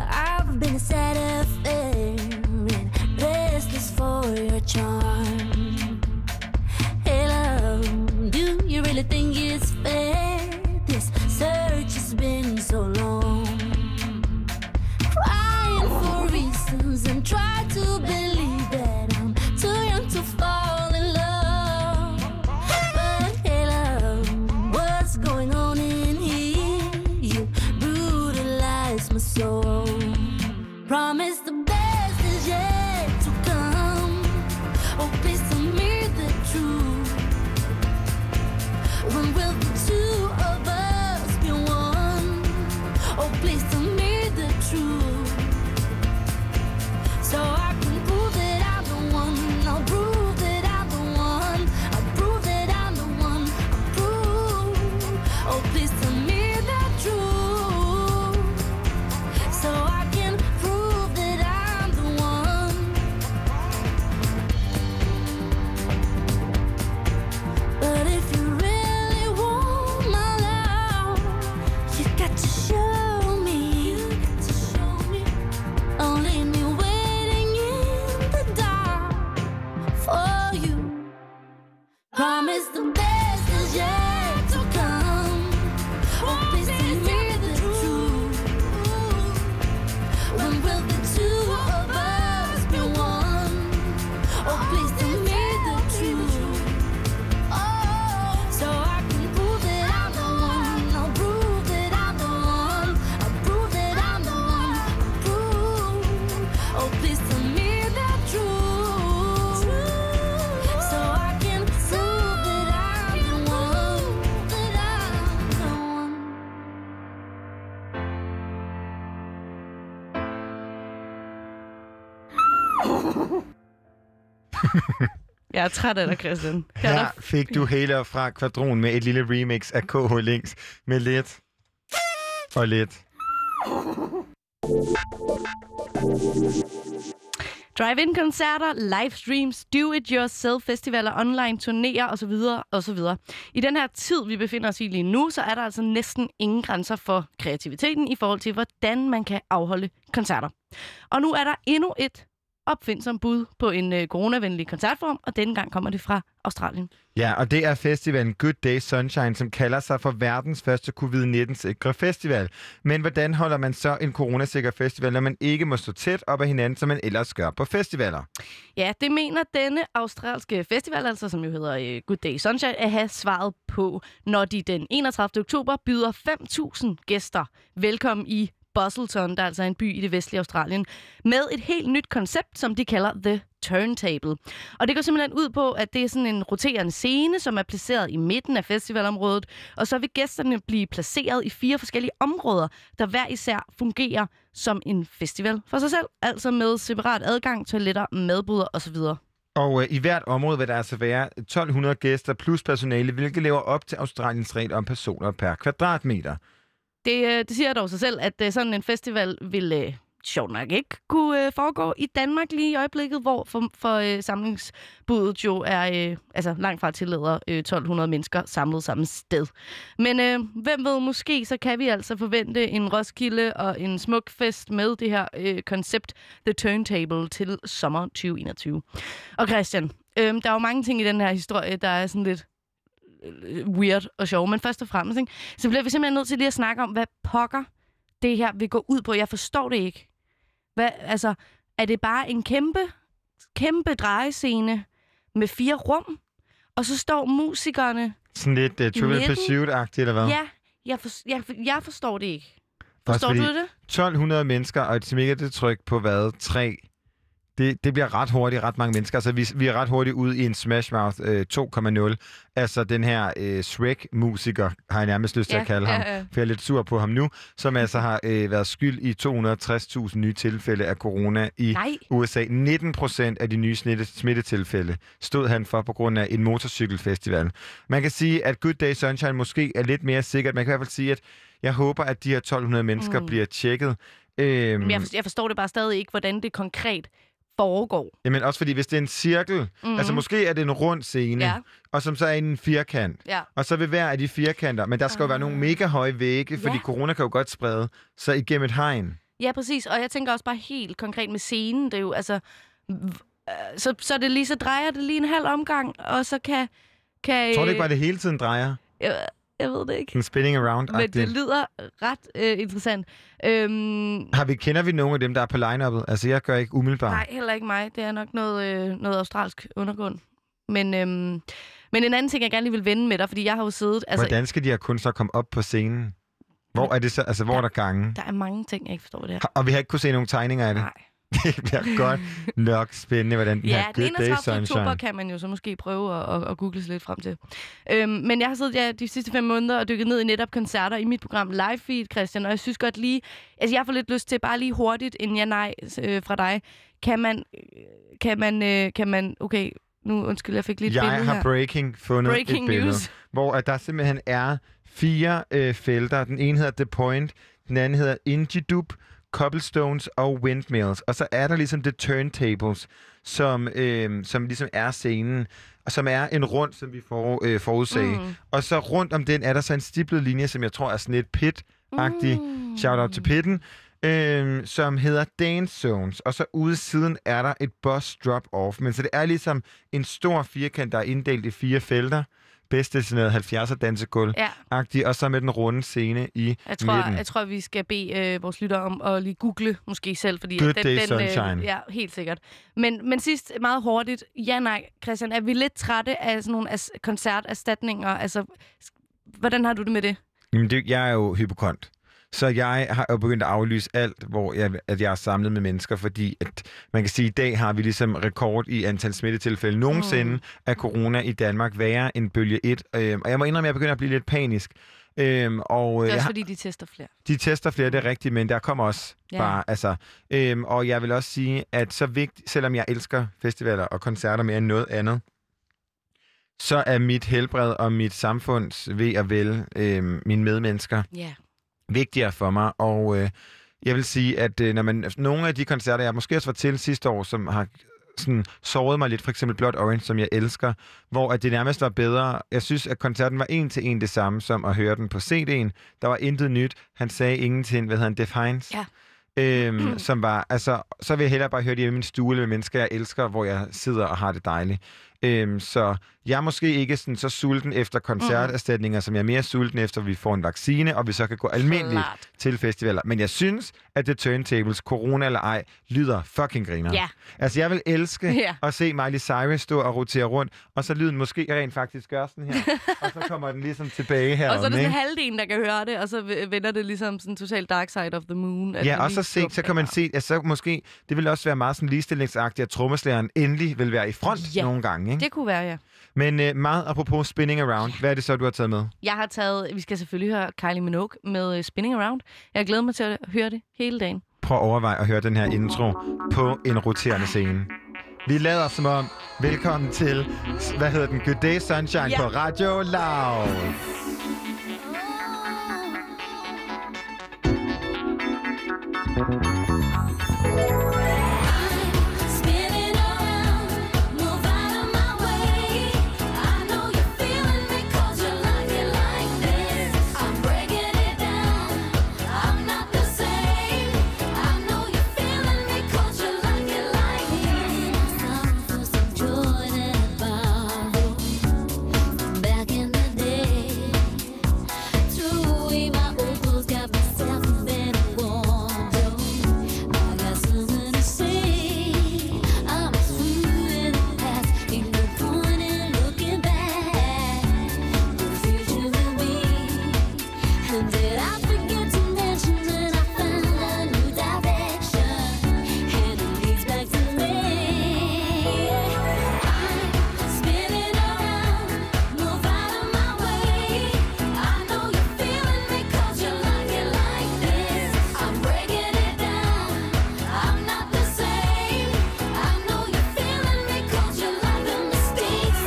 Jeg er træt af dig, Christian. Her fik du hele fra Kvadron med et lille remix af KH Links med lidt og lidt. Drive-in-koncerter, livestreams, do-it-yourself-festivaler, online turnéer osv. osv. I den her tid, vi befinder os i lige nu, så er der altså næsten ingen grænser for kreativiteten i forhold til, hvordan man kan afholde koncerter. Og nu er der endnu et opfindsomt bud på en coronavenlig koncertform, og denne gang kommer det fra Australien. Ja, og det er festivalen Good Day Sunshine, som kalder sig for verdens første covid-19-sikre festival. Men hvordan holder man så en coronasikker festival, når man ikke må stå tæt op ad hinanden, som man ellers gør på festivaler? Ja, det mener denne australske festival, altså som jo hedder Good Day Sunshine, at have svaret på, når de den 31. oktober byder 5.000 gæster velkommen i Busselton, der er altså en by i det vestlige Australien, med et helt nyt koncept, som de kalder The Turntable. Og det går simpelthen ud på, at det er sådan en roterende scene, som er placeret i midten af festivalområdet, og så vil gæsterne blive placeret i 4 forskellige områder, der hver især fungerer som en festival for sig selv, altså med separat adgang, toiletter, madboder osv. Og i hvert område vil der altså være 1.200 gæster plus personale, hvilket lever op til Australiens regel om personer per kvadratmeter. Det siger dog sig selv, at sådan en festival vil sjovt nok ikke kunne foregå i Danmark lige i øjeblikket, hvor for samlingsbuddet jo er langt fra tillader 1.200 mennesker samlet samme sted. Men hvem ved, måske så kan vi altså forvente en Roskilde og en smuk fest med det her koncept The Turntable til sommer 2021. Og Christian, der er jo mange ting i den her historie, der er sådan lidt weird og sjov, men først og fremmest, ikke? Så bliver vi simpelthen nødt til lige at snakke om, hvad pokker det her vil gå ud på. Jeg forstår det ikke. Er det bare en kæmpe drejescene med 4 rum, og så står musikerne sådan lidt Trivial Pursuit-agtigt, eller hvad? Ja, jeg forstår det ikke. Forstår du det? 1.200 mennesker og et smikketryk på hvad? 3. Det bliver ret hurtigt, ret mange mennesker. Altså, vi er ret hurtigt ude i en Smash Mouth 2.0. Altså, den her Shrek-musiker, har jeg nærmest lyst til at kalde ham, for jeg er lidt sur på ham nu, som altså har været skyld i 260.000 nye tilfælde af corona i USA. 19% af de nye smittetilfælde stod han for på grund af en motorcykelfestival. Man kan sige, at Good Day Sunshine måske er lidt mere sikkert. Man kan i hvert fald sige, at jeg håber, at de her 1.200 mennesker bliver tjekket. Jeg forstår det bare stadig ikke, hvordan det konkret foregår. Jamen også fordi, hvis det er en cirkel, altså måske er det en rund scene, og som så er en firkant, og så vil hver af de firkanter, men der skal jo være nogle mega høje vægge, fordi corona kan jo godt sprede sig igennem et hegn. Ja, præcis, og jeg tænker også bare helt konkret med scenen, det er jo altså, så det lige, så drejer det lige en halv omgang, og så kan tror du ikke bare, det hele tiden drejer? Jeg ved det ikke. En spinning around. Men det lyder ret interessant. Kender vi nogle af dem, der er på line-uppet? Altså, jeg gør ikke umiddelbart. Nej, heller ikke mig. Det er nok noget australsk undergrund. Men en anden ting, jeg gerne lige vil vende med dig, fordi jeg har jo siddet... Hvordan skal de her kunstnere komme op på scenen? Hvor er det så? Altså, hvor er der gange? Der er mange ting, jeg ikke forstår det her. Og vi har ikke kunne se nogle tegninger af det? Nej. Det bliver godt nok spændende, hvordan den her Good Day Sunshine... Ja, den 31. oktober kan man jo så måske prøve at google sig lidt frem til. Men jeg har siddet de sidste 5 måneder og dykket ned i netop koncerter i mit program Live Feed, Christian, og jeg synes godt lige... Altså, jeg får lidt lyst til bare lige hurtigt en ja-nej fra dig. Kan man... Okay, nu undskyld, jeg fik lige et billede her. Jeg har fundet et billede, news. Hvor der simpelthen er 4 felter. Den ene hedder The Point, den anden hedder Ingedup, Cobblestones og Windmills. Og så er der ligesom The Turntables, som ligesom er scenen, og som er en rund, som vi forudsagde. Og så rundt om den er der så en stiplet linje, som jeg tror er sådan et pit-agtig, shout-out til pitten, som hedder Dance Zones. Og så ude siden er der et bus drop-off. Men så det er ligesom en stor firkant, der er inddelt i 4 felter. Bedst destineret 70'er dansegulv-agtig, og så med den runde scene i midten. Jeg tror, vi skal bede vores lyttere om at lige google måske selv, fordi Good Day Sunshine. Ja, helt sikkert. Men sidst meget hurtigt, Christian, er vi lidt trætte af sådan nogle koncerterstatninger? Altså, hvordan har du det med det? Jamen, jeg er jo hypokont. Så jeg har jo begyndt at aflyse alt, hvor jeg er samlet med mennesker, fordi at man kan sige, at i dag har vi ligesom rekord i antal smittetilfælde nogensinde af corona i Danmark, værre end bølge 1. Og jeg må indrømme, at jeg begynder at blive lidt panisk. Og, det er også fordi, de tester flere. De tester flere, det er rigtigt, men der kommer også bare... Altså, og jeg vil også sige, at så vigtigt, selvom jeg elsker festivaler og koncerter mere end noget andet, så er mit helbred og mit samfunds ved og vel, mine medmennesker, vigtigere for mig. Og jeg vil sige, at når nogle af de koncerter, jeg måske også var til sidste år, som har sådan såret mig lidt, for eksempel Blood Orange, som jeg elsker, hvor at det nærmest var bedre. Jeg synes, at koncerten var en til en det samme, som at høre den på CD'en. Der var intet nyt. Han sagde ingenting, hvad hedder han, Def Hines? Ja. Som var, altså, så vil jeg hellere bare høre det i min stue med mennesker, jeg elsker, hvor jeg sidder og har det dejligt. Så jeg er måske ikke sådan, så sulten efter koncerterstatninger, som jeg er mere sulten efter, at vi får en vaccine, og vi så kan gå almindeligt til festivaler. Men jeg synes, at The Turntables, corona eller ej, lyder fucking griner. Yeah. Altså, jeg vil elske at se Miley Cyrus stå og rotere rundt, og så lyden måske rent faktisk gør sådan her, og så kommer den ligesom tilbage her. Og så er det sådan halvdelen, der kan høre det, og så vender det ligesom sådan totalt Dark Side of the Moon. Ja, og så kan man se, at så måske, det vil også være meget sådan ligestillingsagtigt, at trommeslageren endelig vil være i front nogle gange. Ikke? Det kunne være, ja. Men meget apropos Spinning Around, hvad er det så, du har taget med? Jeg har taget, vi skal selvfølgelig høre Kylie Minogue med Spinning Around. Jeg glæder mig til at høre det hele dagen. Prøv at overveje at høre den her intro på en roterende scene. Vi lader som om, velkommen til, Good Day Sunshine på Radio Loud.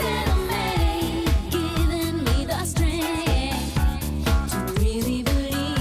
Really believe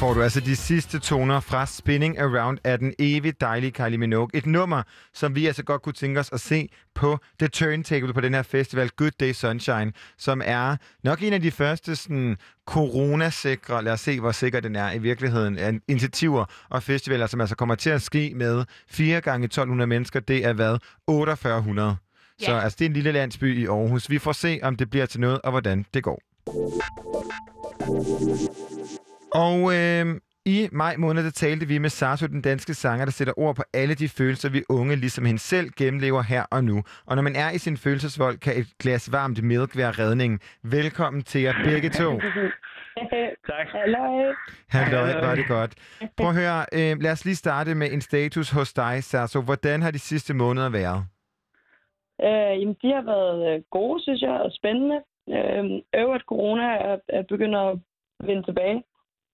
får du altså de sidste toner fra Spinning Around af den evigt dejlige Kylie Minogue. Et nummer, som vi altså godt kunne tænke os at se på The Turntable på den her festival Good Day Sunshine, som er nok en af de første sådan coronasikre, lad os se, hvor sikker den er i virkeligheden, af initiativer og festivaler, som altså kommer til at ske med 4 gange 1200 mennesker. Det er hvad? 4800. Yeah. Så altså, det er en lille landsby i Aarhus. Vi får se, om det bliver til noget, og hvordan det går. Og i maj måned, der talte vi med Sarto, den danske sanger, der sætter ord på alle de følelser, vi unge, ligesom hende selv, gennemlever her og nu. Og når man er i sin følelsesvold, kan et glas varmt milk være redningen. Velkommen til jer begge to. Tak. Halløj. Halløj, var det godt. Prøv at høre, lad os lige starte med en status hos dig, Sarto. Hvordan har de sidste måneder været? Jamen, de har været gode, synes jeg, og spændende. Øvrigt corona er begyndt at vende tilbage.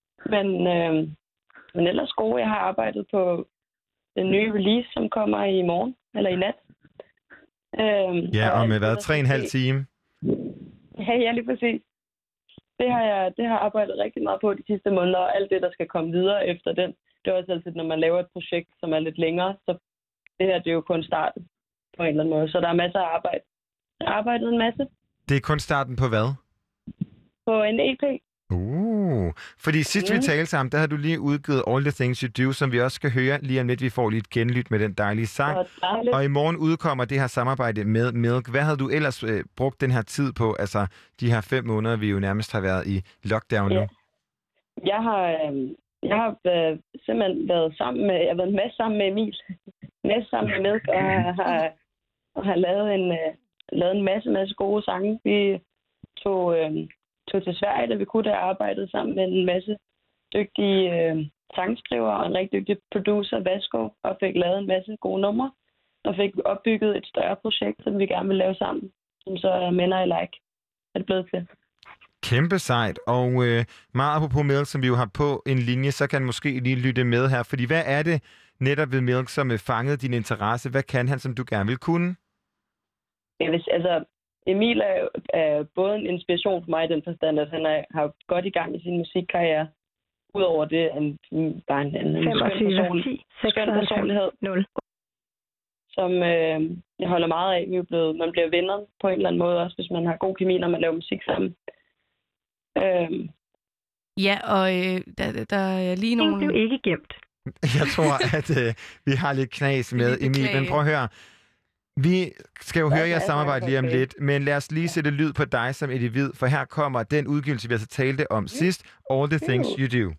Men ellers gode. Jeg har arbejdet på den nye release, som kommer i morgen, eller i nat. Ja, og med hvad? 3,5 time? Ja, lige præcis. Det har jeg arbejdet rigtig meget på de sidste måneder, og alt det, der skal komme videre efter den. Det er også altid, når man laver et projekt, som er lidt længere, så det her, det er jo kun starten på en eller anden måde. Så der er masser af arbejde. Jeg har arbejdet en masse. Det er kun starten på hvad? På en EP. Fordi sidst vi talte sammen, der har du lige udgivet All the Things You Do, som vi også skal høre lige om lidt. Vi får lige et genlyt med den dejlige sang. Og i morgen udkommer det her samarbejde med Milk. Hvad havde du ellers brugt den her tid på? Altså de her 5 måneder, vi jo nærmest har været i lockdown nu. Jeg har simpelthen været sammen med, jeg har været en masse sammen med Emil. En masse sammen med Milk, og har lavet en masse gode sange. Vi tog til Sverige, da vi kunne have arbejdet sammen med en masse dygtige sangskrivere og en rigtig dygtig producer, Vasco, og fik lavet en masse gode numre, og fik opbygget et større projekt, som vi gerne vil lave sammen, som så er Men I Like, er det blevet til. Kæmpe sejt, og meget apropos Milk, som vi jo har på en linje, så kan måske lige lytte med her, fordi hvad er det netop ved Milk, som fangede din interesse? Hvad kan han, som du gerne vil kunne? Emil er både en inspiration for mig i den forstand, at han har godt i gang i sin musikkarriere. Udover det, han bare en skøn personlighed, som jeg holder meget af. Man bliver venner på en eller anden måde, også hvis man har god kemi, når man laver musik sammen. Ja, og der er lige nogle... Det er jo ikke gemt. Jeg tror, at vi har lidt knas med Emil, men prøv at høre. Vi skal jo høre jeres samarbejde lige om lidt, men lad os lige sætte lyd på dig som individ, for her kommer den udgivelse, vi altså talte om sidst, All the Things You Do.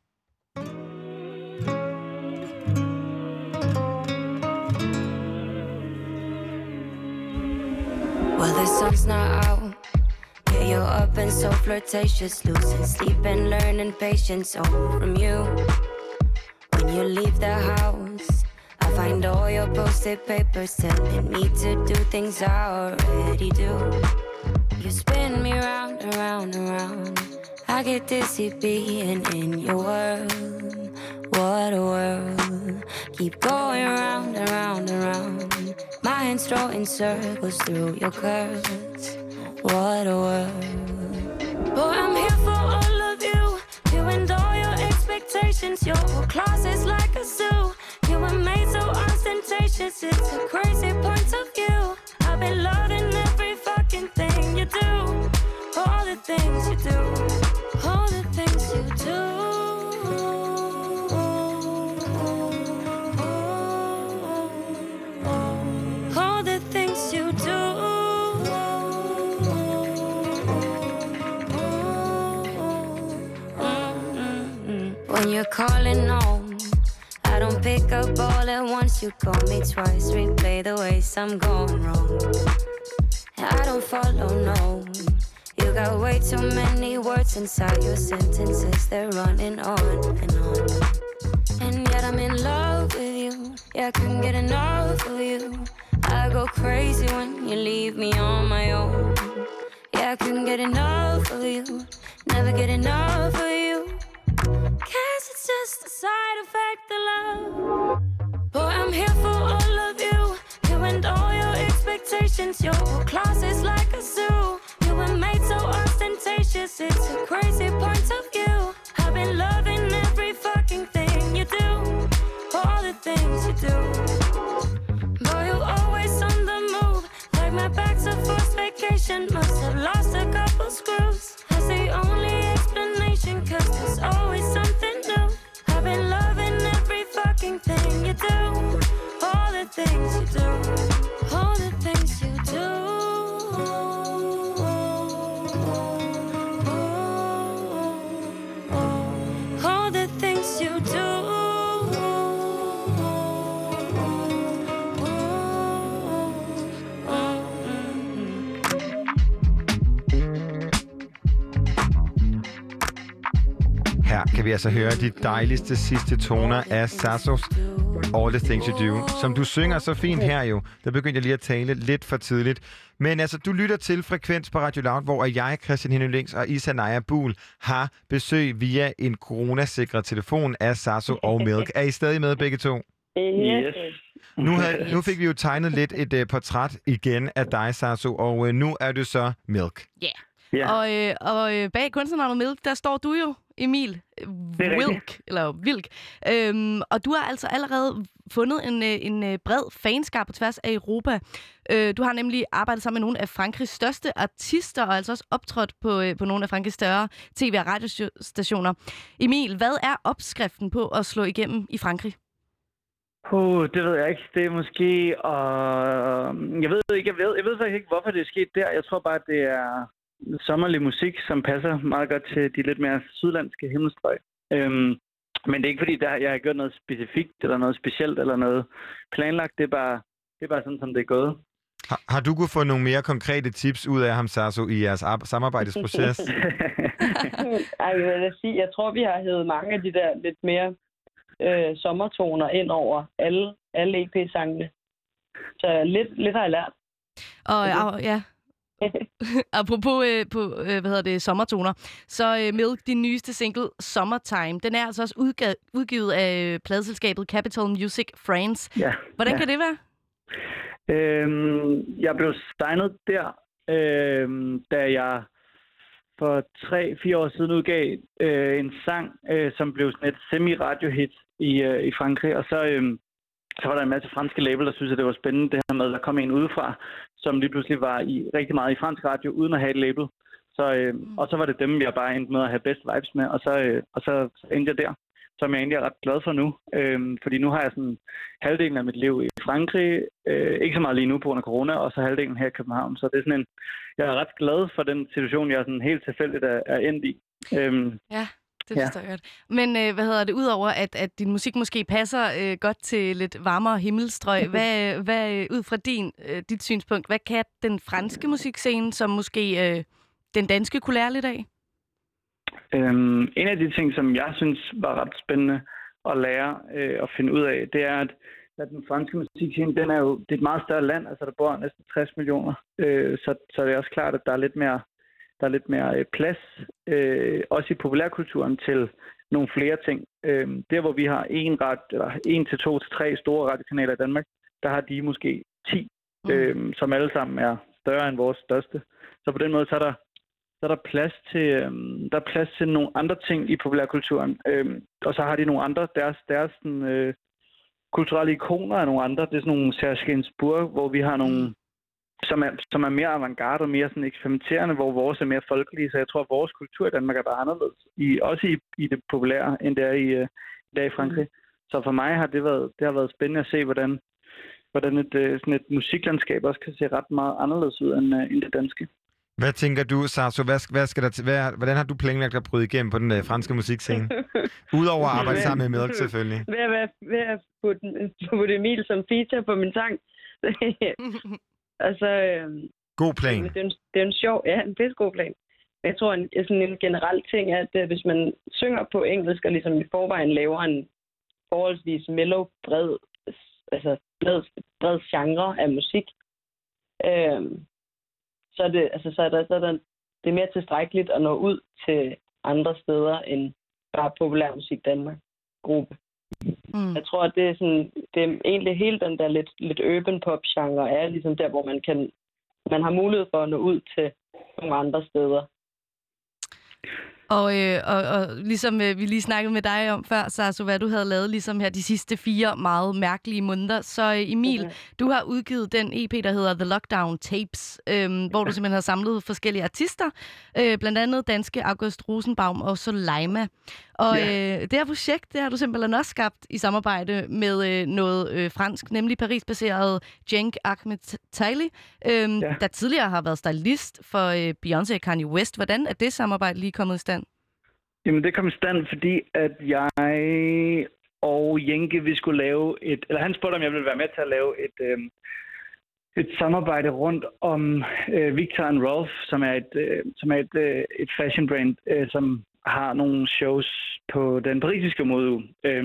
Well, the sun's not out. Yeah, you're up and so flirtatious, losing sleep and learning patience all from you. When you leave the house, I find all your post-it papers telling me to do things I already do. You spin me round and round and round. I get dizzy being in your world. What a world. Keep going round and round and round. My hands throwing circles through your curves. What a world. Boy, I'm here for all of you. You and all your expectations. Your whole closet's like a zoo. You were made so ostentatious, it's a crazy point of view. I've been loving every fucking thing you do. All the things you do. All the things you do. All the things you do. When you're calling home, I don't pick up all at once. You call me twice, replay the ways I'm going wrong. I don't follow, no. You got way too many words inside your sentences. They're running on and on. And yet I'm in love with you. Yeah, I couldn't get enough of you. I go crazy when you leave me on my own. Yeah, I couldn't get enough of you. Never get enough of you. Guess it's just a side effect of love. Boy, I'm here for all of you. You and all your expectations. Your whole closet's like a zoo. You were made so ostentatious. It's a crazy point of view. I've been loving every station. Must have lost a couple screws. That's the only explanation, 'cause there's always something new. I've been loving every fucking thing you do. All the things you do. All the things you do. All the things you do. Her kan vi altså høre de dejligste sidste toner af Sassos All the Things You Do, som du synger så fint her jo. Der begyndte jeg lige at tale lidt for tidligt. Men altså, du lytter til Frekvens på Radio Loud, hvor jeg, Christian Henning Lyngs og Isanaya Buhl har besøg via en coronasikret telefon af Sasso og Milk. Er I stadig med begge to? Yes. Nu fik vi jo tegnet lidt et portræt igen af dig, Sasso, og nu er du så Milk. Og bag kunstnernavnet Milk, der står du jo, Emil Wilk. Og du har altså allerede fundet en bred fanskab på tværs af Europa. Du har nemlig arbejdet sammen med nogle af Frankrigs største artister, og altså også optrådt på nogle af Frankrigs større tv- og radiostationer. Emil, hvad er opskriften på at slå igennem i Frankrig? Det ved jeg ikke. Det er måske... Jeg ved faktisk ikke, hvorfor det er sket der. Jeg tror bare, at det er sommerlig musik, som passer meget godt til de lidt mere sydlandske himmelstrøg. Men det er ikke fordi, jeg har gjort noget specifikt, eller noget specielt, eller noget planlagt. Det er bare sådan, som det er gået. Har du kunnet få nogle mere konkrete tips ud af ham, Sasso, i jeres samarbejdsproces? Jeg vil sige, jeg tror, vi har hævet mange af de der lidt mere sommertoner ind over alle EP-sangene. Så lidt har jeg lært. Og ja... Apropos sommertoner, så Milk, din nyeste single, Summertime, den er altså også udgivet af pladeselskabet Capital Music France. Ja. Hvordan kan det være? Jeg blev signet der, da jeg for 3-4 år siden udgav en sang, som blev sådan et semi-radiohit i Frankrig, og så var der en masse franske label, der synes, at det var spændende, det her med, at der kom en udefra, som lige pludselig var rigtig meget i fransk radio, uden at have et label. Og så var det dem, jeg bare endte med at have best vibes med, og så endte jeg der, som jeg egentlig er ret glad for nu. Fordi nu har jeg sådan halvdelen af mit liv i Frankrig, ikke så meget lige nu på grund af corona, og så halvdelen her i København. Så det er sådan jeg er ret glad for den situation, jeg sådan helt tilfældigt er endt i. Ja. Det forstår jeg godt. Men udover at din musik måske passer godt til lidt varmere himmelstrøg, hvad ud fra dit synspunkt, hvad kan den franske musikscene, som måske den danske kunne lære lidt af? En af de ting, som jeg synes var ret spændende at lære og finde ud af, det er, at den franske musikscene, det er et meget større land, altså der bor næsten 60 millioner, så det er også klart, at der er lidt mere plads, også i populærkulturen, til nogle flere ting. Der, hvor vi har 1 til 2 til 3 store radiokanaler i Danmark, der har de måske 10, som alle sammen er større end vores største. Så på den måde, så er der plads til nogle andre ting i populærkulturen. Og så har de nogle andre, deres kulturelle ikoner er nogle andre. Det er sådan nogle Serge Gainsbourg, hvor vi har nogle som er mere avantgarde og mere sådan eksperimenterende, hvor vores er mere folkelige. Så jeg tror, at vores kultur i Danmark er bare anderledes. Også i det populære, end det er i Frankrig. Så for mig har det har været spændende at se, hvordan et musiklandskab også kan se ret meget anderledes ud end det danske. Hvad tænker du, Sasso? Hvordan har du planlagt at bryde igennem på den franske musikscene? Udover at arbejde sammen med Milk, selvfølgelig. Ved at putte Emil som feature på min sang. Altså, god plan. Det er en sjov, en pissegod plan. Jeg tror, sådan en generel ting er, at hvis man synger på engelsk, og ligesom i forvejen laver en forholdsvis mellow, bred genre af musik, så er det mere tilstrækkeligt at nå ud til andre steder end bare populærmusik Danmark-gruppe. Jeg tror, at det er egentlig hele den der lidt urban pop genre er ligesom der, hvor man har mulighed for at nå ud til nogle andre steder. Og ligesom vi lige snakkede med dig om før, Sasu, hvad du havde lavet ligesom her de sidste 4 meget mærkelige måneder. Så Emil, du har udgivet den EP, der hedder The Lockdown Tapes, hvor du simpelthen har samlet forskellige artister, blandt andet danske August Rosenbaum og Soleima. Og det her projekt, det har du simpelthen også skabt i samarbejde med noget fransk, nemlig Paris-baseret Cenk Ahmed-Taili, der tidligere har været stylist for Beyoncé og Kanye West. Hvordan er det samarbejde lige kommet i stand? Jamen, det kom i stand, fordi at jeg og Jenke, vi skulle lave han spurgte, om jeg ville være med til at lave et samarbejde rundt om Victor & Rolf, som er et fashion brand, som har nogle shows på den parisiske modeuge.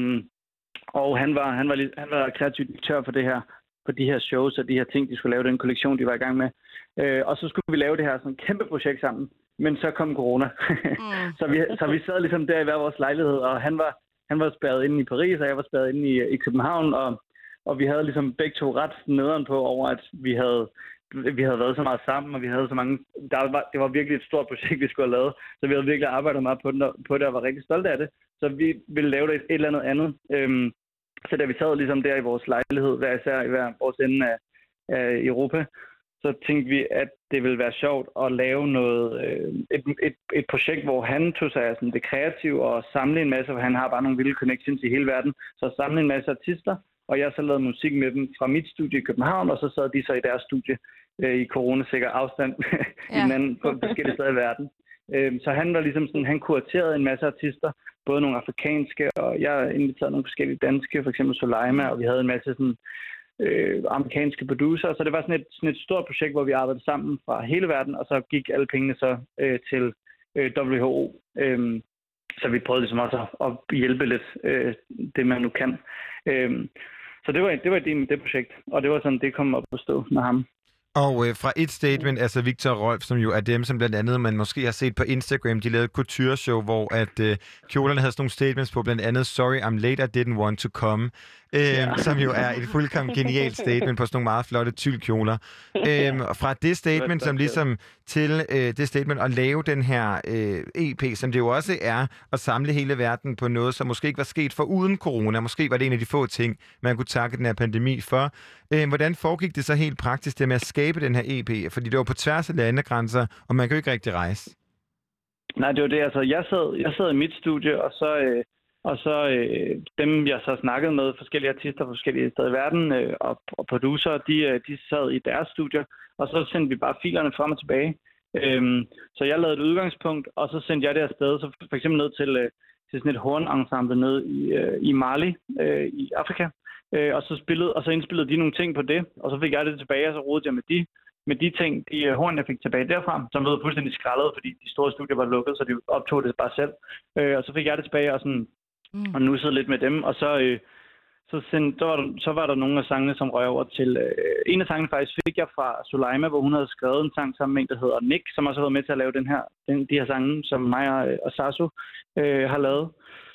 Og han var kreativ direktør for de her shows og de her ting, de skulle lave, den kollektion, de var i gang med. Og så skulle vi lave det her sådan kæmpe projekt sammen. Men så kom corona. Så vi sad ligesom der i hver vores lejlighed, og han var spærret inde i Paris, og jeg var spærret inde i København, og vi havde ligesom begge to ret nederen på over, at vi havde været så meget sammen, og vi havde så mange... Det var virkelig et stort projekt, vi skulle have lavet, så vi havde virkelig arbejdet meget på det, og var rigtig stolte af det. Så vi ville lave det et eller andet. Så da vi sad ligesom der i vores lejlighed, hver især i hver vores ende af Europa, så tænkte vi, at det ville være sjovt at lave et projekt, hvor han tog sig af sådan det kreative og samle en masse, for han har bare nogle vilde connections i hele verden, så samle en masse artister, og jeg så lavede musik med dem fra mit studie i København, og så sad de så i deres studie i coronasikker afstand i hinanden på forskellige steder i verden. Så han var ligesom sådan, han kuraterede en masse artister, både nogle afrikanske, og jeg inviterede nogle forskellige danske, for eksempel Soleima, og vi havde en masse sådan amerikanske producer, så det var sådan et stort projekt, hvor vi arbejdede sammen fra hele verden, og så gik alle pengene så til WHO. Så vi prøvede ligesom også at hjælpe lidt det, man nu kan. Så det var ideen med det projekt, og det var sådan, det kom op at stå med ham. Og fra et statement, altså Victor og Rolf, som jo er dem, som blandt andet man måske har set på Instagram, de lavede et couture-show, hvor at kjolerne havde sådan nogle statements på, blandt andet Sorry, I'm late, I didn't want to come, som jo er et fuldkommen genialt statement på sådan nogle meget flotte tyldkjoler. Fra det statement, som ligesom til det statement at lave den her EP, som det jo også er at samle hele verden på noget, som måske ikke var sket for uden corona. Måske var det en af de få ting, man kunne takke den her pandemi for. Hvordan foregik det så helt praktisk det med at skabe den her EP? Fordi det var på tværs af landegrænser, og man kan jo ikke rigtig rejse. Nej, det var det. Altså, jeg sad i mit studie, og så dem, jeg så snakkede med, forskellige artister fra forskellige steder i verden, og producer, de sad i deres studier, og så sendte vi bare filerne frem og tilbage. Så jeg lavede et udgangspunkt, og så sendte jeg det afsted, så for eksempel ned til sådan et hornensemble nede i Mali, i Afrika. Og så indspillede de nogle ting på det, og så fik jeg det tilbage, og så rodede jeg med de ting, de horn, jeg fik tilbage derfra, som lød fuldstændig skrællet, fordi de store studier var lukket, så de optog det bare selv. Og så fik jeg det tilbage, og nussede lidt med dem, og så var der nogle af sangene, som røg over til... en af sangene faktisk fik jeg fra Soleima, hvor hun havde skrevet en sang sammen med en, der hedder Nick, som også har været med til at lave de her sange, som mig og Sasu har lavet.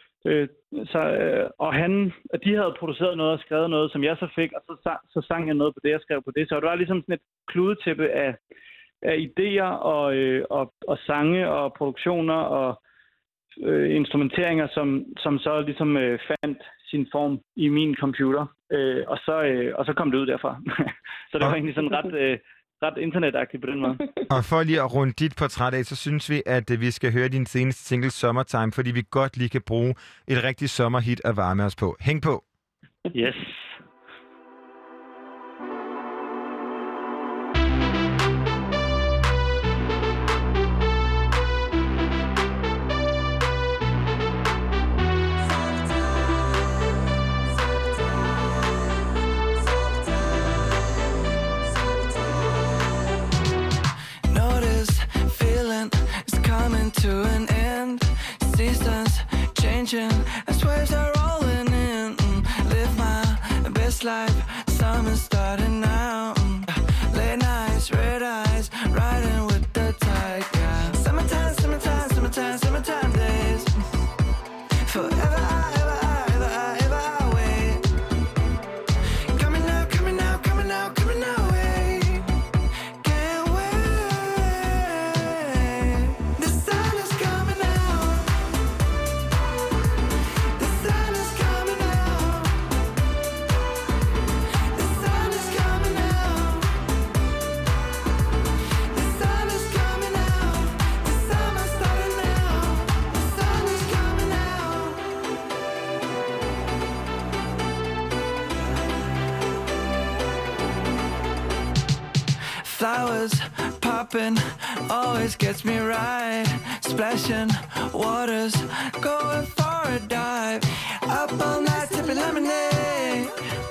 Og de havde produceret noget og skrevet noget, som jeg så fik, og så sang jeg noget på det, jeg skrev på det. Så det var ligesom sådan et kludetæppe af idéer og sange og produktioner og instrumenteringer, som så ligesom fandt sin form i min computer, og så kom det ud derfra. Så det var egentlig sådan ret internetagtigt på den måde. Og for lige at runde dit portræt af, så synes vi, at vi skal høre din seneste single Summertime, fordi vi godt lige kan bruge et rigtigt sommerhit at varme os på. Hæng på! Yes! To an end, seasons changing as waves are rolling in. Live my Flowers popping always gets me right. Splashing waters, going for a dive. Up all night sipping lemonade.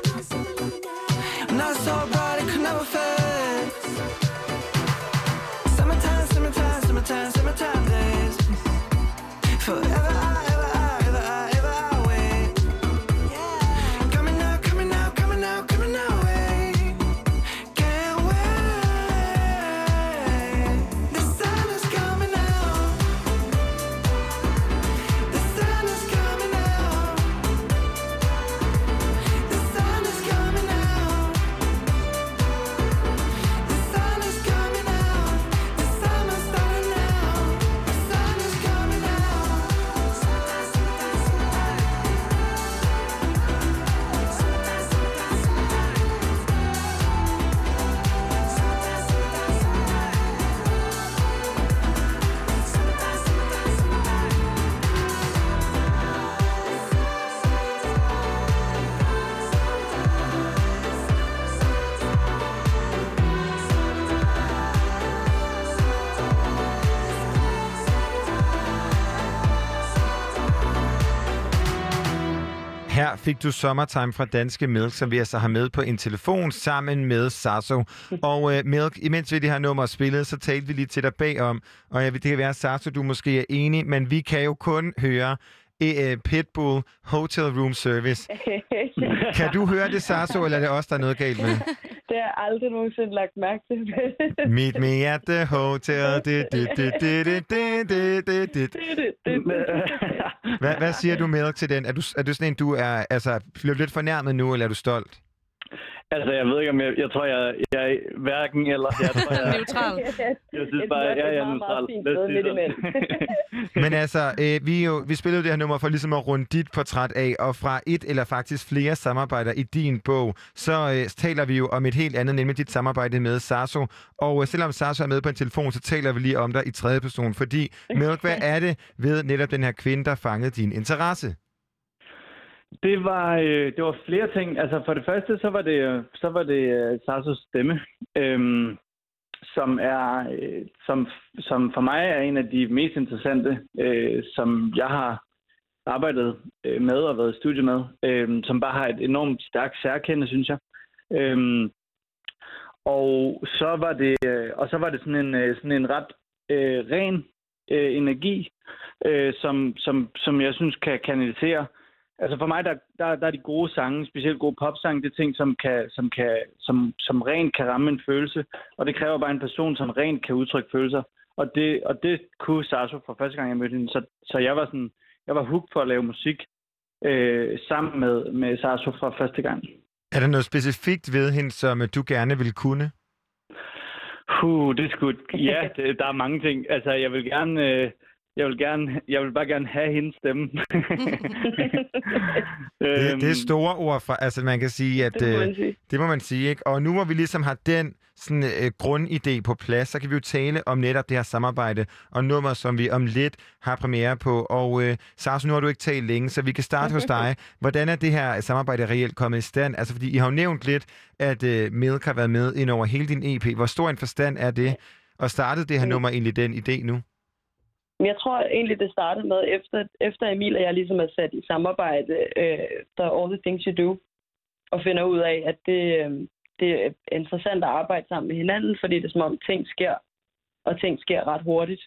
Not so bright it could never fade. Summertime, summertime, summertime, summertime days. Forever I wait. Coming now, coming now, coming now, coming now, wait. Can't wait. The sun is coming out. The sun is coming out. The sun is coming out. The sun is coming out. The summer's starting now. The sun is coming out. Her fik du Summertime fra Danske Milk, som vi altså har med på en telefon sammen med Sasso. Og Milk, imens vi det her nummer spillet, så talte vi lige til dig bagom. Og det kan være, Sasso, du måske er enig, men vi kan jo kun høre Pitbull Hotel Room Service. Kan du høre det, Sasso, eller er det også der er noget galt med? Det har jeg aldrig nogensinde lagt mærke til. Meet me at the hotel. Hvad siger du, Milk, til den? Er du sådan en, du er, altså, bliver du lidt fornærmet nu, eller er du stolt? Altså, jeg ved ikke, om jeg tror, jeg er hverken eller. Jeg tror, jeg er neutral. Jeg synes bare, jeg er neutral. Men altså, vi spillede det her nummer for ligesom at runde dit portræt af, og fra et eller faktisk flere samarbejder i din bog, så taler vi jo om et helt andet, nemlig dit samarbejde med Sasso. Og selvom Sasso er med på en telefon, så taler vi lige om dig i tredje person, fordi Milk, hvad er det ved netop den her kvinde, der fangede din interesse? Det var flere ting. Altså for det første, så var det Sassos stemme, som for mig er en af de mest interessante, som jeg har arbejdet med og været i studie med, som bare har et enormt stærkt særkende, synes jeg. Og så var det sådan en ret ren energi, som jeg synes kan kanalisere. Altså for mig, der er de gode sange, specielt gode popsange, det er ting, som rent kan ramme en følelse. Og det kræver bare en person, som rent kan udtrykke følelser. Og det kunne Sasso fra første gang, jeg mødte hende. Så jeg var hooked for at lave musik sammen med Sasso fra første gang. Er der noget specifikt ved hende, som du gerne vil kunne? Der er mange ting. Altså, jeg vil bare gerne have hendes stemme. Det er store ord fra, altså man kan sige, at det må man sige, ikke? Og nu hvor vi ligesom har den sådan grundidé på plads, så kan vi jo tale om netop det her samarbejde og nummer, som vi om lidt har premiere på. Og Sasso, nu har du ikke talt længe, så vi kan starte hos dig. Hvordan er det her samarbejde reelt kommet i stand? Altså fordi I har jo nævnt lidt, at Milk har været med ind over hele din EP. Hvor stor en forstand er det? Og startede det her nummer egentlig den idé nu? Jeg tror egentlig, det startede med, efter Emil og jeg ligesom er sat i samarbejde, der er All the Things You Do, og finder ud af, at det er interessant at arbejde sammen med hinanden, fordi det er som om ting sker, og ting sker ret hurtigt.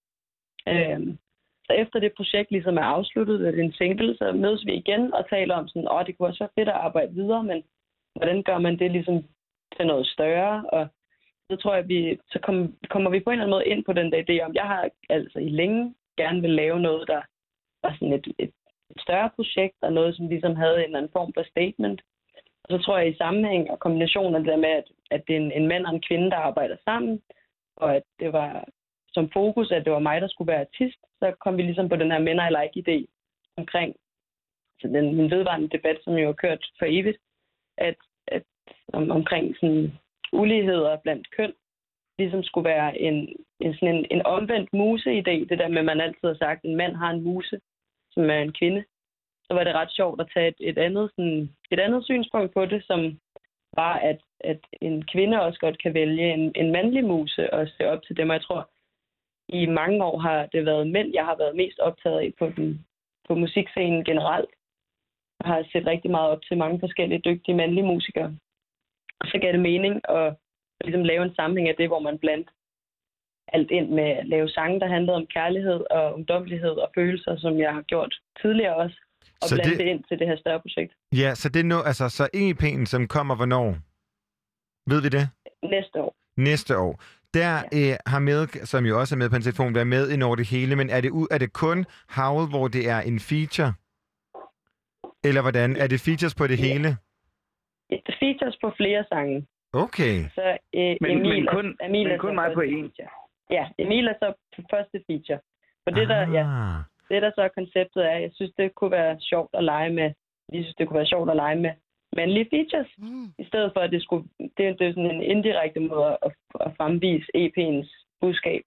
Så efter det projekt ligesom er afsluttet, det er en single, så mødes vi igen og taler om sådan, det kunne også være fedt at arbejde videre, men hvordan gør man det ligesom til noget større, og så tror jeg, så kommer vi på en eller anden måde ind på den der idé om, jeg har altså i længe gerne vil lave noget, der var sådan et større projekt, og noget, som ligesom havde en eller anden form for statement. Og så tror jeg i sammenhæng og kombination af det der med, at det er en mand og en kvinde, der arbejder sammen, og at det var som fokus, at det var mig, der skulle være artist, så kom vi ligesom på den her mænd eller ikke idé omkring så den vedvarende debat, som jo har kørt for evigt, at omkring sådan uligheder blandt køn, ligesom skulle være en omvendt muse-idé. Det der med, at man altid har sagt, at en mand har en muse, som er en kvinde. Så var det ret sjovt at tage et andet synspunkt på det, som bare at en kvinde også godt kan vælge en mandlig muse og se op til dem. Og jeg tror, i mange år har det været mænd, jeg har været mest optaget af på musikscenen generelt. Jeg har set rigtig meget op til mange forskellige dygtige mandlige musikere. Og så gav det mening at ligesom lave en sammenhæng af det, hvor man blandt alt ind med at lave sange, der handlede om kærlighed og ungdommelighed og følelser, som jeg har gjort tidligere også. Og blande det ind til det her større projekt. Ja, så det nu, altså så EP'en, som kommer hvornår? Ved vi det? Næste år. Næste år. Der har Milk, som jo også er med på en telefon, været med ind over det hele, men er det kun Howl, hvor det er en feature? Eller hvordan? Er det features på det hele? Features på flere sange. Okay. Så Emil men kun mig på en. Ja, Emil er så på første feature. For det der så er konceptet er, jeg synes, det kunne være sjovt at lege med. Jeg synes, det kunne være sjovt at lege med mandlige features. I stedet for, at det er sådan en indirekte måde at fremvise EP'ens budskab.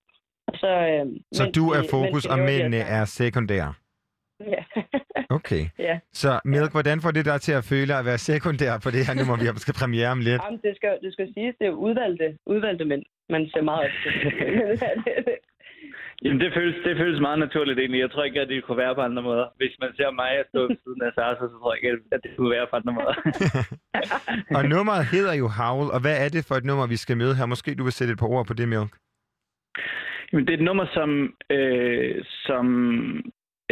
Så du er fokus, og mændene er sekundære? Ja. Okay. Ja. Så Milk, hvordan får det dig til at føle at være sekundær på det her nummer, vi skal premiere om lidt? Jamen, det skal siges, det er udvalgte mænd, man ser meget op til. Jamen, det føles meget naturligt egentlig. Jeg tror ikke, at det kunne være på andre måder. Hvis man ser mig stå ved siden af Sasa, så tror jeg ikke, at det kunne være på andre måder. Og nummeret hedder jo Howl, og hvad er det for et nummer, vi skal møde her? Måske du vil sætte et par ord på det, Milk? Jamen, det er et nummer, som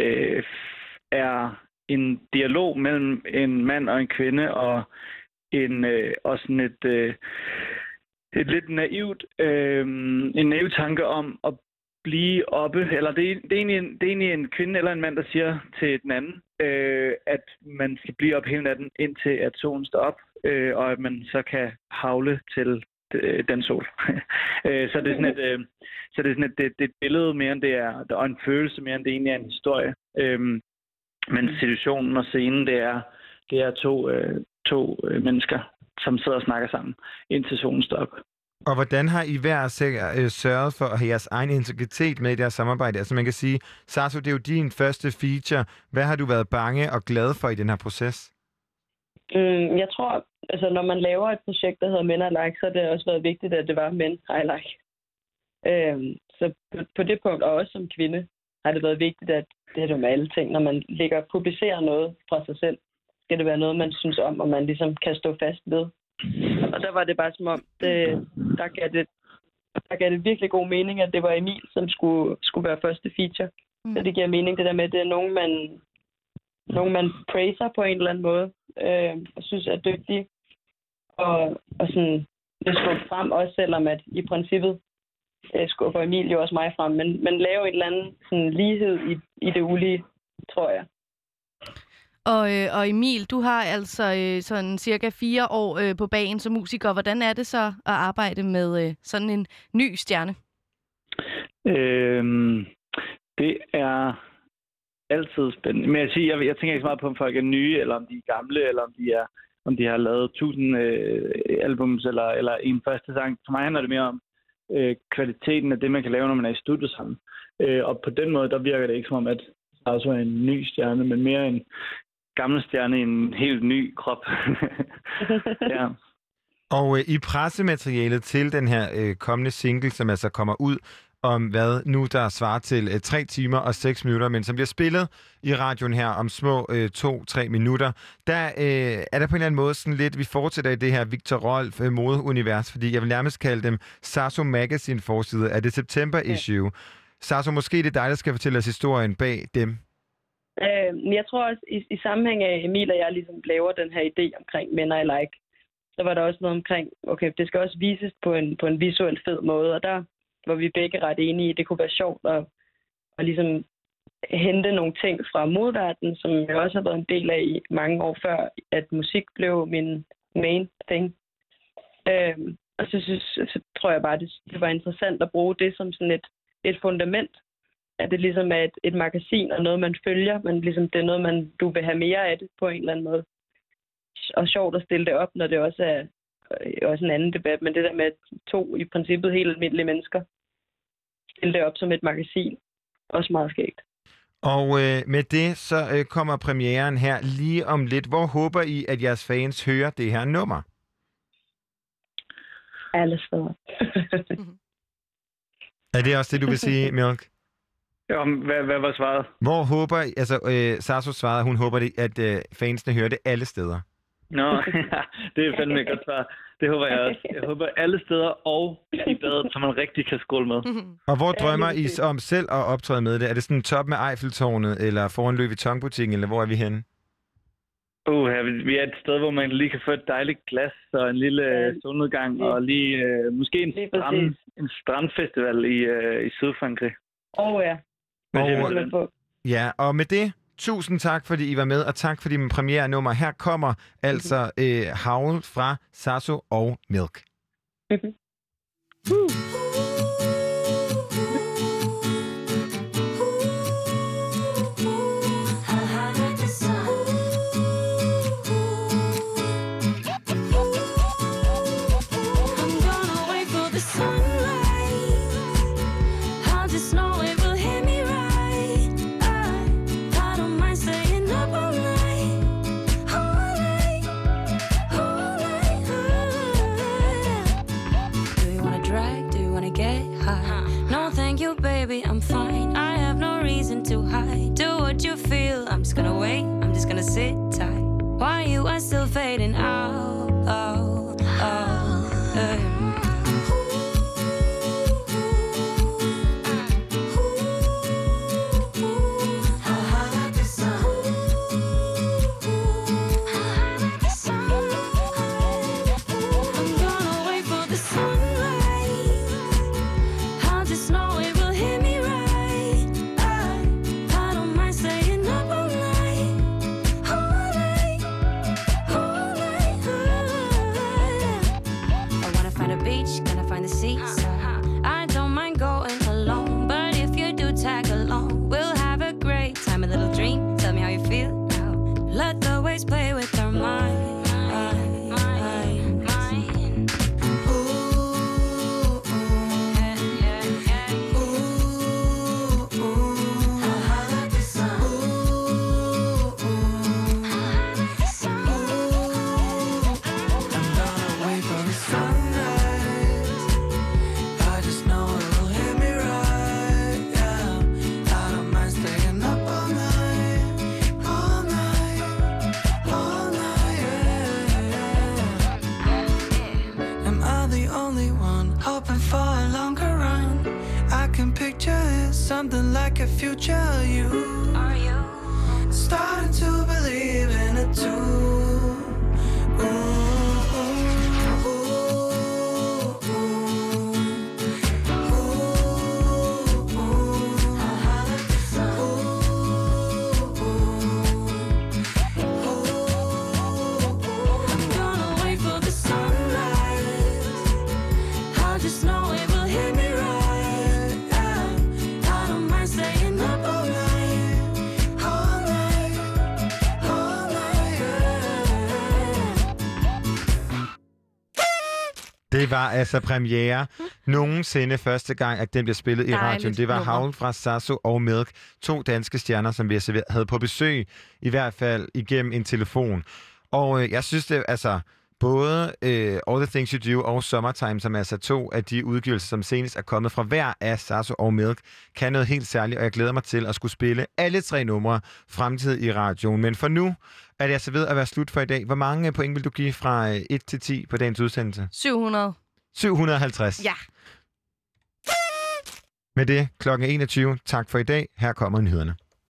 er en dialog mellem en mand og en kvinde, og også sådan et lidt naivt, en naiv tanke om at blive oppe, eller det er egentlig en kvinde eller en mand, der siger til den anden, at man skal blive op hele natten, indtil at solen står op, og at man så kan havle til den sol. Så det er sådan et billede mere end det er, og en følelse mere end det egentlig er en historie. Men situationen og scenen, det er to mennesker, som sidder og snakker sammen, indtil solen står op. Og hvordan har I hver sørget for at have jeres egen integritet med i deres samarbejde? Altså man kan sige, Sasu, det er jo din første feature. Hvad har du været bange og glad for i den her proces? Jeg tror, altså når man laver et projekt, der hedder Men I Like, så har det også været vigtigt, at det var Men I Like. Så på det punkt, og også som kvinde, har det været vigtigt, at det er jo med alle ting. Når man publicerer noget fra sig selv, skal det være noget, man synes om, og man ligesom kan stå fast ved. Og der var det bare som om, der gav det virkelig god mening, at det var Emil, som skulle være første feature. Så det giver mening, det der med, at det er nogen, man praiser på en eller anden måde, og synes er dygtige. Og sådan, det skubber frem, også selvom at i princippet skubber Emil jo også mig frem. Men lave en eller anden sådan, lighed i det ulige, tror jeg. Og Emil, du har altså sådan cirka 4 år på bagen som musiker. Hvordan er det så at arbejde med sådan en ny stjerne? Det er altid spændende. Men jeg tænker ikke så meget på, om folk er nye, eller om de er gamle, eller om de har lavet 1000 albums, eller en første sang. For mig handler det mere om kvaliteten af det, man kan lave, når man er i studio sammen. Og på den måde, der virker det ikke som om, at der også er en ny stjerne, men mere en gammel stjerne i en helt ny krop. Ja. Og i pressematerialet til den her kommende single, som altså kommer ud om hvad nu der svarer til 3 timer og 6 minutter, men som bliver spillet i radioen her om små 2-3 minutter, der er der på en eller anden måde sådan lidt, vi fortsætter i det her Victor Rolf modeunivers, fordi jeg vil nærmest kalde dem Sasso Magazine forside af det September issue. Sasso, måske det er dig, der skal fortælle os historien bag dem. Jeg tror også, i sammenhæng af Emil og jeg ligesom laver den her idé omkring Men I Like, så var der også noget omkring, okay, det skal også vises på en visuelt fed måde, og der var vi begge ret enige i, det kunne være sjovt at ligesom hente nogle ting fra modverdenen, som jeg også har været en del af i mange år før, at musik blev min main thing. Og så tror jeg bare, det var interessant at bruge det som sådan et fundament, at det ligesom er et magasin og noget, man følger, men ligesom det er noget, du vil have mere af det på en eller anden måde. Og sjovt at stille det op, når det også er også en anden debat, men det der med at 2 i princippet helt almindelige mennesker stille det op som et magasin, også meget skægt. Og med det, så kommer premieren her lige om lidt. Hvor håber I, at jeres fans hører det her nummer? alle steder. Er det også det, du vil sige, Milk? Ja, hvad var svaret? Hvor håber... Altså, Sasso svarede, hun håber, at fansene hører det alle steder. Nå, det er fandme et godt svar. Det håber jeg også. Jeg håber alle steder og i badet, så man rigtig kan skåle med. Og hvor drømmer I om selv at optræde med det? Er det sådan top med Eiffeltårnet, eller foran Louis Vuitton-butikken, eller hvor er vi henne? Vi er et sted, hvor man lige kan få et dejligt glas og en lille solnedgang, og lige måske en strandfestival i Sydfrankrig. Ja, og med det, tusind tak, fordi I var med, og tak for din premiere-nummer. Her kommer altså Howl fra Sasso og Milk. Baby, I'm fine. I have no reason to hide. Do what you feel. I'm just gonna wait. I'm just gonna sit tight. While you are still fading out. Play with their mind. Something like a future you. Are you starting to believe in it too? Det var altså premiere nogensinde første gang, at den blev spillet i radioen. Det var Howl fra Sasso og Milk. 2 danske stjerner, som vi havde på besøg, i hvert fald igennem en telefon. Og jeg synes det, altså både All the Things You Do og Summertime, som er altså 2 af de udgivelser, som senest er kommet fra hver af Sasso og Milk, kan noget helt særligt, og jeg glæder mig til at skulle spille alle 3 numre fremtid i radioen. Men for nu er det altså ved at være slut for i dag. Hvor mange point vil du give fra 1 til 10 på dagens udsendelse? 700. 750. Ja. Med det, klokken 21. Tak for i dag. Her kommer nyhederne.